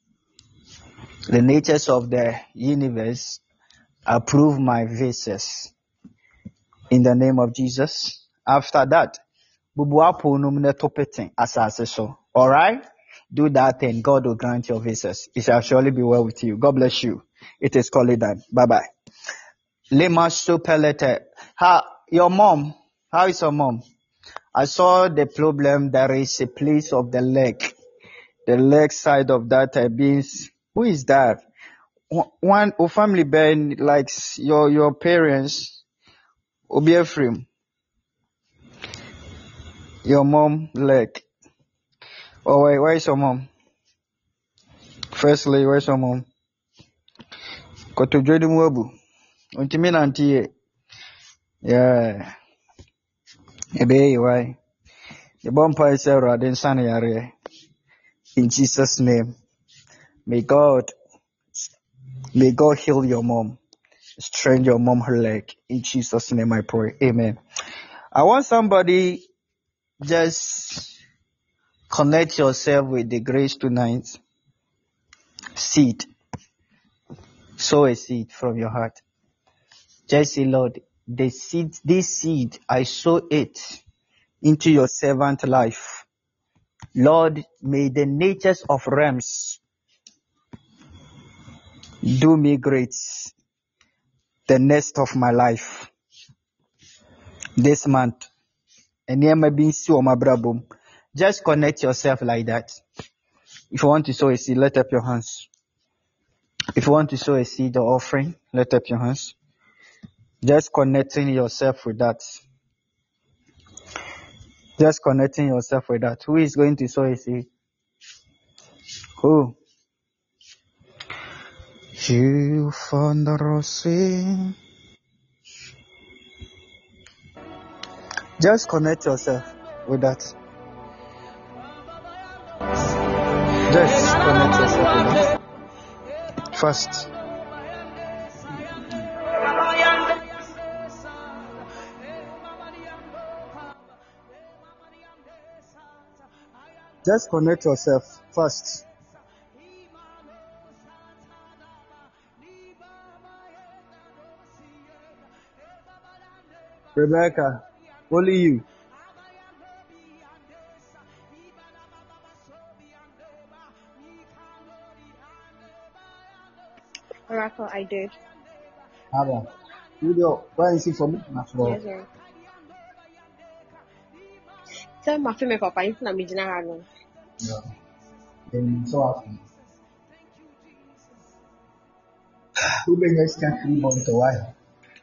the natures of the universe approve my visas in the name of Jesus. After that, bubu apple numne topeting asase so. All right, do that and God will grant your visas. It shall surely be well with you. God bless you. It is called done. Bye bye. Lema Supelete. How your mom? How is your mom? I saw the problem. There is a place of the leg, the leg side of that uh, beans. Who is that? One o family ben likes your your parents. Obi Ephraim. Your mom leg. Oh wait, where is your mom? Firstly, where's your mom? Koto Jodi Mwabu. Untimi nanti. Yeah. Ebe why? The bumper is a in Sunny area. In Jesus' name. May God may God heal your mom. Strengthen your mom her leg. In Jesus' name I pray. Amen. I want somebody just connect yourself with the grace tonight. Seed. Sow a seed from your heart. Just say, Lord, the seed, this seed, I sow it into your servant life. Lord, may the natures of realms do me great the next of my life. This month. And here may be so my brabum. Just connect yourself like that. If you want to sow a seed, let up your hands. If you want to sow a seed or offering, let up your hands. Just connecting yourself with that. Just connecting yourself with that. Who is going to sow a seed? Who? You found the rose. Just connect yourself with that. Just connect yourself with that. First. Just connect yourself first. Rebecca, only you. Oracle, I did. Aba. Video, why is it for me? Yes, sir. Tell my family papa, it's not me, Jina. Yeah. Then so often. Who bring us can come on to why?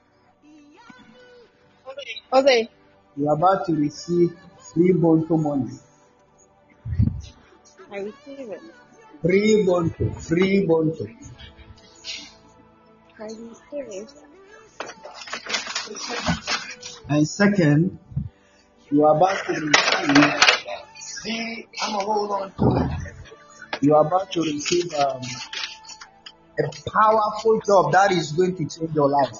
Okay. You are about to receive free bonto money. I receive it. Free bonto. Free bonto. I receive it. And second, you are about to receive. See, I'm gonna hold on to it. You are about to receive um, a powerful job that is going to change your life.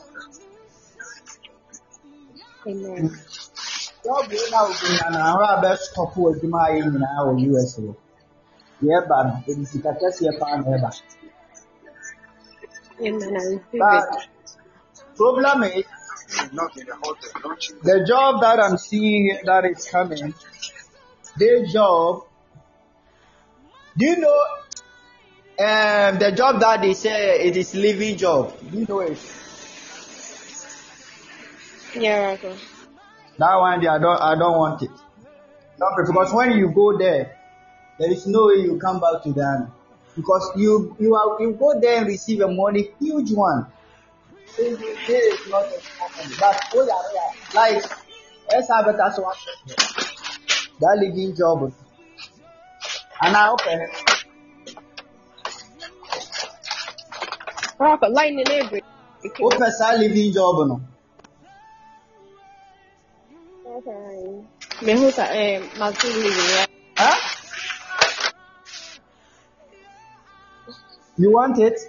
Amen. Job you now and our best couple with my in our U S A. Yeah, but it's the case here for never. Amen. I receive it. But problem is the job that I'm seeing here that is coming. This job, do you know um, the job that they say it is living job? Do you know it? Yeah, right. Okay. That one, I don't, I don't want it. Not because when you go there, there is no way you come back to Ghana because you, you are, you go there and receive a money, huge one. There is not a company, but oh yeah, yeah. Like let's have it as one. That living job, and I open it. Rock a lightning every. Open that living job, no. Okay. Me who's a my two living. Huh? You want it?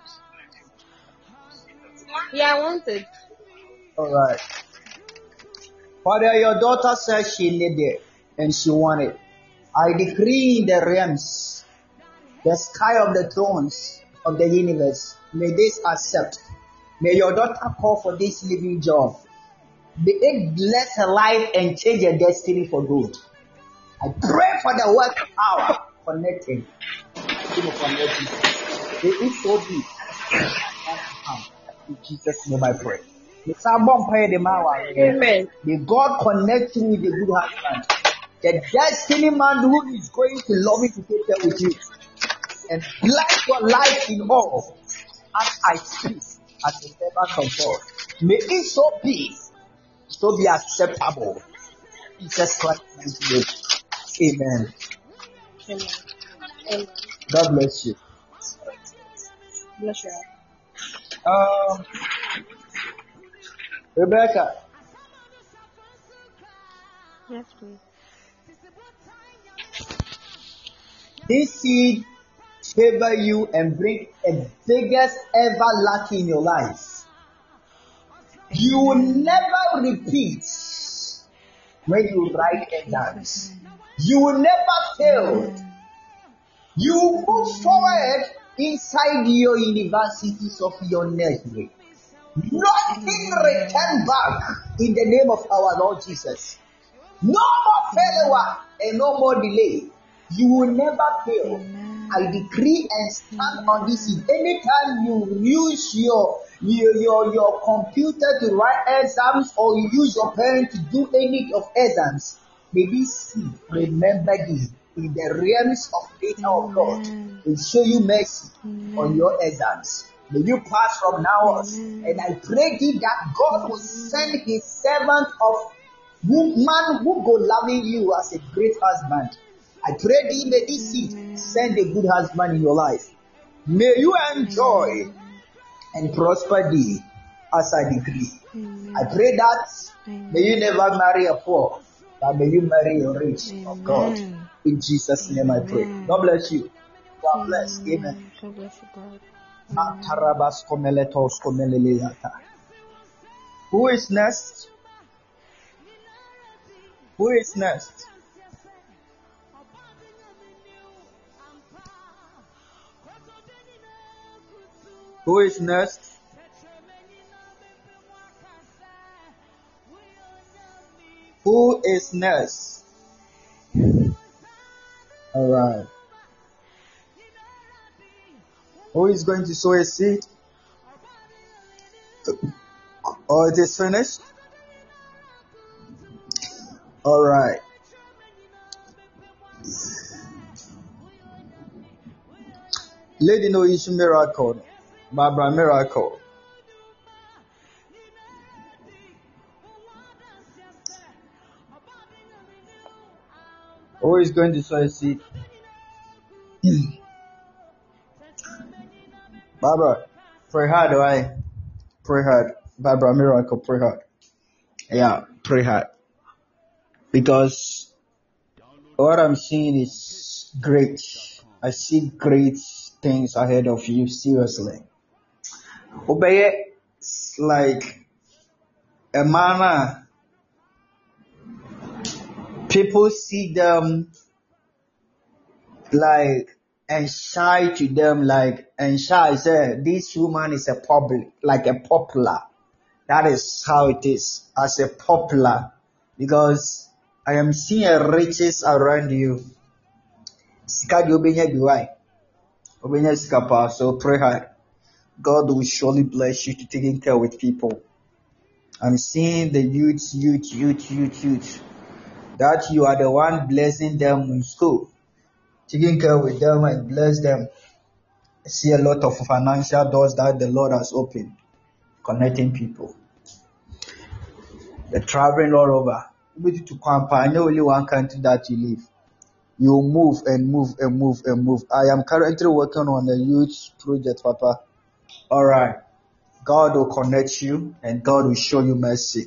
Yeah, I want it. All right. Father, your daughter says she need it and she want it. I decree in the realms, the sky of the thrones of the universe, may this accept. May your daughter call for this living job. May it bless her life and change her destiny for good. I pray for the work power connecting. Connecting. May it so be. In Jesus' name I pray. Amen. May God connect you with a good husband. The destiny man who is going to love you to take care with you. And bless your life in all as I speak as a servant of God. May it so be, so be acceptable. Jesus Christ, amen. Amen. Amen. God bless you. Bless you. Um, Rebecca. Yes, please. This seed favor you and bring a biggest ever luck in your life. You will never repeat when you write exams. You will never fail. You move forward inside your universities of your nursery. Nothing return back in the name of our Lord Jesus. No more failure and no more delay. You will never fail. I decree and stand on this seed. Anytime you use your, your your your computer to write exams or you use your pen to do any of exams, may this seed remember thee in the realms of data of God and show you mercy on your exams. May you pass from now on. And I pray thee that God will send his servant of woman who go loving you as a great husband. I pray thee, may this seed send a good husband in your life. May you enjoy and prosper thee as I decree. I pray that may you never marry a poor, but may you marry a rich of God. In Jesus' name I pray. God bless you. God bless. Amen. God bless you, God. Who is next? Who is next? Who is next? Who is next? All right. Who is going to sow a seed? Or it is finished? All right. Lady No Issue Miracle. Barbara Miracle. Who is going to sow a seed? Barbara, pray hard, right? Pray hard. Barbara Miracle, pray hard. Yeah, pray hard. Because what I'm seeing is great. I see great things ahead of you, seriously. Obey like a man. People see them like and shy to them, like and shy say this woman is a public, like a popular. That is how it is as a popular, because I am seeing riches around you. Sika di obenya biwai, obenya sika pa. So pray hard. God will surely bless you to taking care with people. I'm seeing the youth, youth, youth, youth, youth. That you are the one blessing them in school, taking care with them and bless them. I see a lot of financial doors that the Lord has opened, connecting people. They're traveling all over. Maybe to campaign, only one country that you live. You move and move and move and move. I am currently working on a youth project, Papa. All right. God will connect you and God will show you mercy.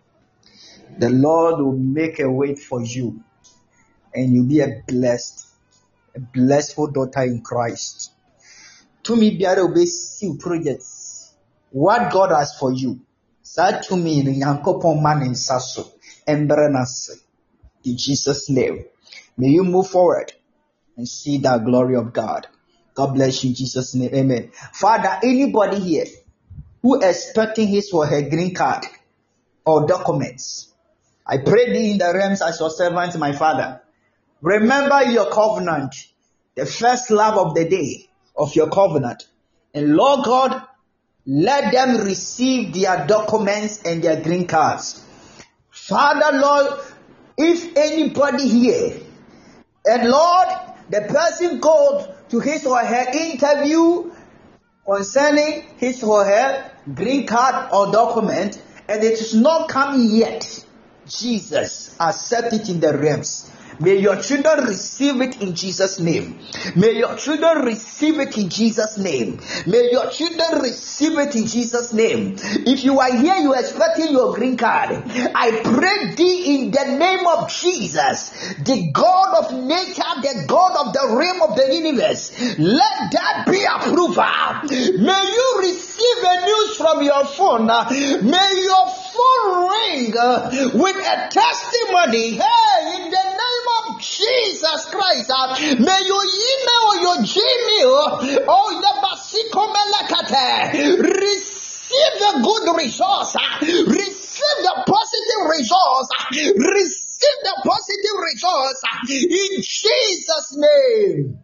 The Lord will make a way for you and you'll be a blessed, a blessful daughter in Christ. To me, be able to see projects. What God has for you. Say to me, the Yankopon man in Sasso and Berenase. In Jesus' name. May you move forward and see the glory of God. God bless you in Jesus' name. Amen. Father, anybody here who is expecting his or her green card or documents, I pray thee in the realms as your servant, my Father. Remember your covenant, the first love of the day of your covenant. And Lord God, let them receive their documents and their green cards. Father, Lord, if anybody here, and Lord, the person goes to his or her interview concerning his or her green card or document, and it is not coming yet, Jesus, accept it in the realms. May your children receive it in Jesus' name. May your children receive it in Jesus' name. May your children receive it in Jesus' name. If you are here, you are expecting your green card, I pray thee in the name of Jesus, the God of nature, the God of the realm of the universe, let that be approval. May you receive a news from your phone. May your phone ring with a testimony. Hey, in the name of Jesus Christ, uh, may your email or your Gmail or the Basikomelakate receive the good results, uh, receive the positive results, uh, receive the positive results uh, in Jesus' name.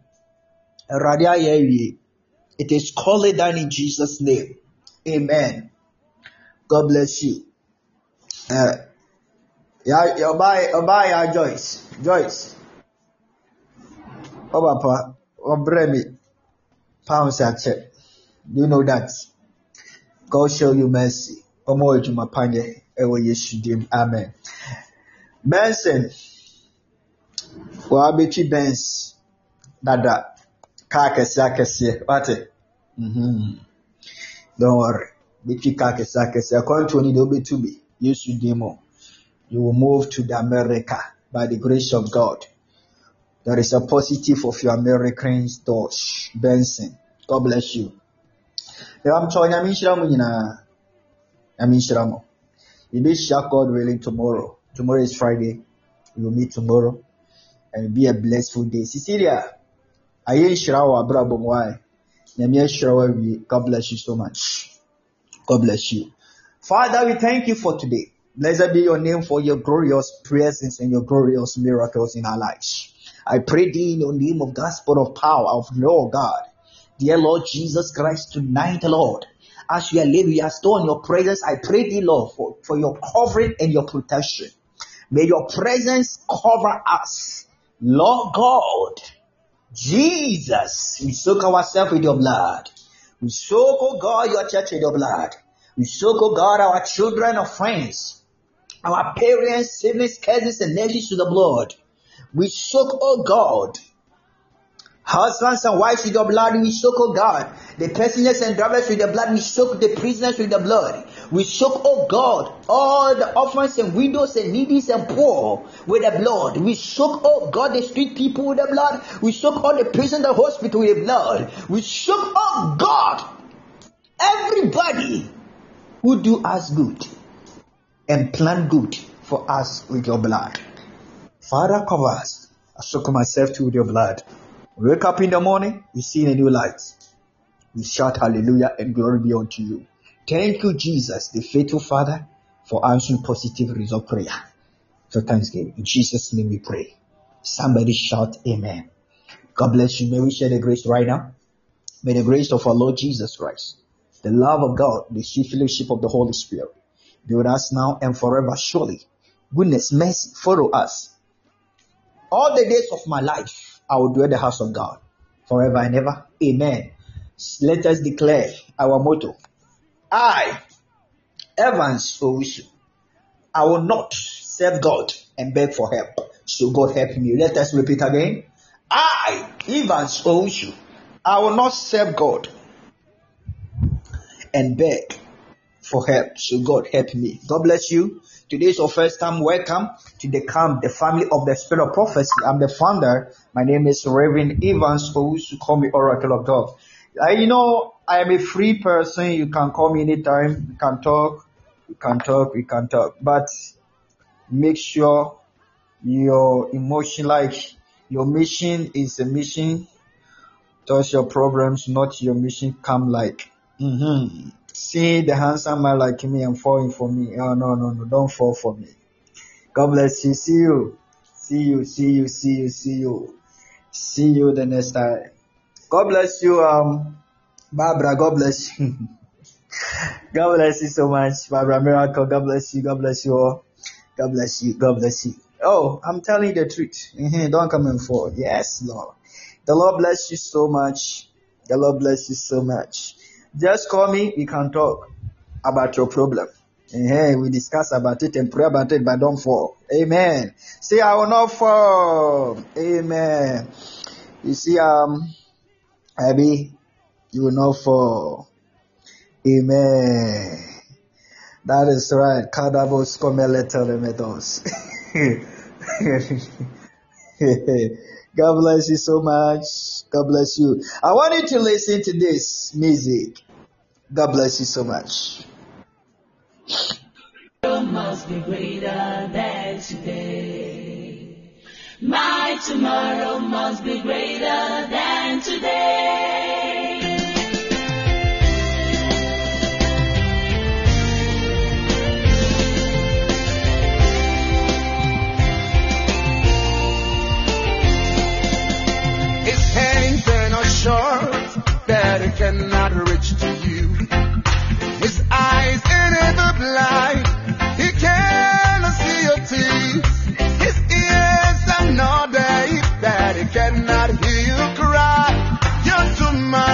Radia, it is called down in Jesus' name. Amen. God bless you. Uh, yeah, you buy, you buy your Joyce. Joyce. Oh, Papa, oh, Bremy, pounds at check. Do you know that? God show you mercy. Omo to my panye, ewo Yeshudim. Amen. Benson, well, Betty Benz, Dada, Kakasakasi, what? Mm-hmm. Don't worry. Betty Kakasakasi, according to any double to be, Yeshudim. You will move to the America by the grace of God. There is a positive of your Americans, Dodge, Benson. God bless you. I'm telling you, I'm in Shiramo. You be sure God willing tomorrow. Tomorrow is Friday. We will meet tomorrow. And it will be a blessful day. Cecilia, I ain't Shirawa, Brabo, why? God bless you so much. God bless you. Father, we thank you for today. Blessed be your name for your glorious presence and your glorious miracles in our lives. I pray thee in the name of gospel of power of Lord God. Dear Lord Jesus Christ, tonight, Lord, as we are living, we are still in your presence. I pray thee, Lord, for, for your covering and your protection. May your presence cover us. Lord God, Jesus, we soak ourselves with your blood. We soak, oh God, your church with your blood. We soak, oh God, our children, our friends, our parents, siblings, cousins, and nephews to the blood. We soak, oh God, Husbands and wives with your blood, we soak, oh God. The passengers and drivers with the blood, we soak the prisoners with the blood. We soak, oh God, all the orphans and widows and needies and poor with the blood. We soak, oh God, the street people with the blood. We soak all the prison, the hospital with the blood. We soak, oh God, everybody who do us good and plan good for us with your blood. Father, cover us. I soak myself too with your blood. We wake up in the morning, we see a new light. We shout hallelujah and glory be unto you. Thank you, Jesus, the faithful Father, for answering positive result prayer. So thanksgiving. In Jesus' name we pray. Somebody shout amen. God bless you. May we share the grace right now. May the grace of our Lord Jesus Christ, the love of God, the sweet fellowship of the Holy Spirit be with us now and forever. Surely, goodness, mercy, follow us. All the days of my life, I will dwell in the house of God forever and ever. Amen. Let us declare our motto. I, Evans Owusu, I will not serve God and beg for help. So God help me. Let us repeat again. I, Evans Owusu, I will not serve God and beg for help. So God help me. God bless you. Today is your first time. Welcome to the camp, the family of the Spirit of Prophecy. I'm the founder. My name is Reverend Evans Owusu. Call me Oracle of God. Uh, you know, I am a free person. You can call me anytime. We can talk. We can talk. We can talk. But make sure your emotion, like your mission is a mission. Towards your problems, not your mission. Come like, mm-hmm. See the handsome man like me and falling for me. Oh, no, no, no. Don't fall for me. God bless you. See you. See you. See you. See you. See you. See you the next time. God bless you, um, Barbara. God bless you. God bless you so much, Barbara Miracle. God bless you. God bless you all. God bless you. God bless you. Oh, I'm telling you the truth. Mm-hmm. Don't come and fall. Yes, Lord. The Lord bless you so much. The Lord bless you so much. Just call me. We can talk about your problem. Hey, we discuss about it and pray about it, but don't fall. Amen. Say, I will not fall. Amen. You see, um, Abby, you will not fall. Amen. That is right. Kadabos komeleteremedos. God bless you so much. God bless you. I want you to listen to this music. God bless you so much. Must be greater than today. My tomorrow must be greater than today. His hands are not short that it cannot reach to you. His eyes are never blind. He cannot see your tears. His ears are not deaf that he cannot hear you cry. Your tomorrow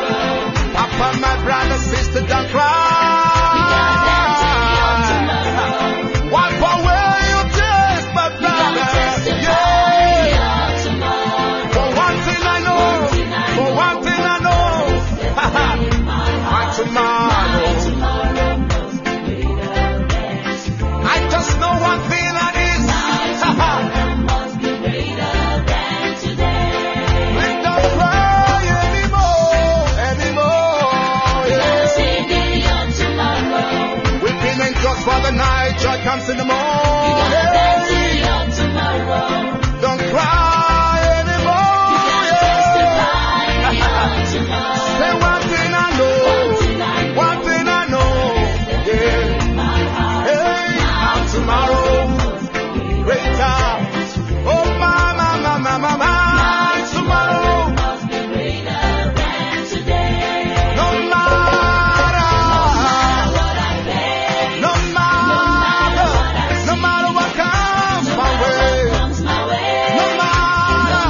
Upon my brother, sister, don't cry. Wipe away your tears, my brother. Yeah. For one thing I know, for one thing I know, my tomorrow. I just know one thing that is. We don't cry anymore, anymore. Yeah. Weeping and just for the night, joy comes in the morning. Don't cry anymore. Yeah. Say one thing I know, one thing I know. Yeah. Hey, how tomorrow greater. Oh, my, my, my, my, my, my. Tomorrow. No matter, no matter, no matter what comes my way, no matter,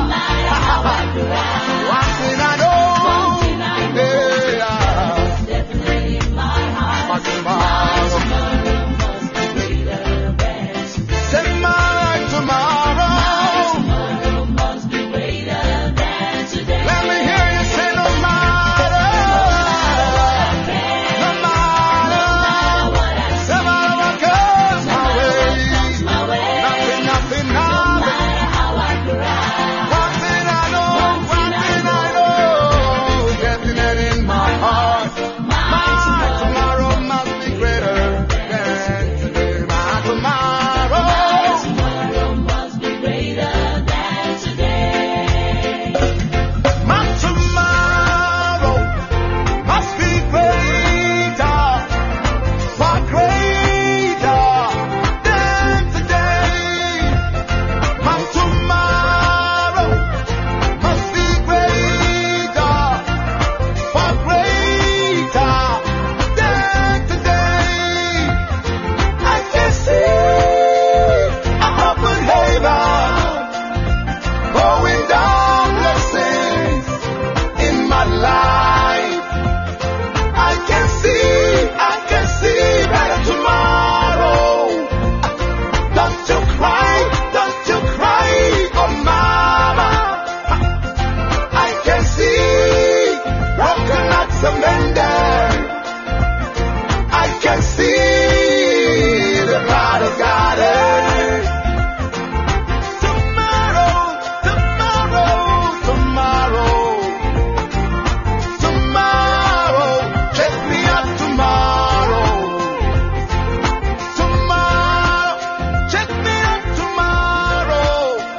one thing I know, yeah, my tomorrow, say my tomorrow, let me hear you say no matter, no matter, no matter what comes my way, nothing, nothing, nothing. One thing I know, one thing I know, definitely in my heart, my tomorrow must be greater than today. My tomorrow, my tomorrow must be greater, far greater than today. My tomorrow must be greater, far greater than today. I can see a open heaven, pouring down blessings in my life. I can see, I can see better tomorrow. Don't you cry, don't you cry, oh mama. I can see broken hearts amended. I can see the light of God. Tomorrow, tomorrow, tomorrow, tomorrow, check me out tomorrow. Tomorrow, check me out tomorrow.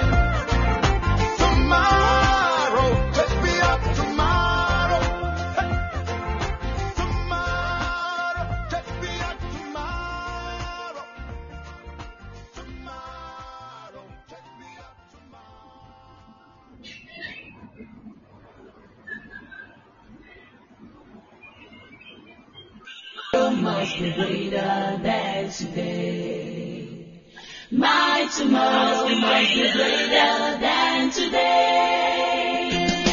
Tomorrow, check me out tomorrow. Hey. Tomorrow, check me out tomorrow. Tomorrow, check me out Must be greater than today. My tomorrow must be greater than today.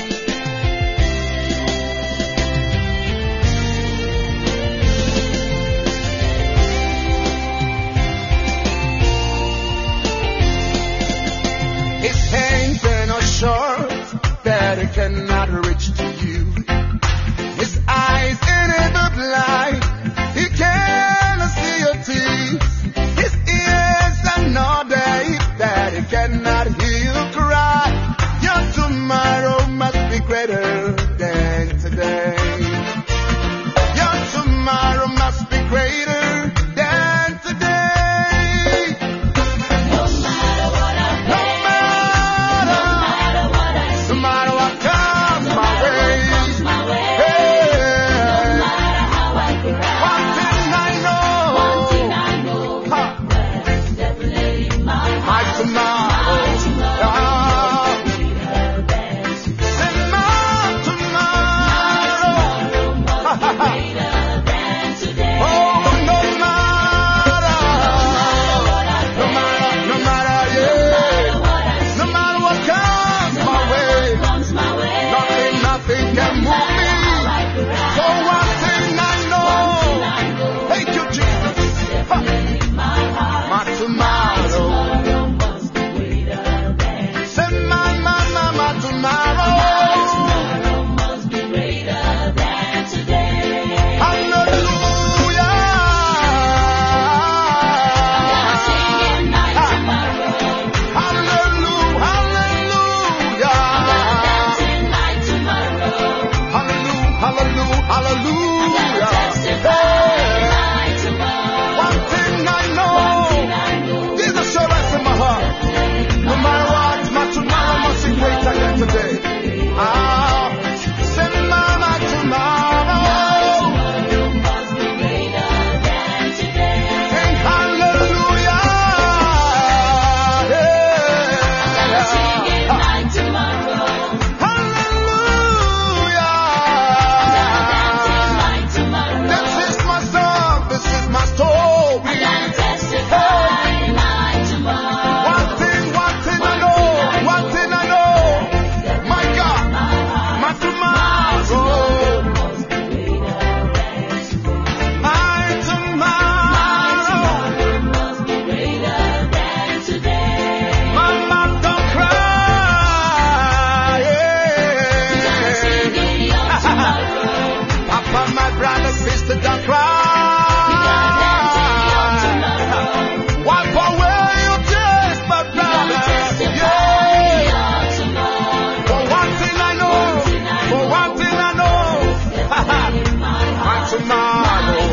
His hands are not short that it cannot reach to you. His eyes ain't ever blind, he cannot see your tears. His ears are not deaf that he cannot hear you cry. Your For one thing I know. Thank you, Jesus. Ha. My tomorrow. Say my, my, my, my tomorrow. Hallelujah. Hallelujah. Hallelujah. Hallelujah. Hallelujah. Hey. One thing I know. Jesus shall rest in my heart. No matter what, my tomorrow must be greater than today. Ah, say my, my tomorrow. Sing hallelujah. Hallelujah. This is my song. This is my story. One thing, one thing I know. One thing I know. My God, my tomorrow. My tomorrow. Mama, don't cry. Papa, my brother, sister, don't cry. Wipe away your tears, my brother. Yeah. For one thing I know. For one thing I know. My tomorrow.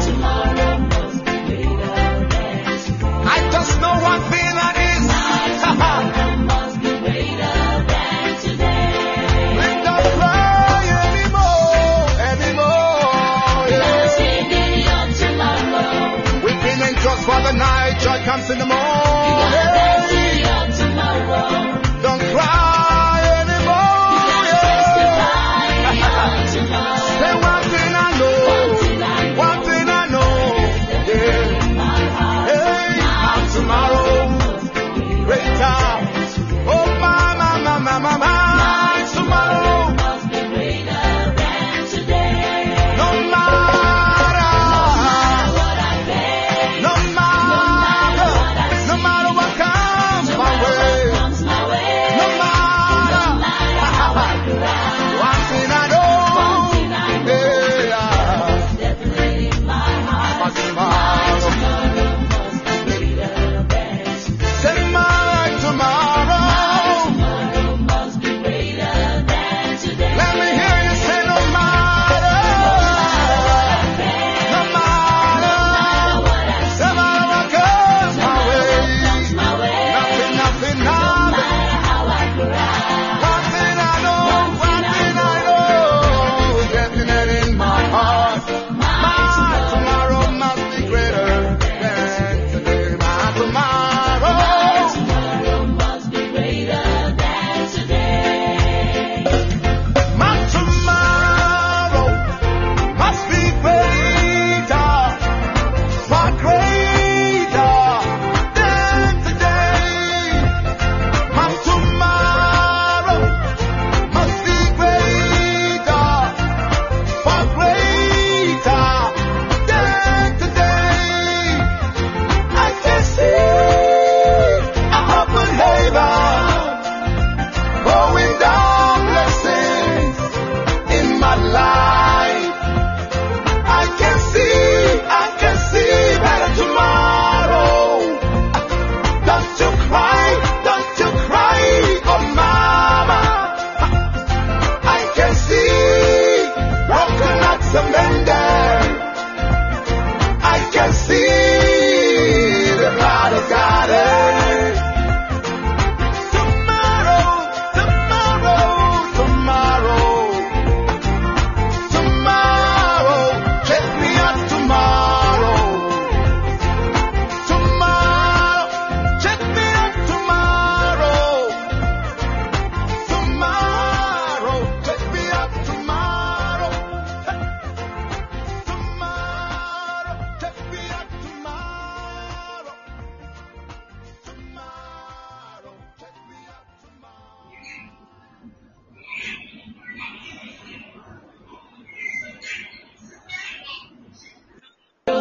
I just know one thing that is. We don't cry anymore, anymore. Yeah. We've been in just for the night, joy comes in the morning. Don't cry anymore. Yeah. Say one thing I know, one thing I know. Yeah. Hey, I'm tomorrow. Greater. Oh, my, my, my, my, my, my. Tomorrow. No matter. No matter.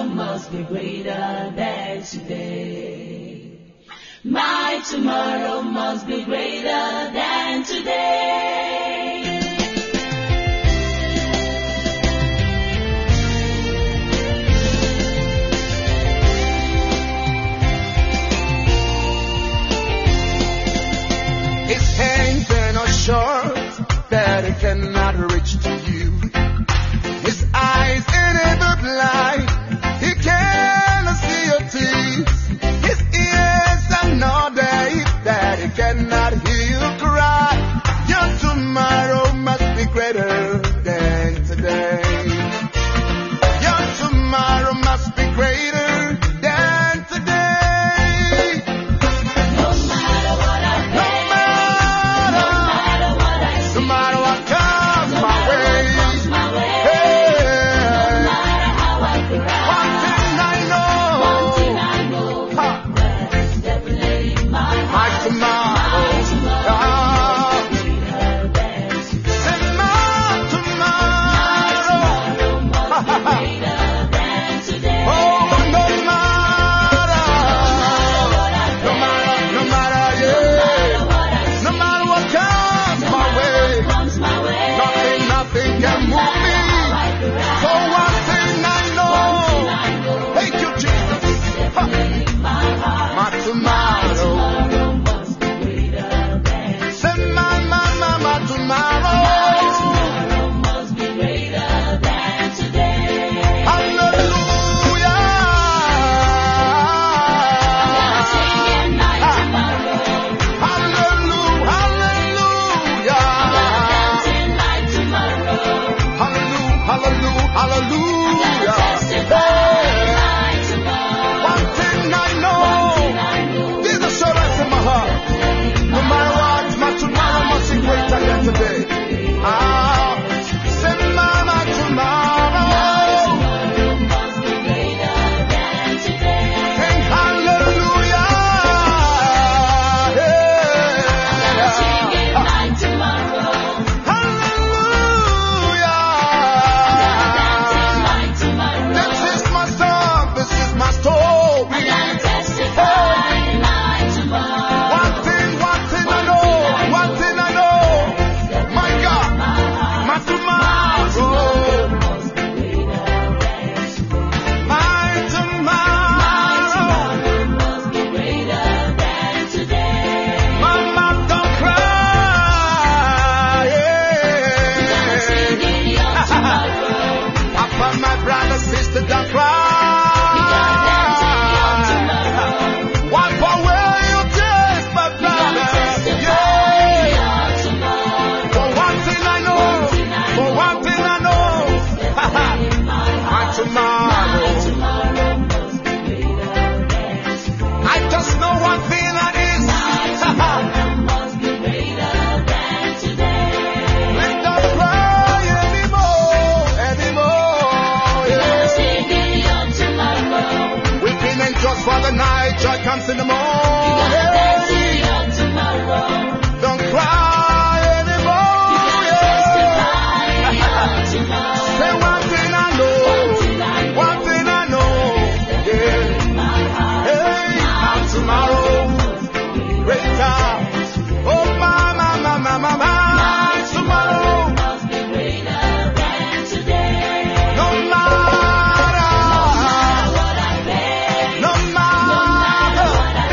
must be greater than today. My tomorrow must be greater than today. His hands are not short that it cannot reach to you. His eyes ain't ever blind, he cannot see your tears. His ears are not deaf that he cannot hear you cry. Your tomorrow must be greater than today. Your tomorrow must be greater than today. No matter what I No face, matter, no matter what I see, no matter what comes no my matter what way. comes my way, no Hey, matter how I cry, one thing I one thing know, I know, ha, that's definitely my my heart. tomorrow. My tomorrow Ah, must be greater than today. say my tomorrow. Tomorrow must be greater than today. Oh, no matter, no matter, no matter, yeah, no matter what comes my way, Comes my way, nothing, nothing can move me. So one thing I know, thank you, Jesus. Ha, my heart. my tomorrow. Tomorrow must be greater than Say my, my, my, my tomorrow. tomorrow must be greater than today. Hallelujah. Singing my tomorrow, Hallelujah. Hallelujah. dancing my tomorrow, Hallelujah. Hallelujah. Hallelujah. testify my tomorrow. One thing I know, there's assurance in my heart. No matter what, my tomorrow must be greater than today. Ah, say my, my tomorrow. Must be greater than today. Sing hallelujah. Singing Yeah. my tomorrow, Hallelujah. dancing my tomorrow. This is my song, this is my story. Testify my tomorrow. One thing, one thing I know, one thing I know. My God, my tomorrow, my tomorrow. Must be greater than today. Mama, don't cry. Singing your tomorrow, Papa, my brother, sister, don't cry. Wipe away your tears, my brother. Yeah. your tomorrow. For one thing I know, for one thing I know, my tomorrow. Tomorrow must be greater than I just know one thing that is. must be greater than today. Let's not cry anymore, anymore. Yeah. Singing your tomorrow, Weeping and just for the night, joy comes in the morning. dancing your tomorrow. Don't cry anymore. Yeah. Your tomorrow, Say one thing I know, one thing I know. Yeah. Hey, my tomorrow, greater. Oh, my, my, my, my, my, my tomorrow. must be greater than today. No matter, What I face, no matter, what I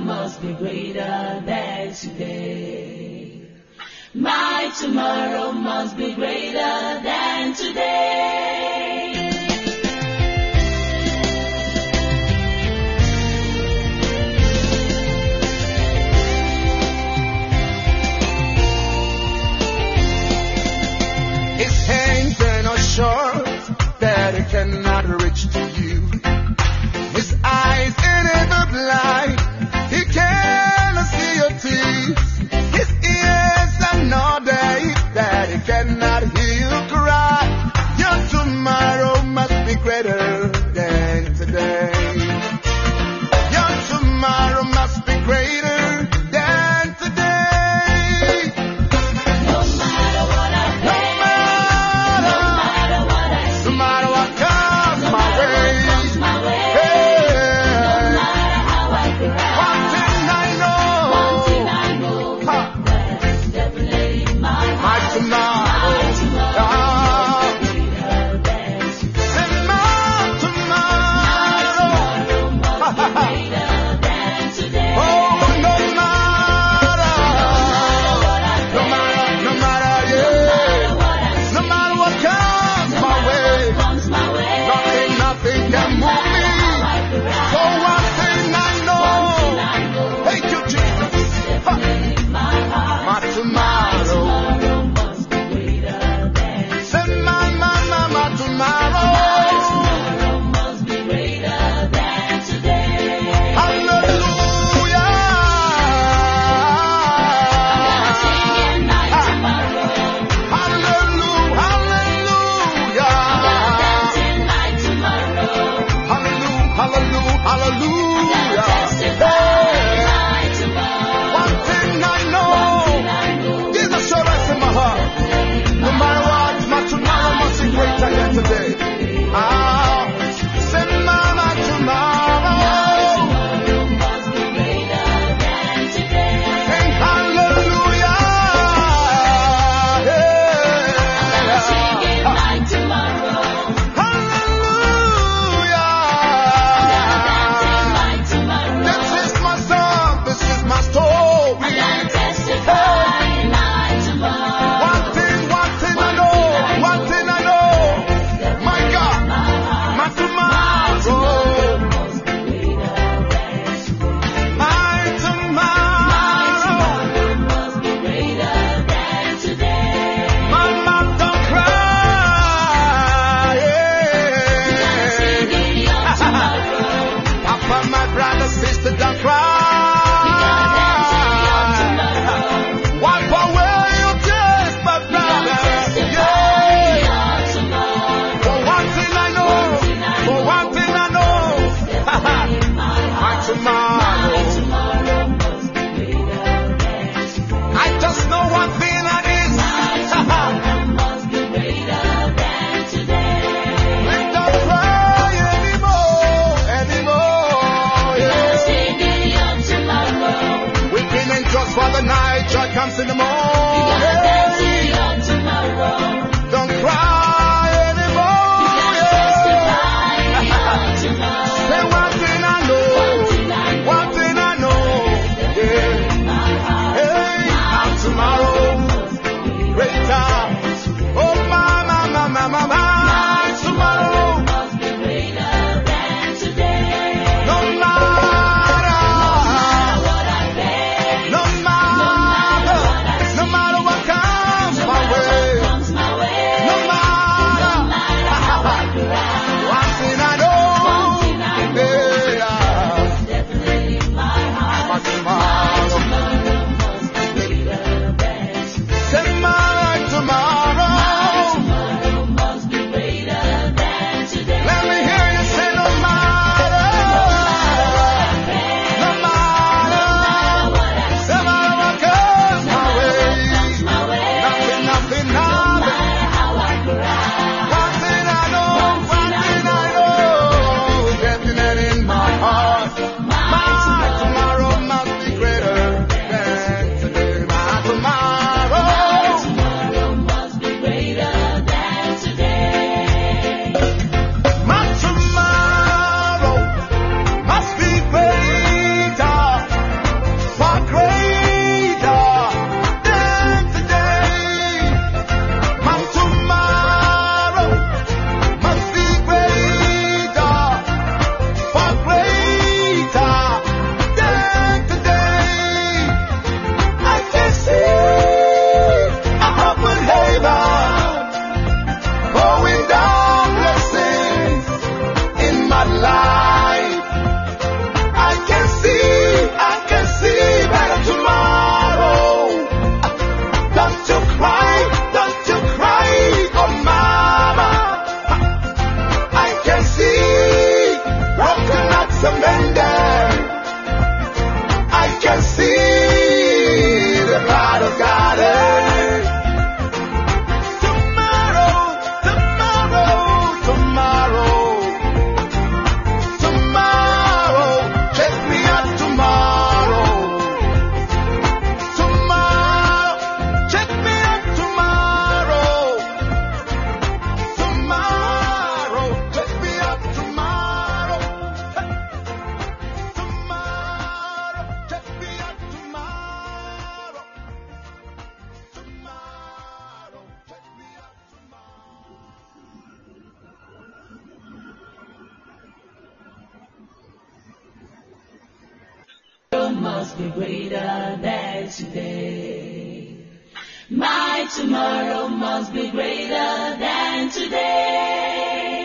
must be greater than today. My tomorrow must be greater than today. His hands are not short that it cannot reach to you. His eyes ain't ever blind, he cannot see your tears. His ears are not deaf that he cannot hear you cry. Your tomorrow must be greater than today. Your tomorrow must be greater than today. No matter what I No face, matter, no matter what I see, no matter what comes no my matter what way. comes my way, no Hey, matter how I one cry, thing I one thing know, I know, ha, that's definitely my my heart. tomorrow, My tomorrow ah, must be greater than today. say my tomorrow, Tomorrow must be greater than today. oh, no matter, no matter, no matter, yeah, no matter what comes my way, Comes my way, nothing, nothing can move me. So one thing I know, thank you, Jesus, ha, my tomorrow, must be greater than say my, my, my, my tomorrow, must be greater than today. hallelujah, Singing my tomorrow, hallelujah, hallelujah, dancing my tomorrow, hallelujah, hallelujah, hallelujah. testify Hey, my tomorrow. one thing I know, Jesus shall rest in my heart. No matter what, my tomorrow must be greater than today. Ah, say my, my tomorrow. Must be greater than today. Sing hallelujah. Singing Yeah. my tomorrow, Hallelujah. dancing my tomorrow. This is my song, this is my story. Gonna testify my tomorrow. One thing, one thing I know, one thing I know. My God, my tomorrow, my tomorrow. Must be greater than today. Mama, don't cry. Singing your tomorrow, Papa, my brother, sister, don't cry. Wipe away your tears, my brother. Yeah. your tomorrow. For one thing I know, for one thing I know, my tomorrow. Tomorrow must be greater than today. I just know one thing I need. Must be greater than today. We don't cry anymore, anymore. Yeah. Singing your tomorrow, We've been in just for the night, joy comes in the dancing morning. your tomorrow. Don't cry anymore. Testify Yeah. your tomorrow. Say one thing I know, one thing I know. Yeah. Hey, my tomorrow, greater. Oh, my, my, my, my, my, my tomorrow. Must be greater than today. No matter, What I face, no matter, must be greater than today. My tomorrow must be greater than today.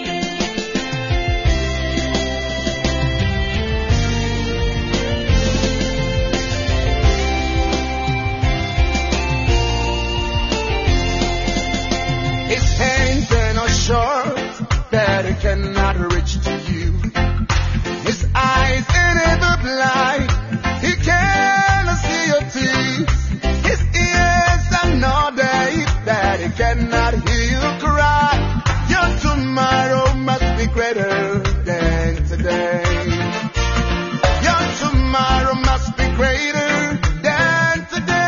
His hands are not short that it cannot reach to you. His eyes ain't ever blind, he cannot see your tears. His ears are not deaf that he cannot hear you cry. Your tomorrow must be greater than today. Your tomorrow must be greater than today.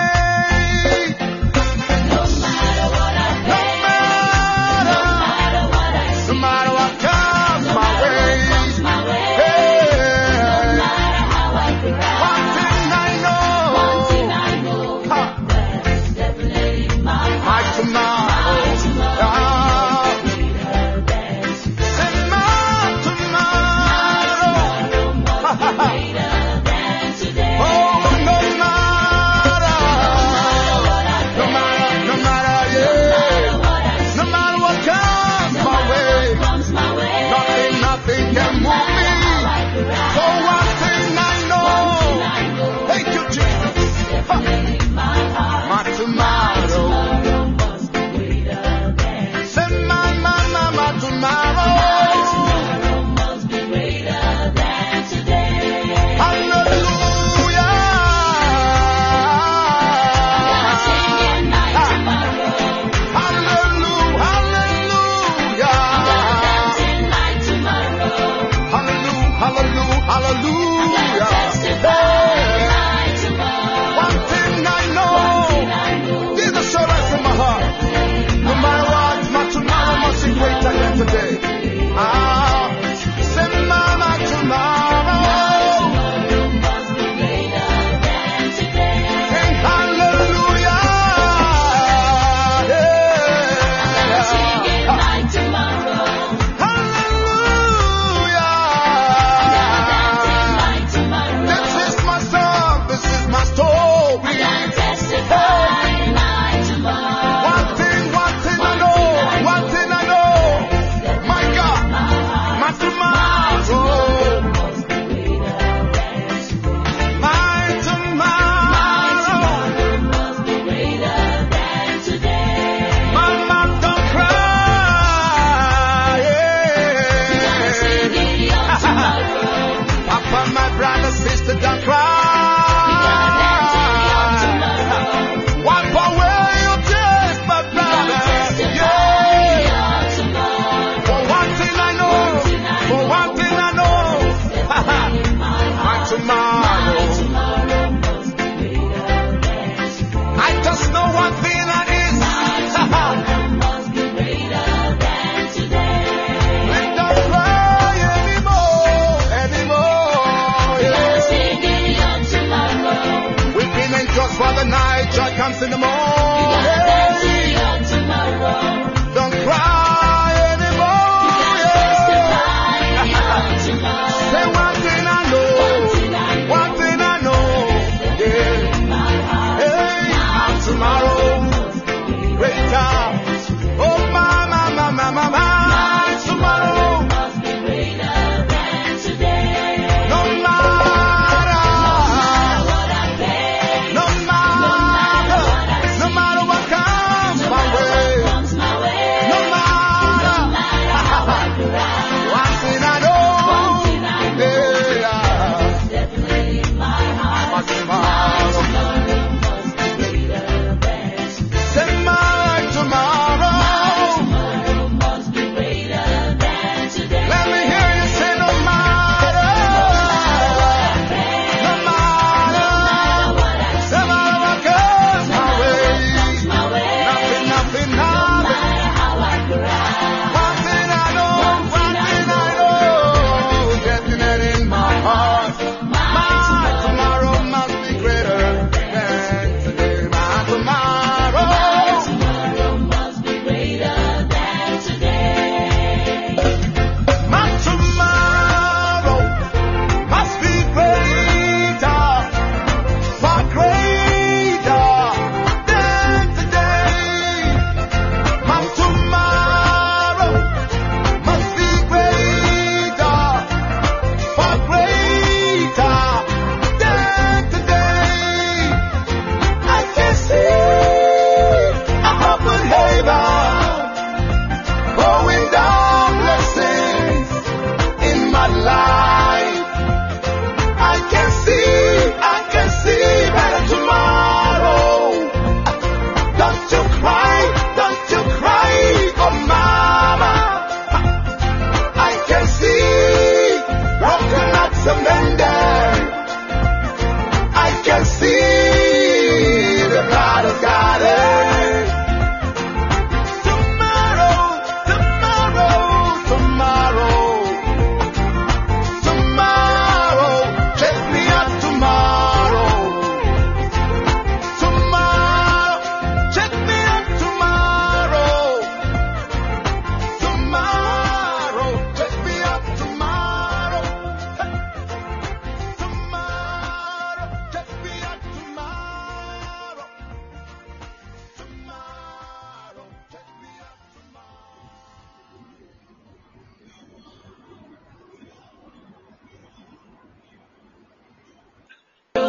No matter what I No face, matter, no matter what I no see, matter what comes no my matter what way. comes my way, no Hey, matter how I cry, one thing I one thing know, I know, ha, that's definitely my my heart. tomorrow. My tomorrow Ah, must be greater than today. say my tomorrow. Tomorrow must be greater than today. Oh, no matter, no matter, no matter, yeah. No matter what comes my way, Comes my way, nothing, nothing can move me. So one thing I know, thank you, Jesus. Ha, my heart. my tomorrow. Tomorrow must be greater than Say my, my, my, my tomorrow. tomorrow must be greater than today. Hallelujah. Singing my tomorrow, Hallelujah. Hallelujah. dancing my tomorrow, Hallelujah. Hallelujah. Hallelujah. testifying Hey. my tomorrow. One thing I know, this is assurance in my heart. No matter what, my tomorrow must be greater than today. Ah, say my, my tomorrow. Tomorrow must be greater than today. Sing hallelujah. Singing Yeah. my tomorrow, Hallelujah. dancing my tomorrow, This is my song, this is my story. and testifying my tomorrow. One thing, one thing I know, one thing I know. My God, my tomorrow, my tomorrow. Must be greater than today. Mama, don't cry. Singing your tomorrow, Papa, my brother, sister, don't cry. Wipe away your tears, my brother. Yeah. your tomorrow. For one thing I know, for one thing I know, my tomorrow. Tomorrow must be greater than today. I just know one thing that is. Must be greater than today. We don't cry anymore, anymore. Yeah. Singing your tomorrow, We've been in just for the night, joy comes in the morning. dancing your tomorrow, Don't cry anymore. Yeah. testifying your tomorrow. Say one thing I know, one thing I know. Yeah. Hey, my tomorrow, greater. Oh, my, my, my, my, my, my tomorrow. Must be greater than today. No matter, What I pay, no matter,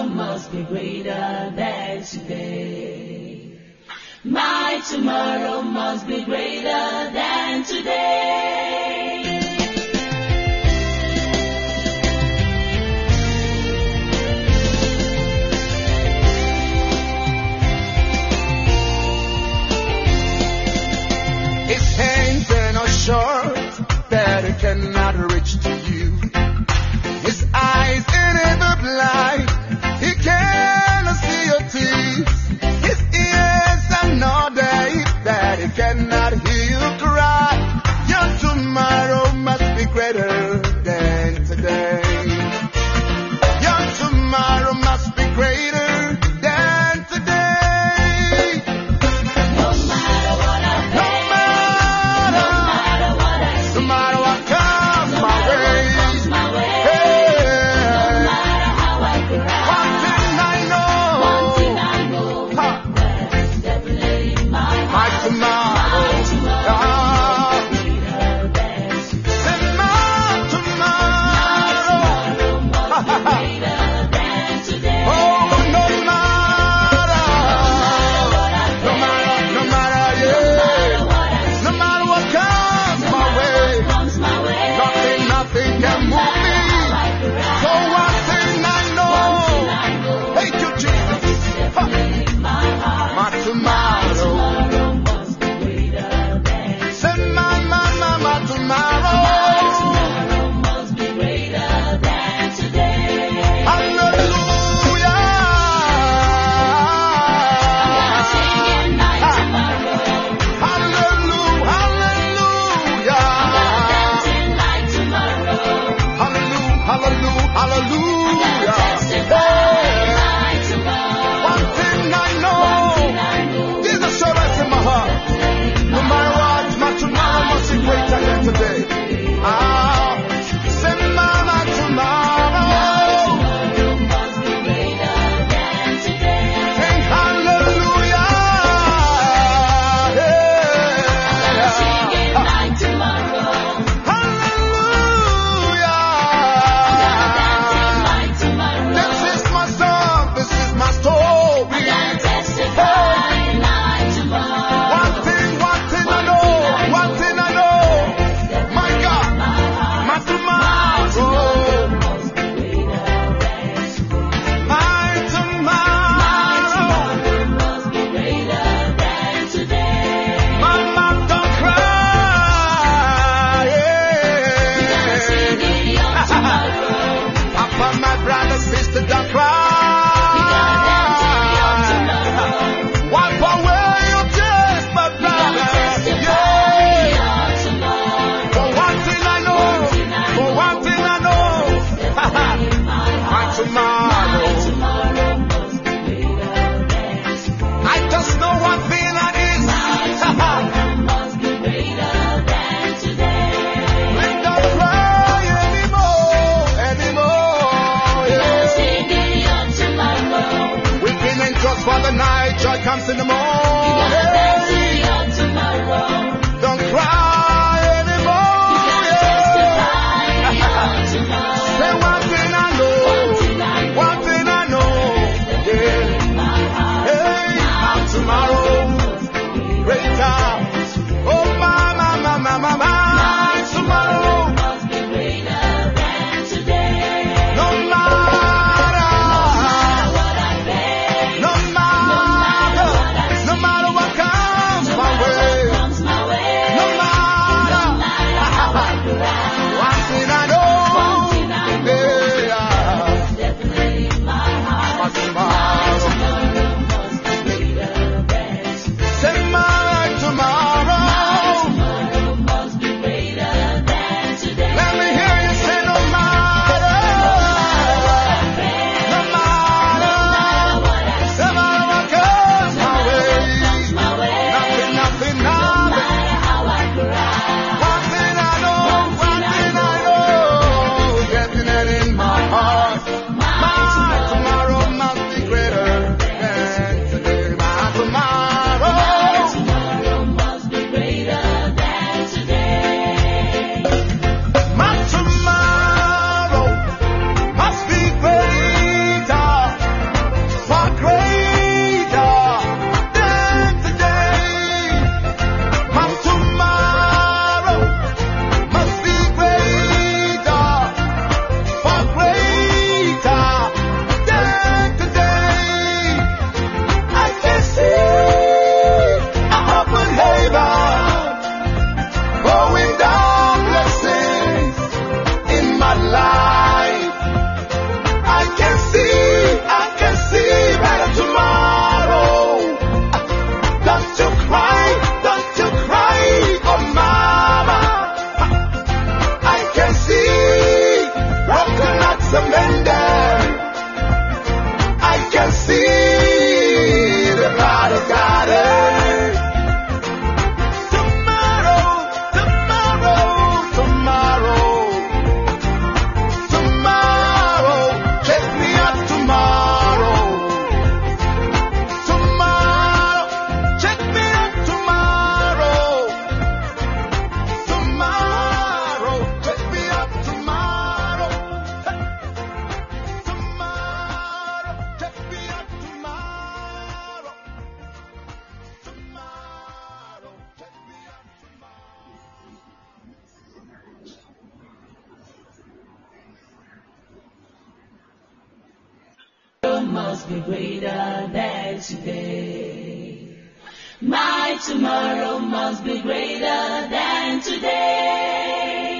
must be greater than today. My tomorrow must be greater than today. His hands are not short that it cannot reach to you. His eyes ain't ever blind, he cannot see your tears. His ears are not deaf that he cannot hear you cry. Your tomorrow must be greater than today. Your tomorrow must be greater than today. No matter what I No face, matter, no matter what I no see, matter what comes no my matter what way. comes my way, no Hey, matter how I one cry, thing I one know, thing I know, ha, that's definitely my my heart. tomorrow, My tomorrow ah, must be greater than today. say my My tomorrow, tomorrow must be greater than today. oh, no matter, no matter, no matter, yeah, no matter what comes my way, Comes my way, nothing, nothing can move me. So one thing I know, thank you, Jesus, ha, my tomorrow, must be greater than say my, my, my, my tomorrow, must be greater than today. hallelujah, Singing my tomorrow, hallelujah, hallelujah, dancing my tomorrow, hallelujah, hallelujah, hallelujah. testifying my tomorrow. One thing I know, there's assurance in my heart. No matter what, my tomorrow must be greater than today. Ah, say my, my tomorrow, Must be greater than today. sing hallelujah, Singing yeah. my tomorrow, Hallelujah. dancing my tomorrow. This is my song, this is my story. Testifying my tomorrow. One thing, one thing I know, one thing I know. My God, my tomorrow, my tomorrow. Must be greater than today. Mama, don't cry. Singing your tomorrow. Papa, my brother, sister, don't cry. Wipe away your tears, my brother. Yeah. For one thing I know, for one thing I know, my tomorrow. I just know one thing that is. Please don't cry anymore, anymore. Yeah. Weeping and just for the night, joy comes in the morning. Don't cry anymore. Yeah. Say one thing I know, one thing I know. Yeah. Hey, my tomorrow, greater. Oh, my, my, my, my, my, my tomorrow. No matter, no matter, no must be greater than today. My tomorrow must be greater than today.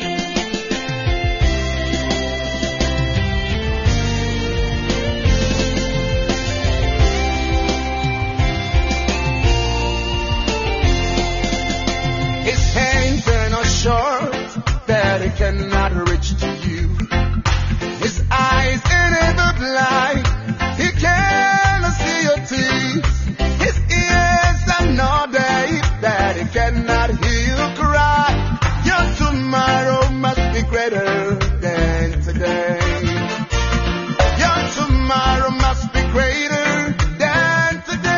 His hands are not short that he cannot reach to you. His eyes ain't ever blind, he cannot see your tears. His ears are not deaf that he cannot hear you cry. Your tomorrow must be greater than today. Your tomorrow must be greater than today.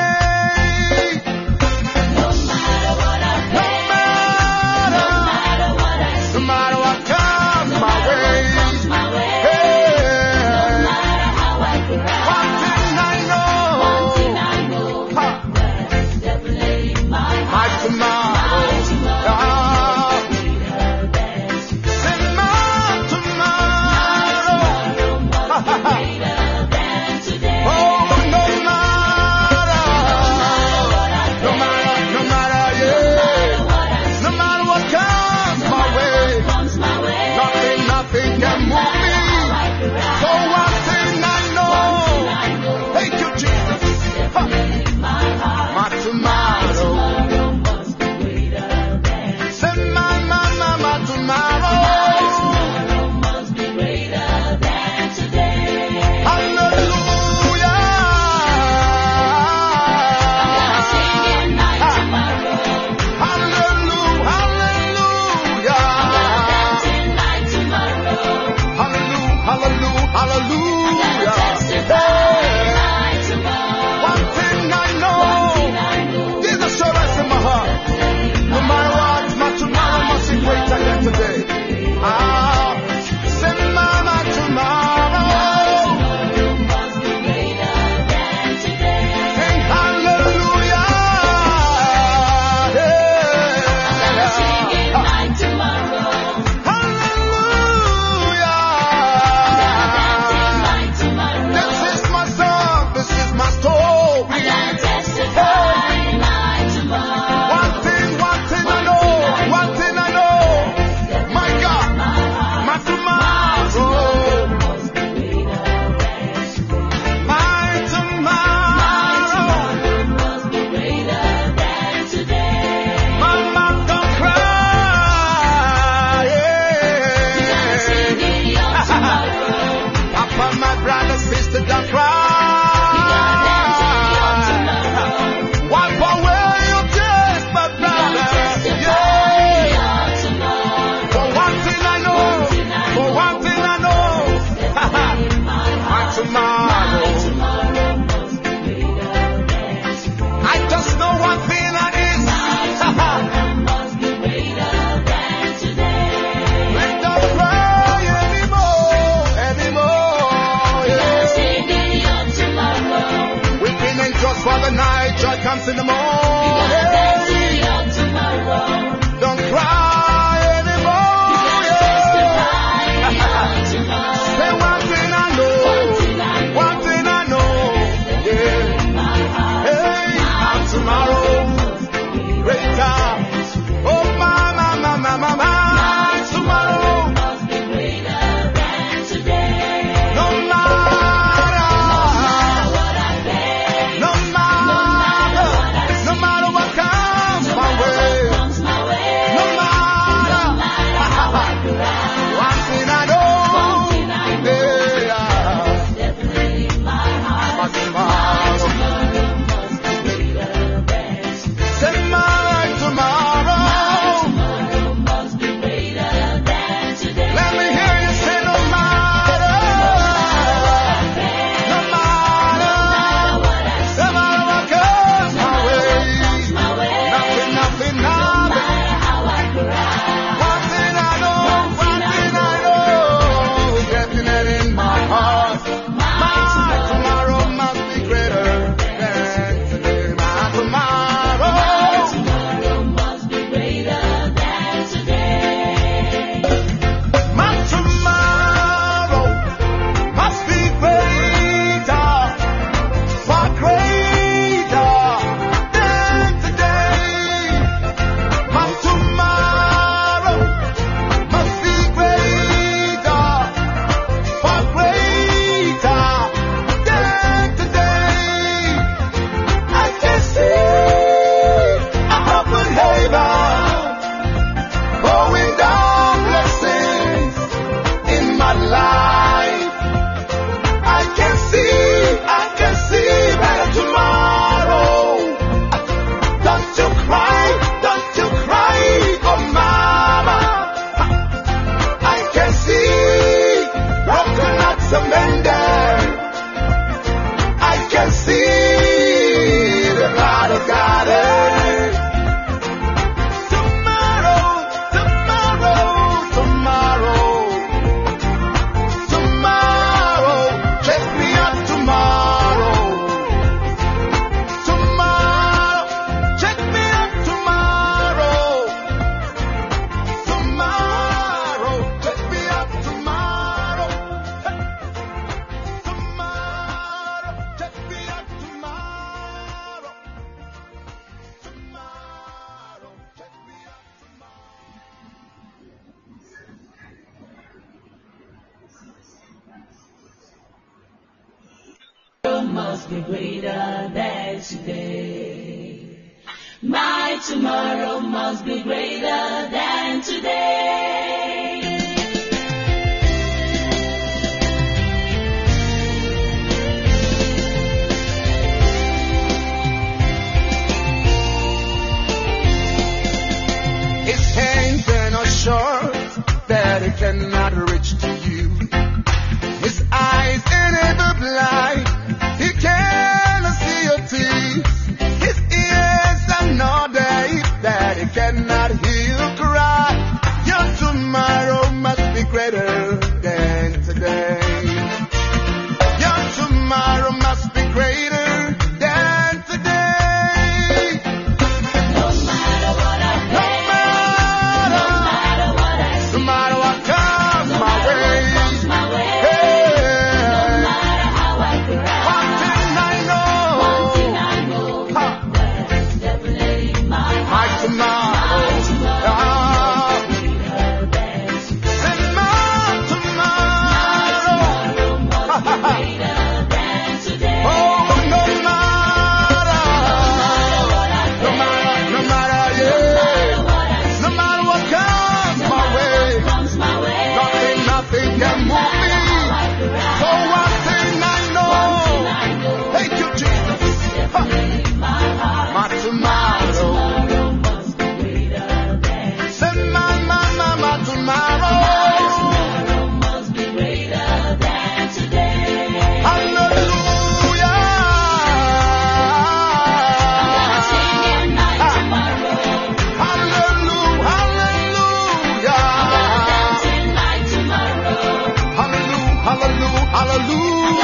No matter what I No face, matter, no matter what I no see, matter what comes no my matter way. what comes my way, no Hey, matter how I one cry, thing I one thing know, I know, ha, that's definitely in my my heart. tomorrow, My tomorrow ah, must be greater than today. say my tomorrow, Tomorrow must be greater than today. oh, no matter, no matter, no matter, yeah, no matter what comes my way, Comes my way, nothing, nothing can move me. So one thing I know, thank you, Jesus, ha, my tomorrow, must be greater than say my, my, my, my tomorrow, must be greater than today. hallelujah, Singing my tomorrow, hallelujah, hallelujah, dancing my tomorrow, hallelujah, hallelujah, hallelujah. testify Hey, my tomorrow. one thing I know, there's assurance in my heart. No matter what, my tomorrow must be greater than today. Ah, say my, my tomorrow. Must be greater than today. Sing hallelujah. Singing Yeah. my tomorrow, Hallelujah. dancing my must be greater than today. My tomorrow must be greater than today. His hands are not short that it cannot reach to you. His eyes are never blind, he cannot see your tears. His ears are not deaf that he cannot hear you cry. Your tomorrow must be greater than today. Your tomorrow must be greater than today. No matter what I No face, matter, no matter what I no see, matter what comes no my matter what way. comes my way, no Hey, matter how I cry, one thing I know, one thing I know, ha, that's definitely my my heart. tomorrow, My tomorrow ah, must be greater than today. and my tomorrow, Tomorrow must be greater than today. oh, no matter, no matter, no matter, yeah, no matter what comes my way, Comes my way, nothing, nothing can move me. So one thing I know, thank you, Jesus, ha, my tomorrow, must be greater than say my, my, my, my tomorrow, must be greater than today. hallelujah, Singing my tomorrow, hallelujah, hallelujah, dancing my tomorrow. hallelujah, hallelujah, hallelujah.